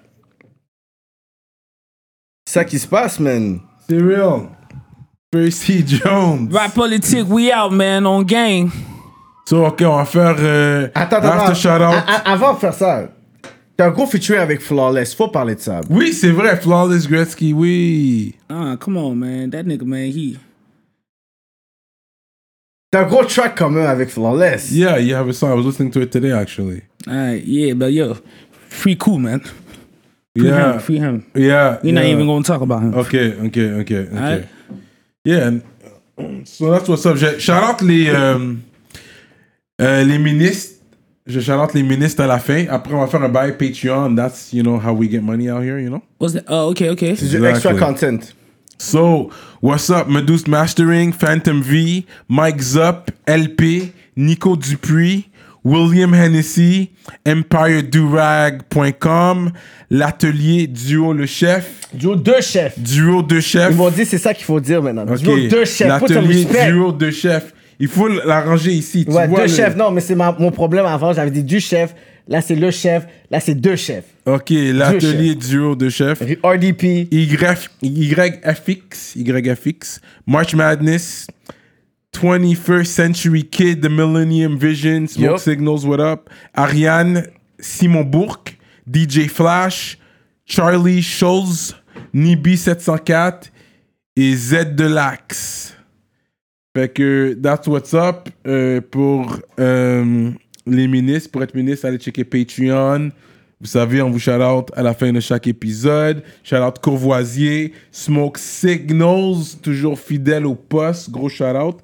C'est ça qui se passe, man. C'est real. Percy Jones. Rap politique, we out, man, on gang. So, ok, on va faire euh, Attends, attends, After attends. Shout Out. A- a- Avant de faire ça, t'as un gros featuring avec Flawless. Faut parler de ça. Oui, c'est vrai, Flawless Gretzky, oui. Ah, come on, man. That nigga, man, he... T'as un gros track commun avec Flawless. Yeah, you have a song. I was listening to it today, actually. Alright, yeah, but yo, free cool, man. Free Yeah. him, free him. Yeah. We're not yeah. even gonna talk about him. Okay, okay, okay, okay. Alright. Yeah, and, so that's what's up. Je shout out les, euh, euh, les ministres. Je shout out les ministres à la fin. Après, on va faire un bail Patreon. That's, you know, how we get money out here, you know? What's that? Oh, okay, okay. C'est du Exactly. extra content. So, what's up? Medusa Mastering, Phantom V, Mike Zup, L P, Nico Dupuis, William Hennessy, Empire Durag point com, l'atelier Duo le Chef, Duo deux chefs. Duo de Chef. Ils m'ont dit, c'est ça qu'il faut dire maintenant. Ok. Duo deux chefs. Put some L'atelier respect. Duo de Chef. Il faut l'arranger ici. Tu Ouais, vois deux le- chefs. Non, mais c'est ma- mon problème avant. J'avais dit du chef. Là, c'est le chef. Là, c'est deux chefs. Ok, l'atelier Duo de Chef. R D P. Y, YFX, YFX, March Madness, twenty-first Century Kid, The Millennium Vision, Smoke Yup. Signals, what up? Ariane, Simon Bourque, D J Flash, Charlie Schulz, Nibi sept cent quatre et Z Delax. Fait que that's what's up euh, pour euh, les ministres. Pour être ministre, allez checker Patreon. Vous savez, on vous shout-out à la fin de chaque épisode. Shout-out Courvoisier, Smoke Signals, toujours fidèle au poste. Gros shout-out.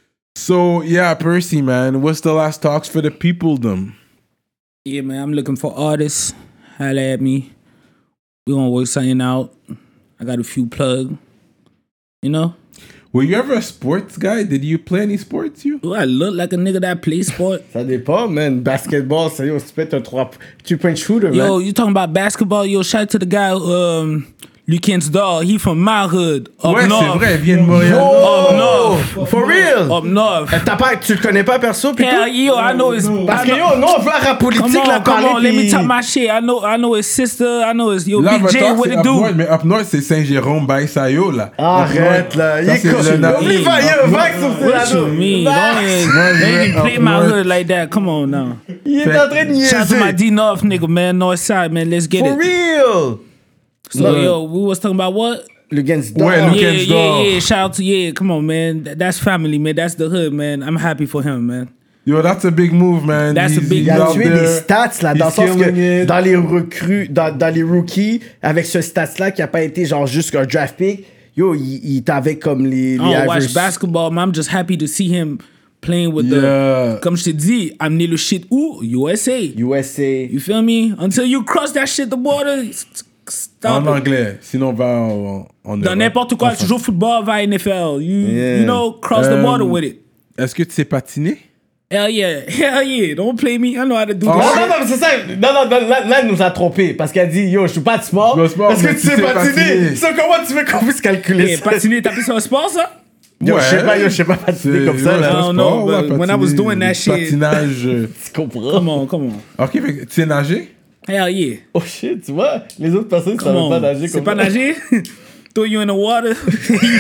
So, yeah, Percy, man, what's the last talks for the people, them? Yeah, man, I'm looking for artists. Holla at me. We gonna work something out. I got a few plug. You know? Were you ever a sports guy? Did you play any sports, you? Do I look like a nigga that plays sport? Ça dépend, man. Basketball, c'est yo, tu peux être un trois point shooter, Yo, man. you talking about basketball? Yo, shout out to the guy, um, Lucas Dog. He from my hood. Up Ouais, c'est north. vrai, il vient de Montréal. Up north. For real? Up north. T'as pas, tu le connais pas perso, pis Hell, tout? yo, I know his. Parce I que know- yo, non, on veut la rap Come politique, la on, come parler, on, let me pis- talk my shit. I know, I know his sister. I know his yo Là, Big J. maintenant, What c'est it up do? north, mais up north, c'est Saint-Jérôme, Baïsayo, là. Arrête, là. Il Ça, est c'est con. le na- Oublie pas, yo, Vax sur What you mean? Don't even, don't even play my hood like that. Come on now. Il est en train de Shout out to my niaiser. D North nigga, man. North side, man. Let's get For it. real. So No. yo, we was talking about what? Le Gens Ouais, d'or. Lucas Yeah, yeah, Dog. yeah. Shout out to yeah. Come on, man. That- that's family, man. That's the hood, man. I'm happy for him, man. Yo, that's a big move, man. That's a big Il a out tué there. des stats, là, dans le He's sens que killing it. dans les recrues, dans, dans les rookies, avec ce stats-là qui a pas été genre juste un draft pick, yo, il, il t'avait comme les, les I don't watch average- basketball, man. I'm just happy to see him playing with Yeah. the. Comme je te dis, amener le shit où? U S A. U S A. You feel me? Until you cross that shit, the border, s- s- stop En it. anglais. Sinon, va en, en Dans Europe. n'importe quoi, tu joues au football, va à N F L. You, Yeah. you know, cross the Um, border with it. Est-ce que tu sais patiner? Hell yeah. Hell yeah. Don't play me. I know how to do Oh, Non, this non, shit. non, mais c'est ça. Non, non, non, là, là, elle nous a trompé. Parce qu'elle dit, yo, je suis pas de sport. Je suis pas de sport, Est-ce que mais tu tu sais sais patiner? patiner. So, comment tu veux qu'on puisse calculer Yeah, ça? patiner, t'as pris sur un sport, ça? Yo, je sais Ouais. pas, yo, je sais pas patiner C'est- comme ça, ouais, là. c'est I un don't know, sport, but ouais, when I was patiner, doing that shit- Patinage. euh. Tu comprends? Come on, come on. Ok, fait que tu sais nager? Hell yeah. Oh shit, tu vois, les autres personnes ne Come savent on. pas nager C'est comme pas ça. nager? Throw you in the water, you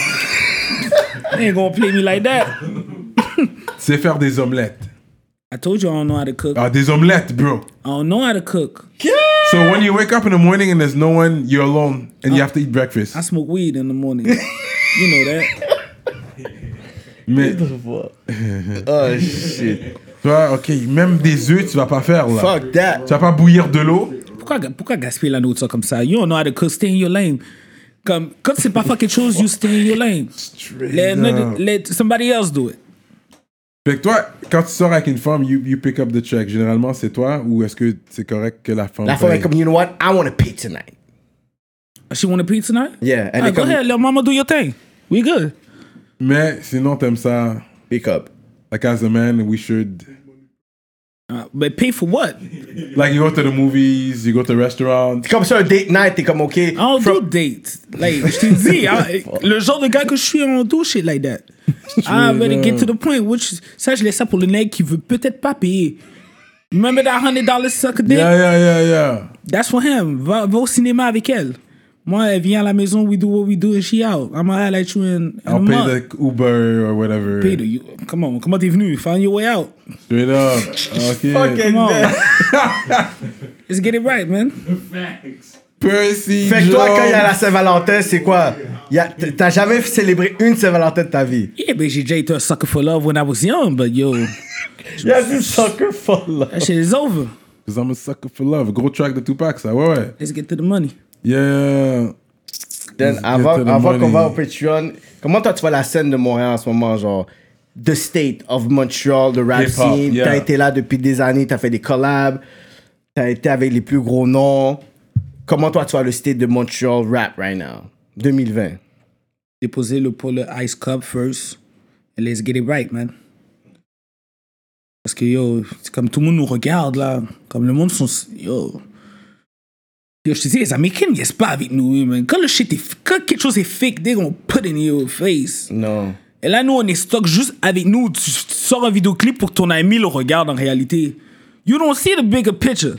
drown. They ain't gonna play me like that. Tu sais faire des omelettes. I told you I don't know how to cook. Ah, des omelettes, bro. I don't know how to cook. So when you wake up in the morning and there's no one, you're alone and you have to eat breakfast. I smoke weed in the morning. You know that. Mais Oh shit. Toi, ok, même des œufs, tu vas pas faire là. Fuck that. Tu vas pas bouillir de l'eau. Pourquoi, pourquoi gaspiller la nourriture comme ça? You don't know how to cook, stay in your lane. Comme, quand c'est pas faire quelque chose, you stay in your lane. Let, let, let somebody else do it. Fait que toi, quand tu sors avec une femme, you, you pick up the check. Généralement, c'est toi ou est-ce que c'est correct que la femme La femme est paye? comme, you know what? I want to pay tonight. She want to pee tonight? Yeah. Elle Ah, est go comme, ahead, let mama do your thing. We good. Mais sinon, t'aimes ça. pick up. Like as a man, we should. Uh, but pay for what? Like you go to the movies, you go to restaurants. C'est comme ça, un date night, t'es comme, OK. I don't from- do dates. Like, je t'ai dit, I- le genre de gars que je suis, on do shit like that. I better get to the point. Which, ça, je laisse ça pour le nègre qui veut peut-être pas payer. Remember that hundred dollars sucker dick? Yeah, yeah, yeah, yeah. That's for him. Va, va au cinéma avec elle. Moi, elle vient à la maison, we do what we do, and she out. I'm gonna highlight you in, in a I'll pay month. the Uber or whatever. Pay the, you, come on, comment t'es venu? Find your way out. Straight up. Ok. Fucking Come on. man. Let's get it right, man. Percy Fait que toi, quand il y a la Jones. Saint-Valentin, c'est quoi? Y a- T'as jamais célébré une Saint-Valentin de ta vie? Yeah, but j'ai déjà été a sucker for love when I was young, but yo, Il y a du soccer for love. that shit is over. Cause I'm a sucker for love. Gros track de Tupac, ça. Ouais, ouais. Let's get to the money. Yeah. Then, Let's avant get to the avant qu'on money. va au Patreon, comment toi tu vois la scène de Montréal en ce moment, genre the state of Montreal, the rap Hip-hop, scene? yeah. T'as été là depuis des années, t'as fait des collabs, t'as été avec les plus gros noms. Comment toi tu vois le state de Montreal rap right now, deux mille vingt? Déposer le pour le Ice Cup first. And let's get it right, man. Parce que yo, c'est comme tout le monde nous regarde là. Comme le monde sont. Yo. Yo, je te dis, les Américains ne niaisent pas avec nous, man. Quand le shit est. Quand quelque chose est fake, they gonna put it in your face. Non. Et là, nous, on est stock juste avec nous. Tu, tu sors un vidéoclip pour que ton ami le regarde en réalité. You don't see the bigger picture.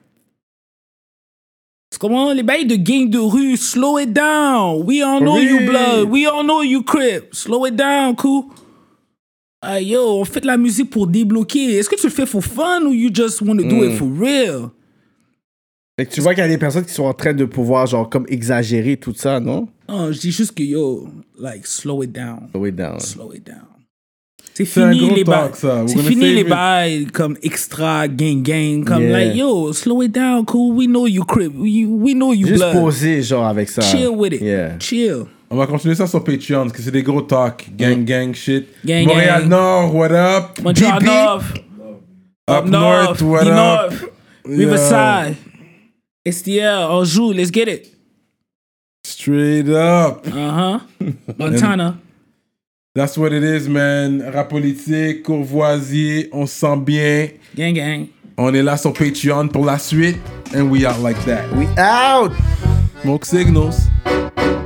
C'est comment les bails de gang de rue. Slow it down. We all know you Oui. blood. We all know you crip. Slow it down, cool. Ah, yo, on fait de la musique pour débloquer. Est-ce que tu le fais for fun ou you just want to do it for real? Fait que tu vois qu'il y a des personnes qui sont en train de pouvoir genre comme exagérer tout ça, non? Non, je dis juste que yo, like, slow it down. Slow it down. Slow it down. C'est C'est un fini gros les bails. talk, ça. We're C'est gonna fini save les it. bails comme extra gang gang. Comme Yeah. like yo, slow it down, cool. We know you crip. We, we know you Juste blood. poser genre avec ça. Chill with it. Yeah. Chill. On va continuer ça sur Patreon parce que c'est des gros talks. Gang, gang shit. Gang, Montréal gang. Nord, what up? Montreal B P, North. Up North, what the up? North. Yeah. Riverside. S T L. Anjou. Let's get it. Straight up. Uh-huh. Montana. That's what it is, man. Rap politique, Courvoisier, on se sent bien. Gang gang. On est là sur Patreon pour la suite. And we out like that. We out! Smoke signals.